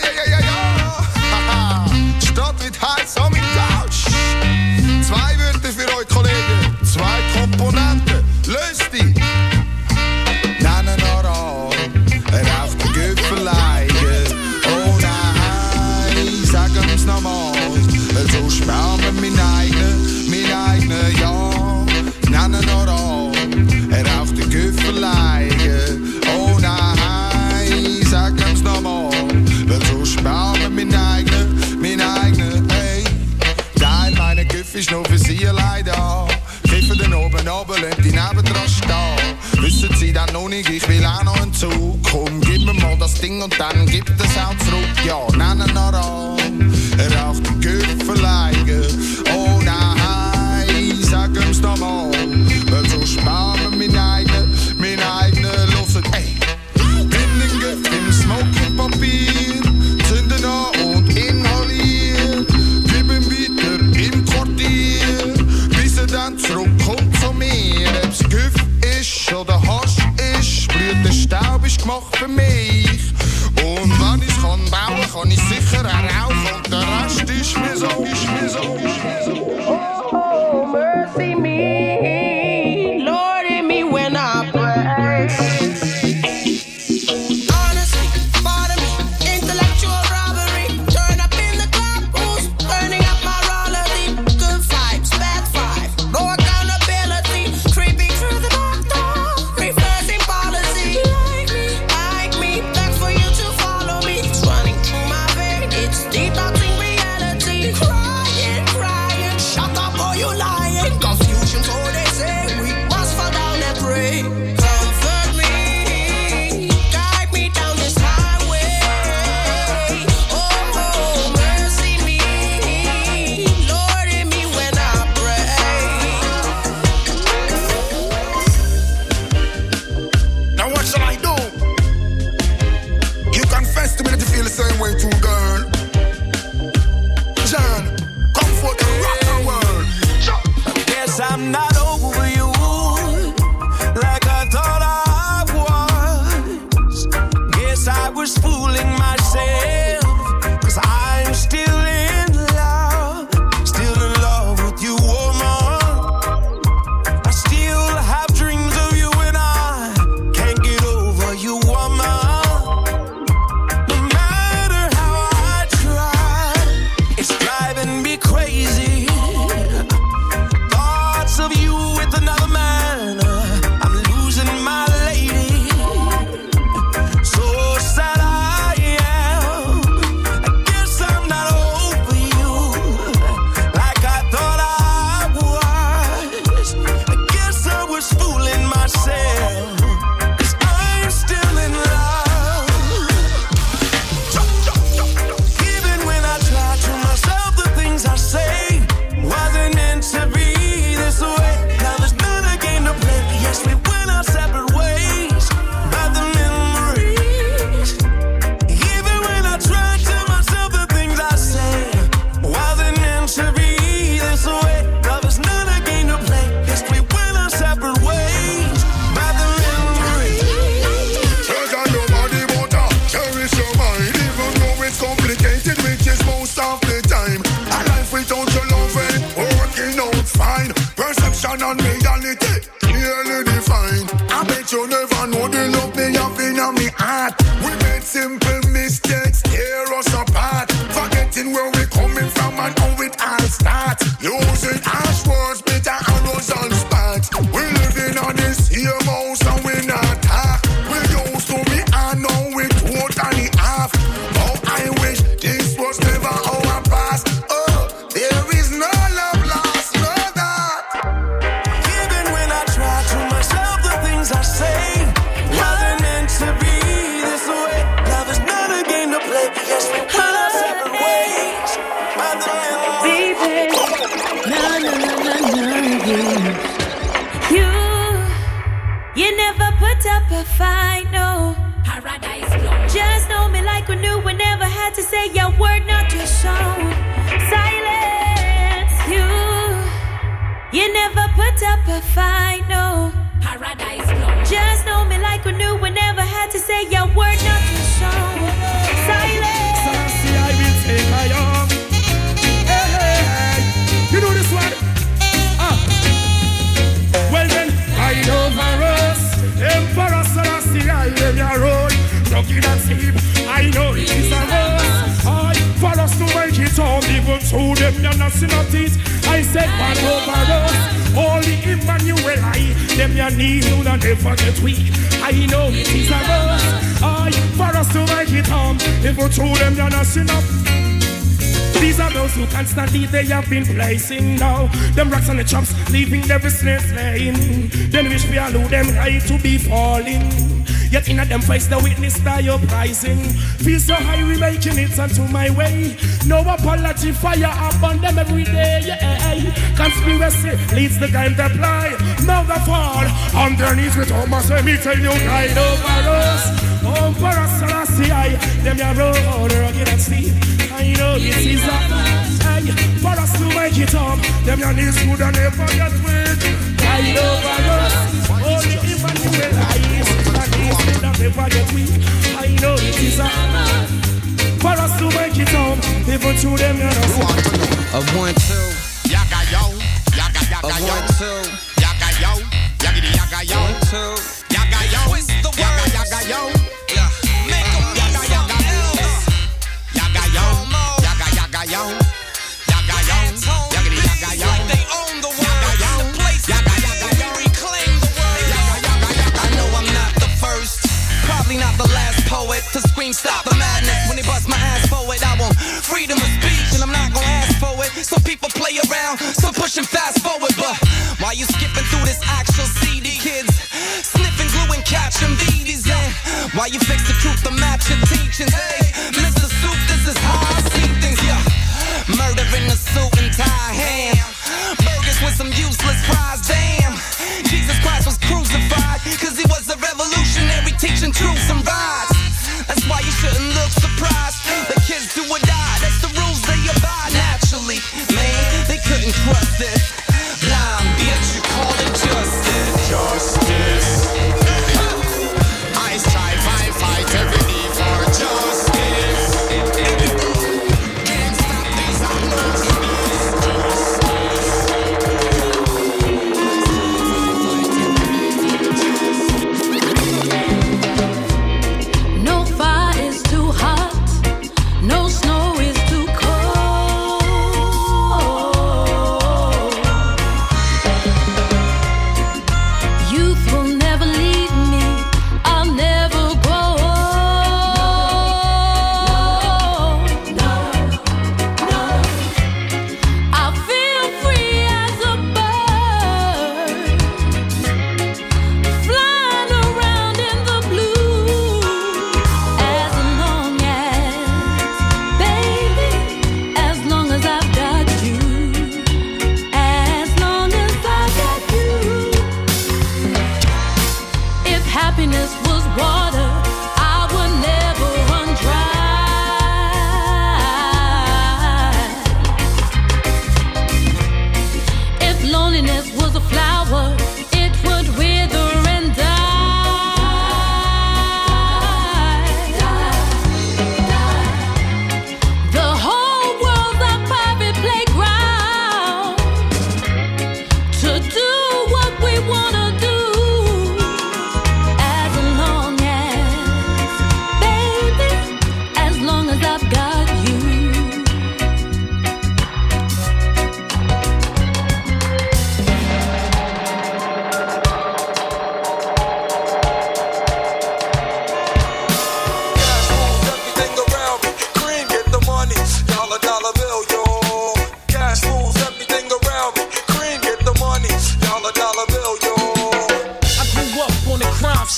Stadt wird heiß, so mit Couch. 2 Wörter für euch Kollegen, 2 Komponenten, löst die. Nennen Aral, raucht den Göffeleigen. Oh nein, sagen's nochmal, so sparen wir mein eigener, ja. Nennen Aral, raucht den Göffeleigen. Oh nein, sagen's nochmal, so sparen wir mein eigener, hey. Teil meiner Göff ist nur für sie allein da. Kiffen den oben, lassen die nebendran stehen. Wissen sie dann noch nicht, ich will auch noch einen Zug. Komm, gib mir mal das Ding und dann gibt es auch zurück. Ja, nennen er an, raucht die Göffeleigen. Oh nein, sag ihm's noch mal, weil so sparen wir mein eigener, hört, ey. In den Göff, im Smoking-Papier, zünden an und inhalieren. Geben weiter im Quartier, bis er dann zurückkommt zu mir. Ob's Göff ist oder Hasch ist, blüht der Staub ist gemacht für mich. Und wenn ich's kann bauen, kann ich sicher auch rauchen. Und der Rest ist mir so. Oh, mercy me, Lord, in me when I pray. Honestly, pardon me, intellectual robbery. Turn up in the club, who's burning up my roller deep? Good vibes, bad vibe, no accountability. Creeping through the back door, reversing policy. Like me, beg for you to follow me. It's running through my veins, it's Religion and reality clearly defined. I bet you never know the love me have in my heart. We made simple mistakes, tear us apart. Forgetting where we coming from and how it all starts. Using harsh words, bitter arrows and spats. We living on this here house and we not talk. We used to be and now we totally off. Oh, I wish this was never our past. Oh, there is no love lost, no that. Even when I try to myself, the things I say wasn't meant to be this way. Love is not a game to play. Yes, we went our separate ways. Baby, you never put up a fight, no. Paradise Flow. Just know me like we knew. We never had to say your word, not your song. Silence, you never put up a fight, no. Paradise Flow. Just know me like we knew. We never had to say your word, not your song. Silence. Sassy, I will take my arm. Hey, you know this one? Well then, I over us. Emperor Selassie, I am your road. Rugged and steep, I know it is a must. For us to make it home, even through them, you're not synoptics. I said, man over us. Only Emmanuel, them your knees, you don't never get weak. I know it is a must. For us to make it home, even through them, you're not synoptics. These are those who constantly they have been placing now. Them rocks on the chops, leaving their business lane. Then wish we allow them right to be falling. Yet in a them face the witness that you're pricing. Feel so high we making it onto my way. No apology, fire up on them every day. Yeah. Conspiracy leads the time to fly. Now the fall underneath with Thomas. Let me tell you, guide over us. Over us, Selassie, them your road, rugged and steep. I know this is a for us to make it up. Them your knees would never get weak. Guide over us. Only Emmanuel eyes. And knees would never get weak. I know it is a for us to make it up. Even to them you know. A 1, 2, yaga yo, yaga yaga yo. 1, 2, yaga yo, yaga yaga yo. 1, 2, yaga yo, yaga yaga yo. Not the last poet to scream stop the madness when they bust my ass forward. I want freedom of speech and I'm not gonna ask for it. Some people play around, some pushing fast forward. But while you skipping through this actual CD, kids sniffing glue and catching BDs. And while you fix the truth to match your teachings, hey, Mr. Soup, this is how I see things. Yeah, murder in a suit and tie, ham burgers with some useless fries. Damn, Jesus Christ was crucified cause he was a revolutionary teaching truths and rights. That's why you shouldn't look surprised. The kids do or die, that's the rules they abide naturally. Man, they couldn't trust it. Blind bitch, you call it justice. Justice. I strive, I fight every day for justice.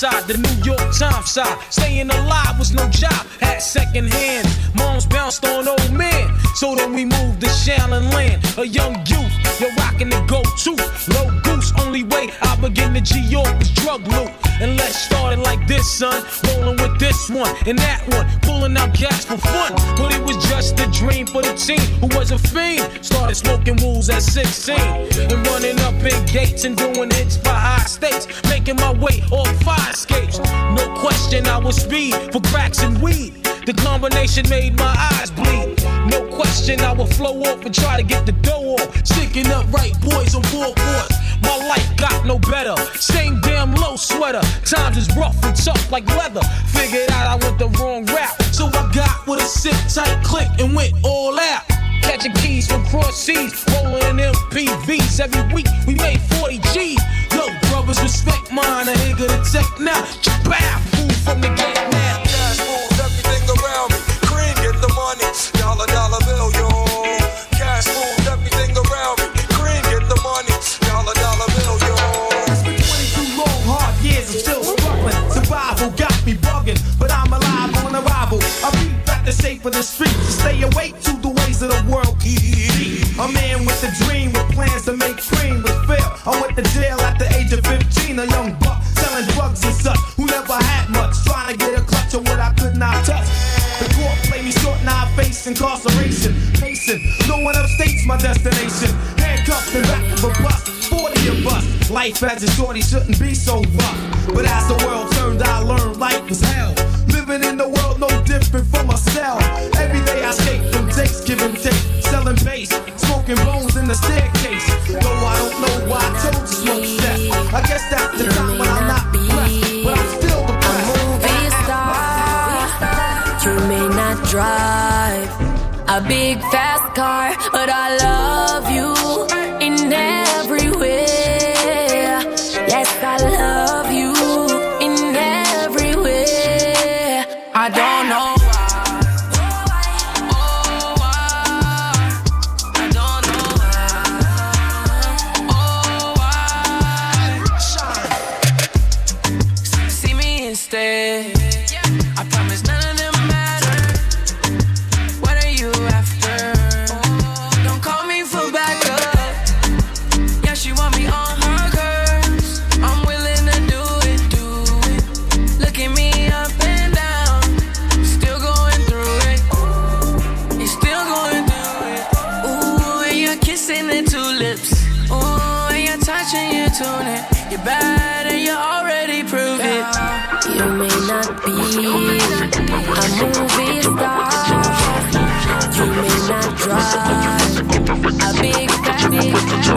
side, the New York Times side. Staying alive was no job, had second hand. Moms bounced on old men, so then we moved to Shaolin Land. A young youth, you're rocking the go-to. Low goose, only way I begin to G-York was drug loot. And let's start it like this, son. Rolling with this one and that one, pulling out gas for fun. But it was just a dream for the team who was a fiend. Started smoking wools at 16 and running up in gates and doing hits for high stakes. Making my way off fire escapes. No question I was speed for cracks and weed. The combination made my eyes bleed. No question I would flow off and try to get the dough off. Sticking up right boys on board boards. My life got no better. Same damn low sweater. Times is rough and tough like leather. Figured out I went the wrong route. So I got with a sit tight click and went all out. Catching keys from cross seas, rolling MPVs. Every week we made 40 G's. Yo, brothers, respect mine. A nigga to tech now. Bow, food from the gate now. Cash moves everything around me. Cream, get the money. Dollar, dollar bill, yo. Cash moves everything around me. Cream, get the money. Dollar, dollar bill, yo. It's been 22 long, hard years. I'm still struggling. Survival got me bugging, but I'm alive on arrival. I beat back the shape of the streets to stay awake to the ways of the world. A man with a dream with plans to make cream was fail. I went to jail at the age of 15, a young buck selling drugs and such who never had much, trying to get a clutch of what I could not touch. The court played me short, now I face incarceration. Pacing, no one upstates my destination. Handcuffed and back of a bus, 40 of us. Life as a shorty shouldn't be so rough. But as the world turned, I learned life was hell. Living in the world no different from a cell. Every day I escape from takes, give and take. Selling bass, smoking bones in the staircase. Though I don't know why I told you smoke that. I guess that's the time when I'm not blessed, but I'm still the best. A movie star. You may not drive a big fast car, but I love you in every way. Yes, I love you in every way. I don't know. I promise none of them matter. What are you after? Don't call me for backup. Yeah, she want me on her curves. I'm willing to do it. Look at me up and down. Still going through it. You're still going through it. Ooh, and you're kissing the tulips. Ooh, and you're touching your tunic. You're bad and you already proved it. You may not be a movie star. You may not drive a big family.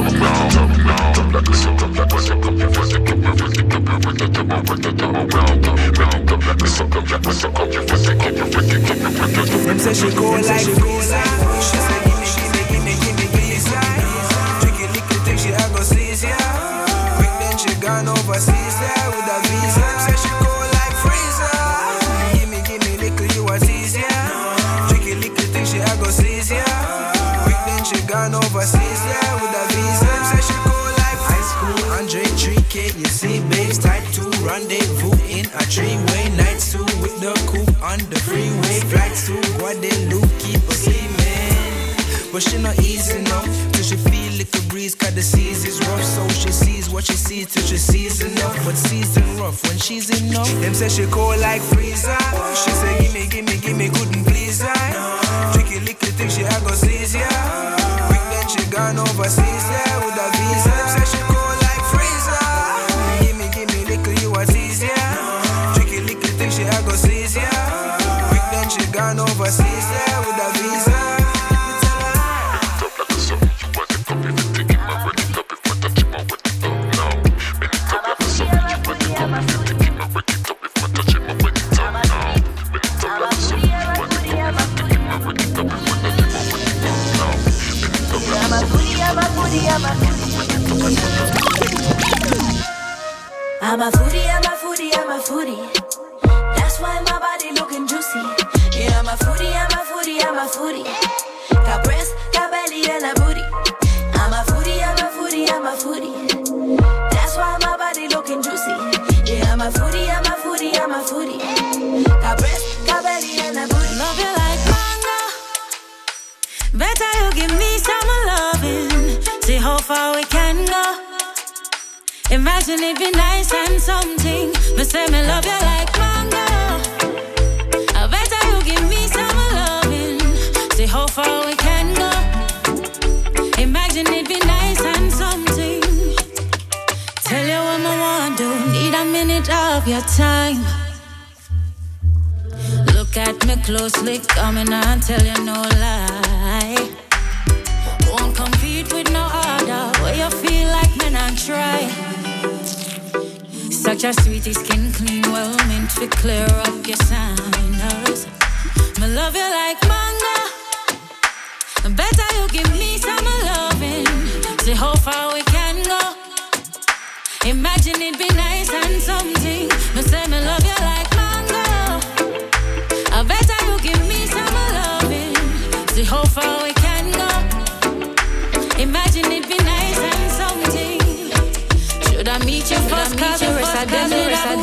Them say she go like Visa. She say gimme Visa. Tricky little thing she a go seize ya. Quick then she gone overseas there with a visa. Them say she go like Freezer. Gimme little you a tease ya. Tricky little thing she a go seize ya. Quick then she gone overseas there with a visa. Them say she go like high school 103K. You see babes type 2 rendezvous in a 3-way. Nights 2 with the coupe on the freeway. Flights to Guadeloupe keep her steaming. But she not easy enough till she feel like a breeze. Cause the seas is rough. So she sees what she sees till she sees enough. But season rough when she's enough. Them say she cold like freezer. She say gimme couldn't please her. Tricky little thing she a go seize ya. Quick then she gone overseas there with a visa. Them say she cold like freezer. Gimme little you a tease ya. Tricky little thing she a go seize ya. Quick then she gone overseas there with a visa. I'm a foodie. That's why my body looking juicy. Yeah, I'm a foodie. Got breast, got belly, and a booty. I'm a foodie. That's why my body looking juicy. Yeah, I'm a foodie. a breast, a belly and a booty. Love you like mango. Better you give me some loving. See how far we can go. Imagine it be nice and something. But say me love you like mango. I better you give me some loving. See how far we can go. Imagine it be nice and something. Tell you what I want to. Need a minute of your time. Look at me closely, coming and tell you no lie. Won't compete with no other. Where you feel like men and try. Such a sweetie, skin clean, well meant to clear up your signals. Me love you like mango. Better you give me some loving. See how far we can go. Imagine it be nice and something. Me say me love you like mango. I better you give me some loving. See how far we can go. Imagine it be nice and something. Should I meet you first? Cause the rest of them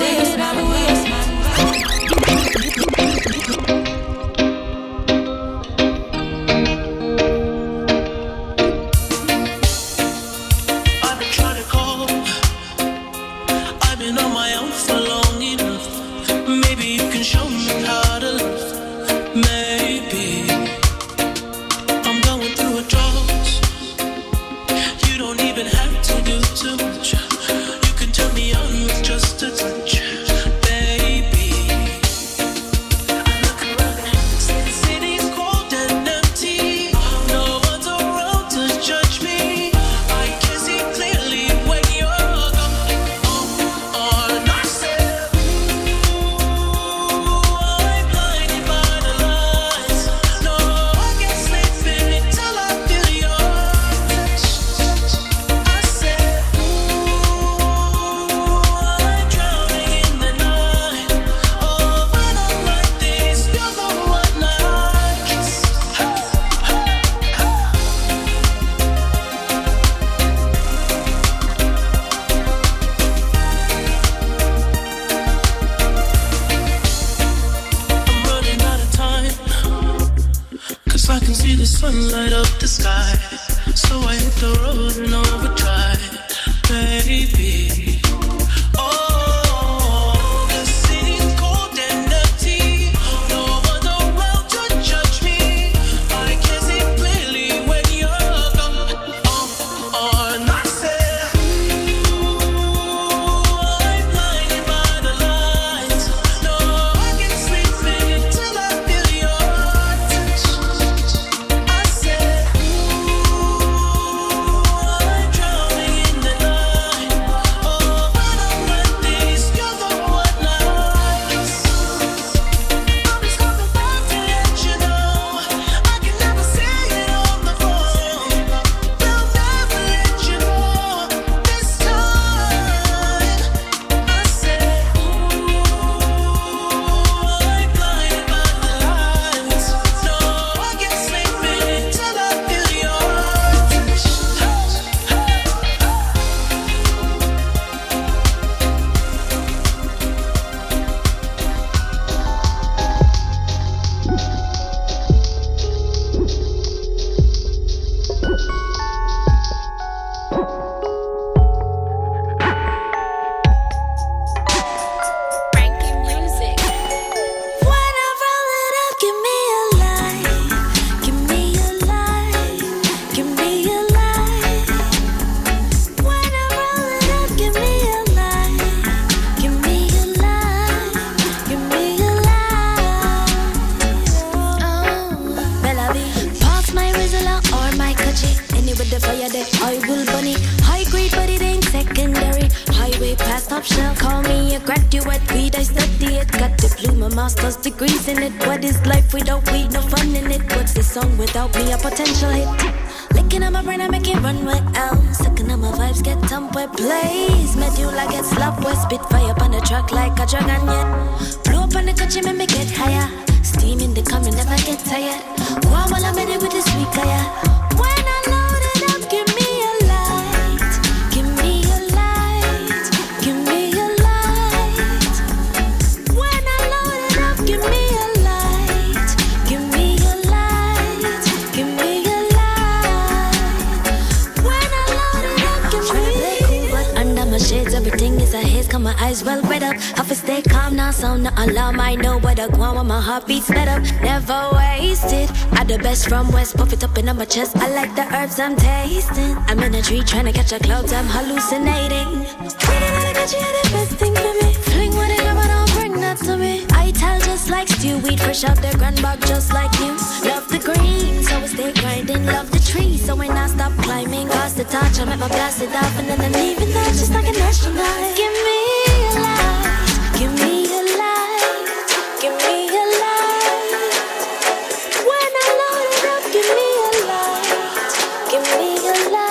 top shelf. Call me a graduate, weed, I study it. Got diploma, master's degrees in it. What is life without weed? No fun in it. What's this song without me? A potential hit. Licking on my brain, I make it run with L. Sucking on my vibes, get dumped with plays. Medulla get slapped with spit fire up on the track like a dragon yet. Blow up on the country, make me get higher. Steam in the coming, never get tired. Wow, while I'm in it with the sweet fire. When I load it up, give me a light. Give me a light. Give me a light. When I load it up, give me my sound, no alarm. I know where to go when my heartbeat sped up. Never wasted. I the best from West, puff it up in my chest. I like the herbs I'm tasting. I'm in a tree trying to catch a cloud, I'm hallucinating. Feeling like I got you the best thing for me. Fling what it but don't bring that to me. I tell just like stew, weed fresh out the grand bog just like you. Love the green, so I stay grinding. Love the tree, so when I stop climbing, pass the torch, I make my blast it off, and then I'm leaving that just like an astronaut. Give me a light, give me a light, give me a light. When I load it up, give me a light, give me a light.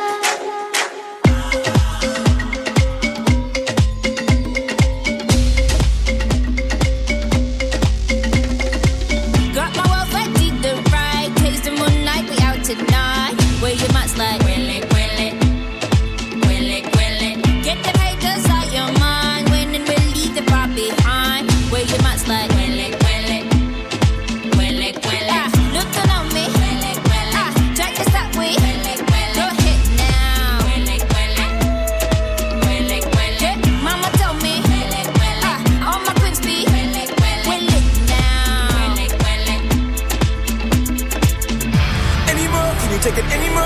Got my wealth, I did the right. Taste the moonlight, we out tonight. Where you might slide, will it, will it, will it, will it. Get the haters out your mind. Winning will leave the prop behind. Where you might slide, will it, will it, will it, will it. Looking on me, will it, will it. Try to stop me, will it, will it. Go ahead now, will it, will it, will it, will it. Mama told me, will it, will it. All my queens be, will it, will it now, will it, will it. Anymore, can you take it anymore?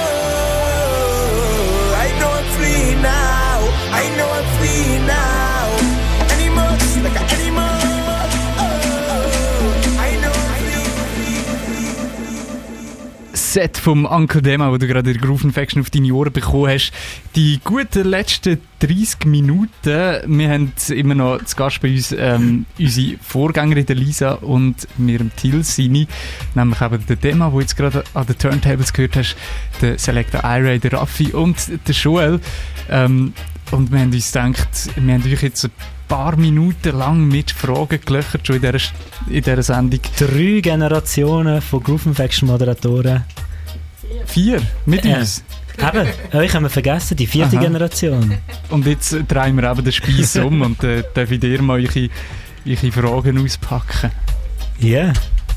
I know I'm free now. I know I'm free now. Anymore, just like an animal. Oh, I know I'm free. Set vom Uncle Dema, wo du gerade in der Groove Infection auf deine Ohren bekommen hast. Die guten letzten 30 Minuten. Wir haben immer noch zu Gast bei uns unsere Vorgängerin der Lisa und mir im Till Sini, nämlich eben der Dema, wo jetzt gerade an den Turntables gehört hast, der Selector Ira, der Raffi und der Joel. Und wir haben uns gedacht, wir haben euch jetzt ein paar Minuten lang mit Fragen gelöchert, schon in dieser Sendung. 3 Generationen von Groove Infection Moderatoren. 4 mit uns. Eben, euch haben wir vergessen, die 4. Generation. Und jetzt drehen wir eben den Spieß um und darf ich dir mal eure Fragen auspacken. Ja. Yeah.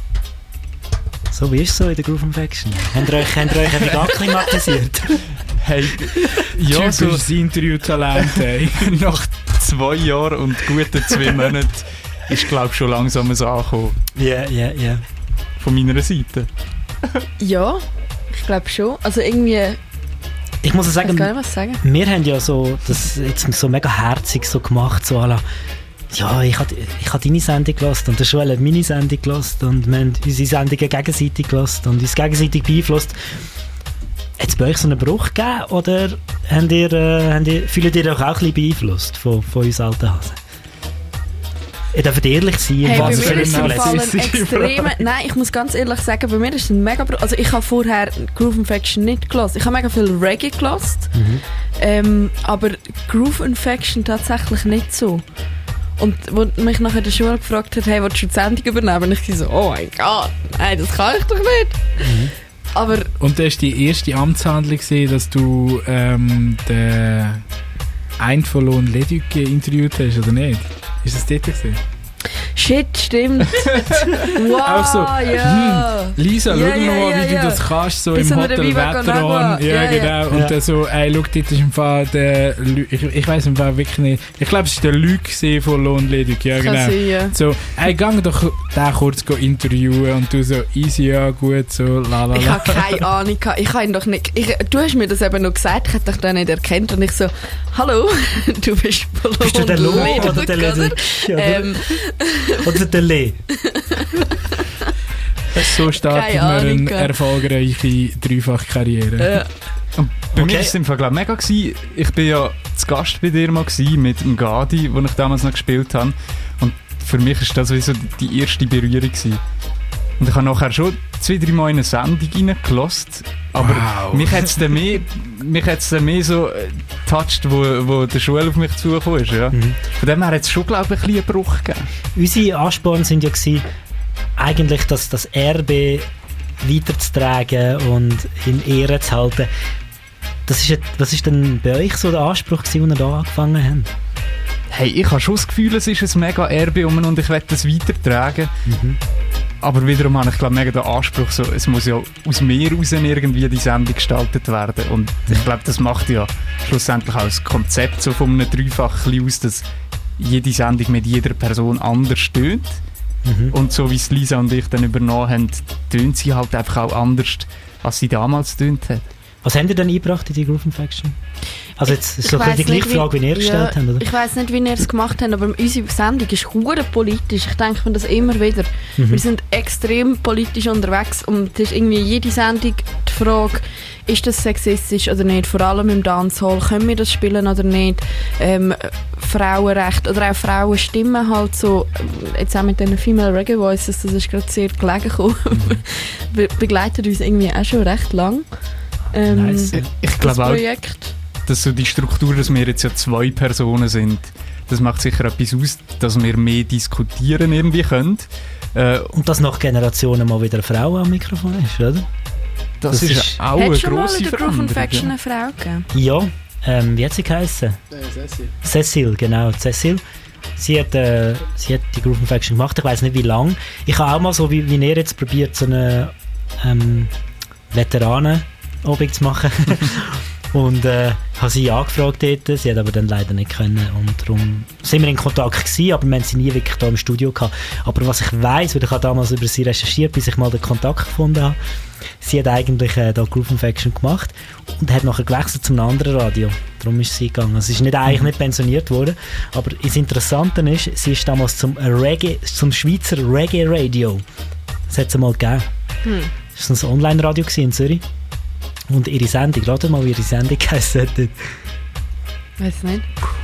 So, wie ist es so in der Groove Infection? Habt ihr euch ein wenig akklimatisiert? Hey, ja, so das Interview-Talent, hey. Nach 2 Jahren und guten 2 Monaten ist, glaube ich, schon langsam so angekommen. Ja. Von meiner Seite. Ja, ich glaube schon. Also irgendwie... Ich muss sagen, ich kann gar nicht was sagen. Wir haben ja so das jetzt so mega herzig so gemacht, so à la, ja, ich habe deine Sendung gehört und der Joel hat meine Sendung gehört und wir haben unsere Sendungen gegenseitig gehört und uns gegenseitig beeinflusst. Hat es bei euch so einen Bruch gegeben oder fühlt ihr euch auch ein bisschen beeinflusst von uns alten Hasen? Ihr dürft ehrlich sein. Hey, bei mir ist es extrem... Nein, ich muss ganz ehrlich sagen, bei mir ist es ein mega... Also ich habe vorher Groove Infection nicht gehört. Ich habe mega viel Reggae gehört, aber Groove Infection tatsächlich nicht so. Und als mich nachher der Schule gefragt hat, hey, willst du die Sendung übernehmen? Und ich so, oh mein Gott, nein, das kann ich doch nicht. Aber und das war die erste Amtshandlung, dass du den einen von Lohn Leduc interviewt hast, oder nicht? Ist das dort gewesen? Shit, stimmt. Wow, auch so, ja. Lisa, schau mal, wie du das kannst, so im Hotel Veteran. Ja, genau. Und dann so, ey, schau, dort ist im Fall der ich weiss im Fall wirklich nicht. Ich glaube, es war der Luc von Lohn Leduc. Ja, genau. Sein, ja. So, ey, gang doch den kurz interviewen und du so, easy, ja, gut, so, lalala. Ich habe keine Ahnung. Ich habe ihn doch nicht... du hast mir das eben noch gesagt, ich hätte dich da nicht erkannt und ich so, hallo, du bist von Lohn Leduc. Bist du der Lohn oder der Leduc? Oder der Lee. So startet man eine erfolgreiche Dreifach-Karriere. Und bei mir war es im Fall mega gewesen. Ich war ja zu Gast bei dir mal gewesen, mit dem Gadi, wo ich damals noch gespielt habe. Und für mich war das sowieso die erste Berührung gewesen. Und ich habe nachher schon 2-3 Mal in eine Sendung reingelassen. Aber mich hat es dann mehr so getoucht, wo der Schule auf mich zugekommen ist. Ja. Von dem her hat es schon, glaube ich, ein bisschen einen Bruch gegeben. Unsere Ansporn waren ja eigentlich das Erbe weiterzutragen und in Ehren zu halten. Was ist denn bei euch so der Anspruch gewesen, als ihr da angefangen habt? Hey, ich habe schon das Gefühl, es ist ein mega Erbe und ich will das weitertragen. Aber wiederum habe ich, glaube mega den Anspruch, so, es muss ja aus mir raus irgendwie die Sendung gestaltet werden. Und ich glaube, das macht ja schlussendlich auch das Konzept so von einem Dreifach aus, dass jede Sendung mit jeder Person anders tönt. Und so wie es Lisa und ich dann übernommen haben, tönt sie halt einfach auch anders, als sie damals tönt hat. Was habt ihr denn eingebracht in die Groove Infection? Also jetzt ist so die gleiche Frage, wie ihr gestellt habt, oder? Ich weiss nicht, wie ihr es gemacht habt, aber unsere Sendung ist hure politisch. Ich denke mir das immer wieder. Wir sind extrem politisch unterwegs und es ist irgendwie jede Sendung die Frage, ist das sexistisch oder nicht? Vor allem im Dancehall, können wir das spielen oder nicht? Frauenrecht oder auch Frauenstimmen halt so, jetzt auch mit den Female Reggae Voices, das ist gerade sehr gelegen gekommen, begleitet uns irgendwie auch schon recht lang. Nice. Ich glaube auch, dass so die Struktur, dass wir jetzt ja 2 Personen sind, das macht sicher etwas aus, dass wir mehr diskutieren irgendwie können. Und dass nach Generationen mal wieder eine Frau am Mikrofon ist, oder? Das ist auch eine grosse Veränderung. Hat schon mal in der Groove Infection eine Frau gegeben? Ja, wie hat sie geheißen? Cecil, genau, Cecil. Sie hat die Groove Infection gemacht, ich weiss nicht wie lange. Ich habe auch mal so, wie ihr jetzt probiert, so eine Veteranen-Obig zu machen. Und habe sie angefragt dort, sie hat aber dann leider nicht können. Und darum sind wir in Kontakt gewesen, aber wir haben sie nie wirklich hier im Studio gehabt. Aber was ich weiss, weil ich habe damals über sie recherchiert, bis ich mal den Kontakt gefunden habe, sie hat eigentlich da Groove Infection gemacht und hat nachher gewechselt zu einem anderen Radio. Darum ist sie gegangen. Also sie ist eigentlich nicht pensioniert worden, aber das Interessante ist, sie ist damals zum Schweizer Reggae Radio. Das hat es mal gegeben. Das war ein Online-Radio in Zürich. Und ihre Sendung, ratet mal, wie ihre Sendung geheißen hat. Weiß nicht.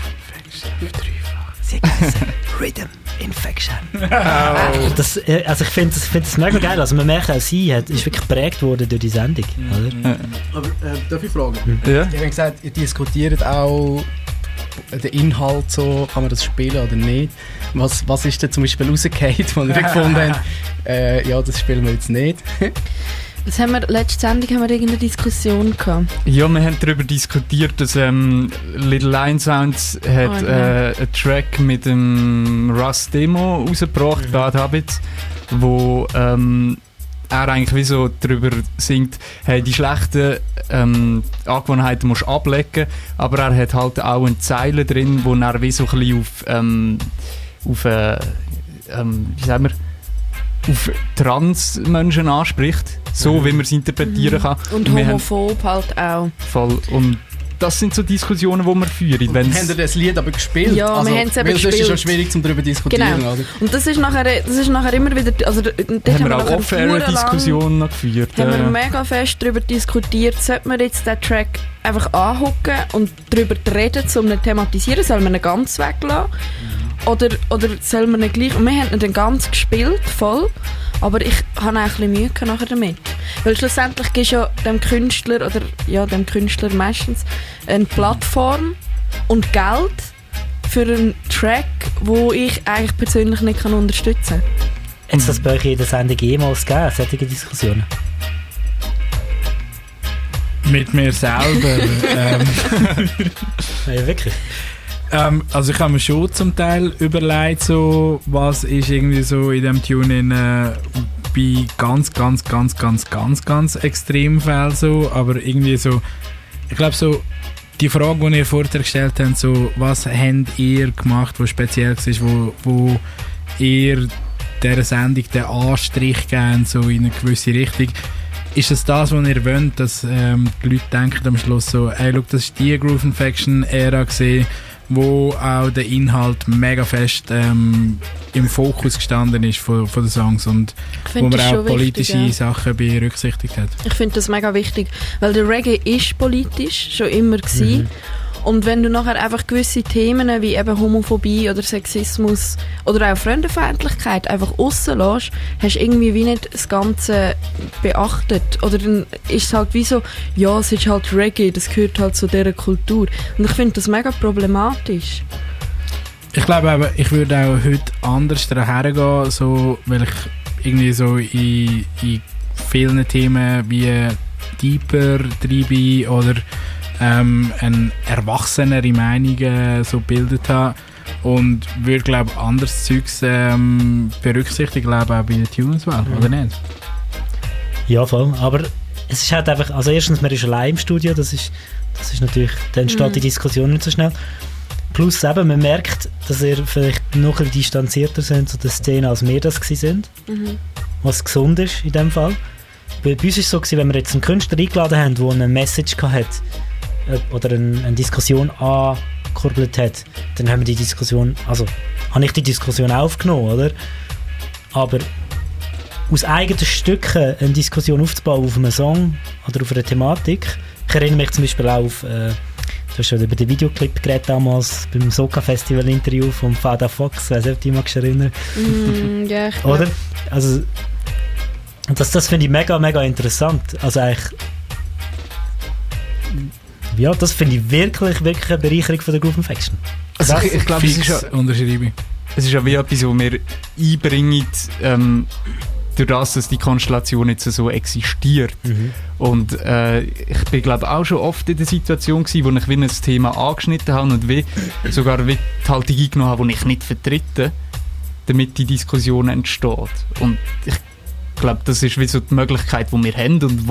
Sie hat geheißen Rhythm Infection. Das, also ich finde das mega geil. Also man merkt auch, sie ist wirklich geprägt worden durch die Sendung. Oder? Aber darf ich fragen? Ja. Ich habe gesagt, ihr diskutiert auch den Inhalt, so, kann man das spielen oder nicht? Was ist denn zum Beispiel rausgefallen, wo ihr gefunden habt, ja, das spielen wir jetzt nicht? Was haben wir, letzte Sendung haben wir irgendeine Diskussion gehabt? Ja, wir haben darüber diskutiert, dass Little Lion Sounds hat einen Track mit dem Russ Demo rausgebracht, Bad Habits, wo er eigentlich wie so darüber singt, hey, die schlechten Angewohnheiten musst du ablegen, aber er hat halt auch eine Zeile drin, wo er wie so ein bisschen auf wie sagen wir, auf Trans-Menschen anspricht, so wie man es interpretieren kann. Und homophob halt auch. Voll. Und das sind so Diskussionen, die wir führen. Haben ihr das Lied aber gespielt? Ja, also, wir haben es eben gespielt. Das ist schon schwierig, darüber zu diskutieren. Genau. Oder? Und das ist nachher immer wieder... Also, haben wir auch Off-Air-Diskussionen noch geführt. Haben wir mega fest darüber diskutiert, sollte man jetzt den Track einfach angucken und darüber reden, um ihn zu thematisieren, soll man ihn ganz weglassen? Oder soll man ihn gleich... Und wir haben ihn dann ganz gespielt, voll. Aber ich habe auch ein bisschen Mühe nachher damit. Weil schlussendlich gibst du ja dem Künstler, oder ja, dem Künstler meistens, eine Plattform und Geld für einen Track, den ich eigentlich persönlich nicht unterstützen kann. Hat es das bei euch in der Sendung jemals gegeben, solche Diskussionen? Mit mir selber? Ja, wirklich? Also ich habe mir schon zum Teil überlegt, so, was ist irgendwie so in dem Tune bei ganz Extremfällen so, aber irgendwie so, ich glaube so, die Frage, die ihr vorher gestellt habt, so, was habt ihr gemacht, was speziell war, wo ihr dieser Sendung den Anstrich geben, so in eine gewisse Richtung, ist es das, was ihr wollt, dass die Leute denken am Schluss so, ey, look, das ist die Groove Infection Ära gesehen, wo auch der Inhalt mega fest im Fokus gestanden ist von den Songs und wo man auch politische wichtig, ja. Sachen berücksichtigt hat. Ich finde das mega wichtig, weil der Reggae ist politisch, schon immer gewesen. Und wenn du nachher einfach gewisse Themen wie eben Homophobie oder Sexismus oder auch Fremdenfeindlichkeit einfach rauslässt, hast du irgendwie wie nicht das Ganze beachtet. Oder dann ist es halt wie so, ja, es ist halt Reggae, das gehört halt zu dieser Kultur. Und ich finde das mega problematisch. Ich glaube aber, ich würde auch heute anders daher gehen, so, weil ich irgendwie so in vielen Themen wie deeper treibe oder eine erwachsenere Meinung so gebildet habe und würde, glaube ich, anderes Zeugs berücksichtigen, glaube auch bei der Tuneswahl, oder nicht? Ja, voll. Aber es ist halt einfach, also erstens, man ist allein im Studio, das ist natürlich, dann entsteht die Diskussion nicht so schnell. Plus eben, man merkt, dass ihr vielleicht noch ein bisschen distanzierter sind zu der Szene, als wir das gewesen sind. Was gesund ist in dem Fall. Bei uns war es so, wenn wir jetzt einen Künstler eingeladen haben, der eine Message hatte oder eine Diskussion angekurbelt hat, dann haben wir die Diskussion, also habe ich die Diskussion aufgenommen, oder? Aber aus eigenen Stücken eine Diskussion aufzubauen auf einem Song oder auf einer Thematik. Ich erinnere mich zum Beispiel auch auf, du hast schon über den Videoclip geredet damals beim Soca-Festival-Interview von Fada Fox, weiss nicht, ob du dich erinnern. Ja, ich oder? Also, das finde ich mega, mega interessant. Also eigentlich, ja, das finde ich wirklich, wirklich eine Bereicherung von der Groove Infection. Also ich glaube, es ist ja wie etwas, was wir einbringen, durch das, dass die Konstellation jetzt so existiert. Und ich bin, glaube auch schon oft in der Situation gewesen, wo ich wie ein Thema angeschnitten habe und sogar wie die Haltung eingenommen habe, die ich nicht vertrete, damit die Diskussion entsteht. Und ich glaube, das ist wie so die Möglichkeit, die wir haben und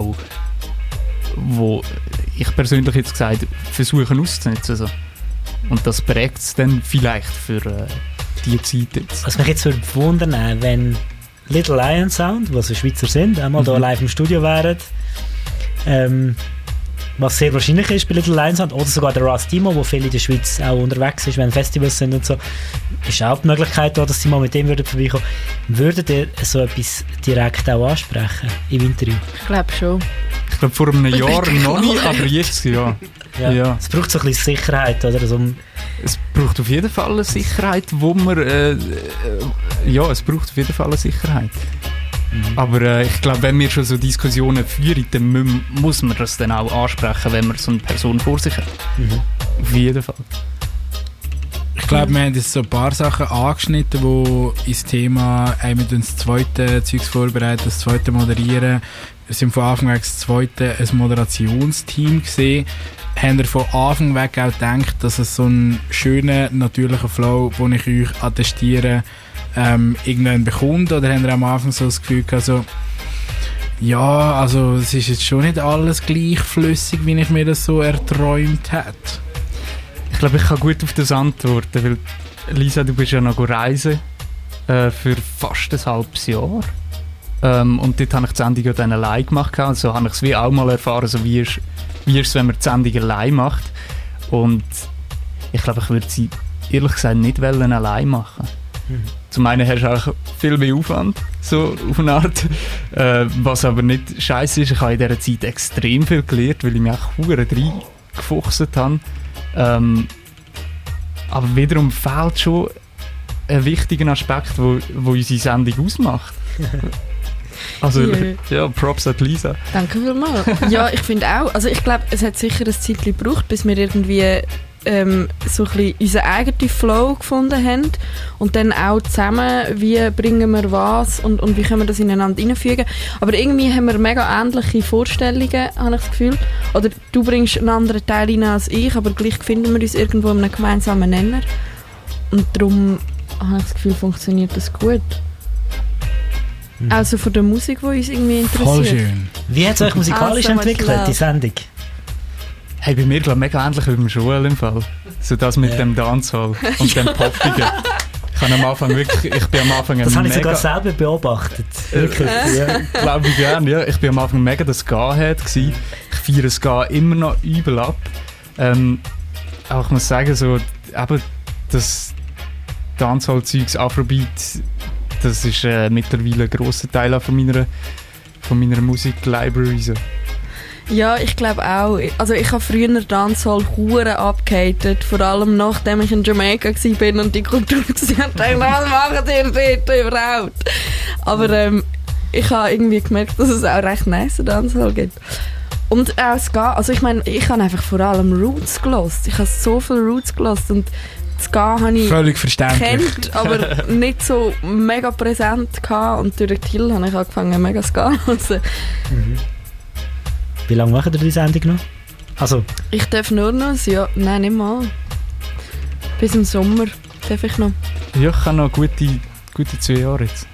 wo ich persönlich jetzt gesagt versuche auszunutzen. So. Und das prägt es dann vielleicht für die Zeit jetzt. Was mich jetzt würde wundern, wenn Little Lion Sound, was Schweizer sind, einmal hier live im Studio wären, was sehr wahrscheinlich ist bei Little Lion Sound, oder sogar der Rastimo, wo viel in der Schweiz auch unterwegs ist, wenn Festivals sind und so, ist auch die Möglichkeit da, dass sie mal mit dem vorbeikommen würden. Würdet ihr so etwas direkt auch ansprechen im Interview? Ich glaube schon. Ich glaube vor einem Jahr noch nicht, aber jetzt ja. Ja. Es braucht so ein bisschen Sicherheit, oder? Also, es braucht auf jeden Fall eine Sicherheit, wo man es braucht auf jeden Fall eine Sicherheit. Aber ich glaube, wenn wir schon so Diskussionen führen, dann muss man das dann auch ansprechen, wenn man so eine Person vor sich hat. Auf jeden Fall. Ich glaube, wir haben jetzt so ein paar Sachen angeschnitten, die ins Thema, wir das zweite Zeugs vorbereiten, das zweite moderieren. Wir sind von Anfang weg das zweite ein Moderationsteam gesehen. Haben wir von Anfang weg auch gedacht, dass es so einen schönen, natürlichen Flow, den ich euch attestiere, irgendwann bekommt? Oder haben wir am Anfang so das Gefühl gehabt, so, ja, also es ist jetzt schon nicht alles gleich flüssig, wie ich mir das so erträumt hätte? Ich glaube, ich kann gut auf das antworten, weil Lisa, du bist ja noch reisen für fast ein halbes Jahr. Und dort habe ich die Sendung ja dann allein gemacht. Also habe ich es wie auch mal erfahren, so wie ist es, wenn man die Sendung allein macht. Und ich glaube, ich würde sie ehrlich gesagt nicht allein machen. Zum einen hast du auch viel mehr Aufwand, so auf eine Art. Was aber nicht scheiße ist, ich habe in dieser Zeit extrem viel gelernt, weil ich mich auch verdammt reingefuchst habe. Aber wiederum fehlt schon ein wichtiger Aspekt, wo unsere Sendung ausmacht. Also, ja, Props an Lisa. Danke vielmals. Ja, ich finde auch. Also ich glaube, es hat sicher ein Zeit gebraucht, bis wir irgendwie so ein bisschen unseren eigenen Flow gefunden haben und dann auch zusammen, wie bringen wir was und wie können wir das ineinander hineinfügen. Aber irgendwie haben wir mega ähnliche Vorstellungen, habe ich das Gefühl. Oder du bringst einen anderen Teil rein als ich, aber gleich finden wir uns irgendwo in einem gemeinsamen Nenner. Und darum habe ich das Gefühl, funktioniert das gut. Also von der Musik, die uns irgendwie interessiert. Voll schön. Wie hat es euch musikalisch entwickelt, die Sendung? Hey, bei mir glaube ich mega ähnlich wie beim Joel im Fall. So das mit dem Dancehall und dem Poppigen. Ich bin am Anfang das habe ich sogar selber beobachtet. Wirklich. Glaube ich gerne, ja. Ich bin am Anfang mega das Ska-Head gewesen. Ich feiere das Ska immer noch übel ab. Aber ich muss sagen, so, eben das Dancehall-Zeugs, Afrobeat, das ist mittlerweile ein grosser Teil von meiner Musik-Library. So. Ja, ich glaube auch. Also ich habe früher Dancehall hure abgehatet, vor allem nachdem ich in Jamaika war und die Kultur gesehen habe, dachte, was machen die dort überhaupt? Aber ich habe irgendwie gemerkt, dass es auch recht nice Dancehall gibt. Und auch Ska, also ich meine, ich habe einfach vor allem Roots gehört. Ich habe so viel Roots gehört und Ska habe ich völlig verständlich kennt, aber nicht so mega präsent gehabt. Und durch Till habe ich angefangen mega Ska zu hören. Wie lange machen ihr die Sendung noch? Also. Ich darf nur noch ein Jahr. Nein, nicht mal. Bis im Sommer darf ich noch. Ja, ich habe noch gute 2 Jahre jetzt.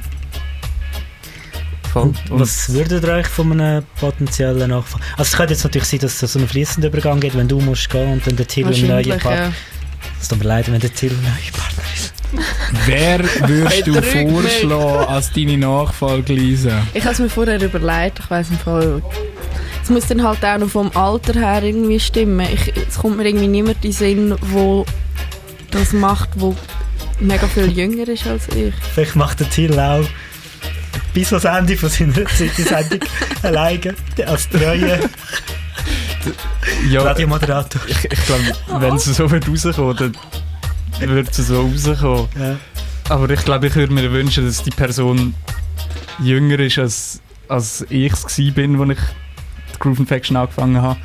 Und was würdet ihr euch von einem potenziellen Nachfolger? Also es könnte jetzt natürlich sein, dass es so einen fließenden Übergang gibt, wenn du musst gehen und dann der Till im neuen Part. Ja. Es tut mir leid, wenn der Till ein neuer Partner ist. Wer würdest du vorschlagen als deine Nachfolge, Lisa? Ich habe es mir vorher überlegt, ich weiss nicht voll. Es muss dann halt auch noch vom Alter her irgendwie stimmen. Es kommt mir irgendwie niemand in den Sinn, der das macht, der mega viel jünger ist als ich. Vielleicht macht der Till auch bis ans Ende von seiner Sendung alleine als treue Radiomoderator. Ich glaube, wenn es so wird rauskommen, dann wird es so rauskommen. Ja. Aber ich glaube, ich würde mir wünschen, dass die Person jünger ist, als ich es war, als ich die Groove Infection angefangen habe.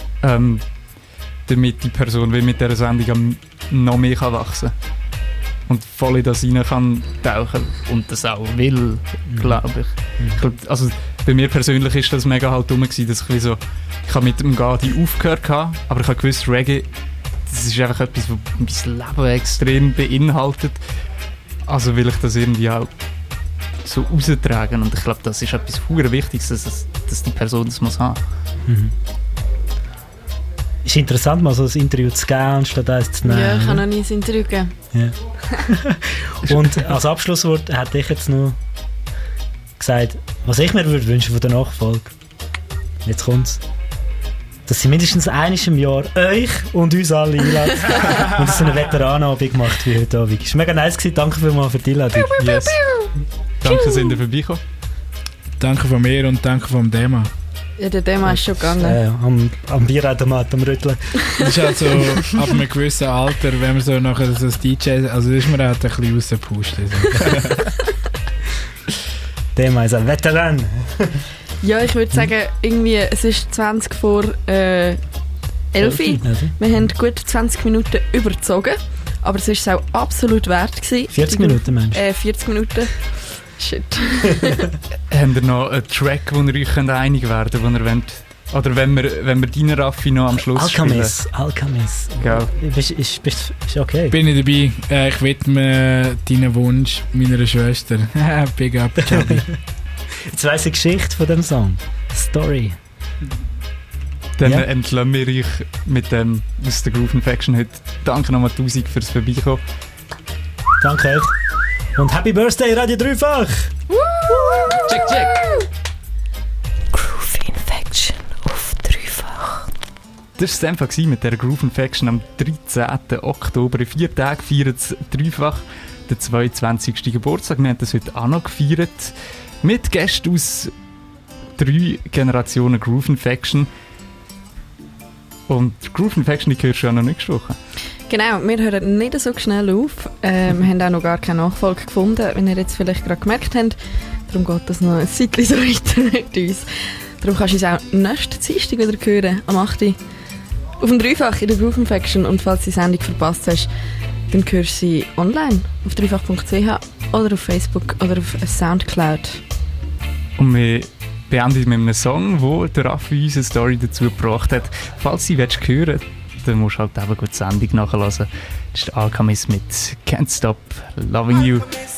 Damit die Person mit dieser Sendung noch mehr wachsen kann. Und voll in das rein kann tauchen und das auch will, glaube ich. Ich glaub, also bei mir persönlich ist das mega halt dumm gewesen, dass ich habe mit dem Gadi aufgehört habe, aber ich habe gewusst, Reggae, das ist einfach etwas, was mein Leben extrem beinhaltet. Also will ich das irgendwie auch so raustragen und ich glaube, das ist etwas verdammt Wichtiges, dass die Person das muss haben. Ist interessant, mal so ein Interview zu geben, anstatt eins zu nehmen. Ja, ich habe noch nie ein Interview gegeben. Ja. Und als Abschlusswort hätte ich jetzt noch gesagt, was ich mir würde wünschen von der Nachfolge. Jetzt kommt's. Dass sie mindestens einmal im Jahr euch und uns alle einladen und so eine Veteranenabend macht wie heute Abend. Es war mega nice gewesen. Danke vielmals für die Einladung. Yes. Danke, sind ihr vorbeigekommen. Danke von mir und danke vom Dema. Ja, der Dema ist schon gegangen. Am Bierautomat am Rütteln. Das ist halt so, ab einem gewissen Alter, wenn man so nachher so das DJ, also ist man halt ein bisschen rausgepustet. Dema ist ein Veteran. Ja, ich würde sagen, irgendwie, es ist 20 vor 11. Wir haben gut 20 Minuten überzogen, aber es war es auch absolut wert gewesen. 40 Minuten, Mensch. 40 Minuten. Shit. Habt ihr noch einen Track, wo ihr euch einig werden könnt, wo ihr wollt? Oder wenn wir deinen Raffi noch am Schluss Alchemist. Ja. Ist okay. Bin ich dabei. Ich widme deinen Wunsch meiner Schwester. Big up, Chubby. Jetzt weiss ich die Geschichte von dem Song. Story. Dann entlassen wir euch mit dem aus der Groove Infection heute. Danke nochmal 1000 fürs Vorbeikommen. Danke euch. Und Happy Birthday, Radio Dreifach! Check, check! Groove Infection auf Dreifach. Das war es einfach mit der Groove Infection am 13. Oktober. In 4 Tagen feiert es Dreifach den 22. Geburtstag. Wir haben das heute auch noch gefeiert. Mit Gästen aus 3 Generationen Groove Infection. Und Groove Infection, die hörst du ja noch nächste Woche. Genau, wir hören nicht so schnell auf. Wir haben auch noch gar keine Nachfolge gefunden, wenn ihr jetzt vielleicht gerade gemerkt habt. Darum geht das noch ein Zeitchen so weiter mit uns. Darum kannst du uns auch nächsten Dienstag wieder hören, am 8. auf dem Dreifach in der Groove Infection. Und falls du die Sendung verpasst hast, dann hörst du sie online auf dreifach.ch oder auf Facebook oder auf Soundcloud. Und wir beenden mit einem Song, wo der Raffi uns eine Story dazu gebracht hat. Falls du sie hören willst, dann musst du halt eben gut die Sendung nachhören. Das ist der Alchemist mit Can't Stop Loving You.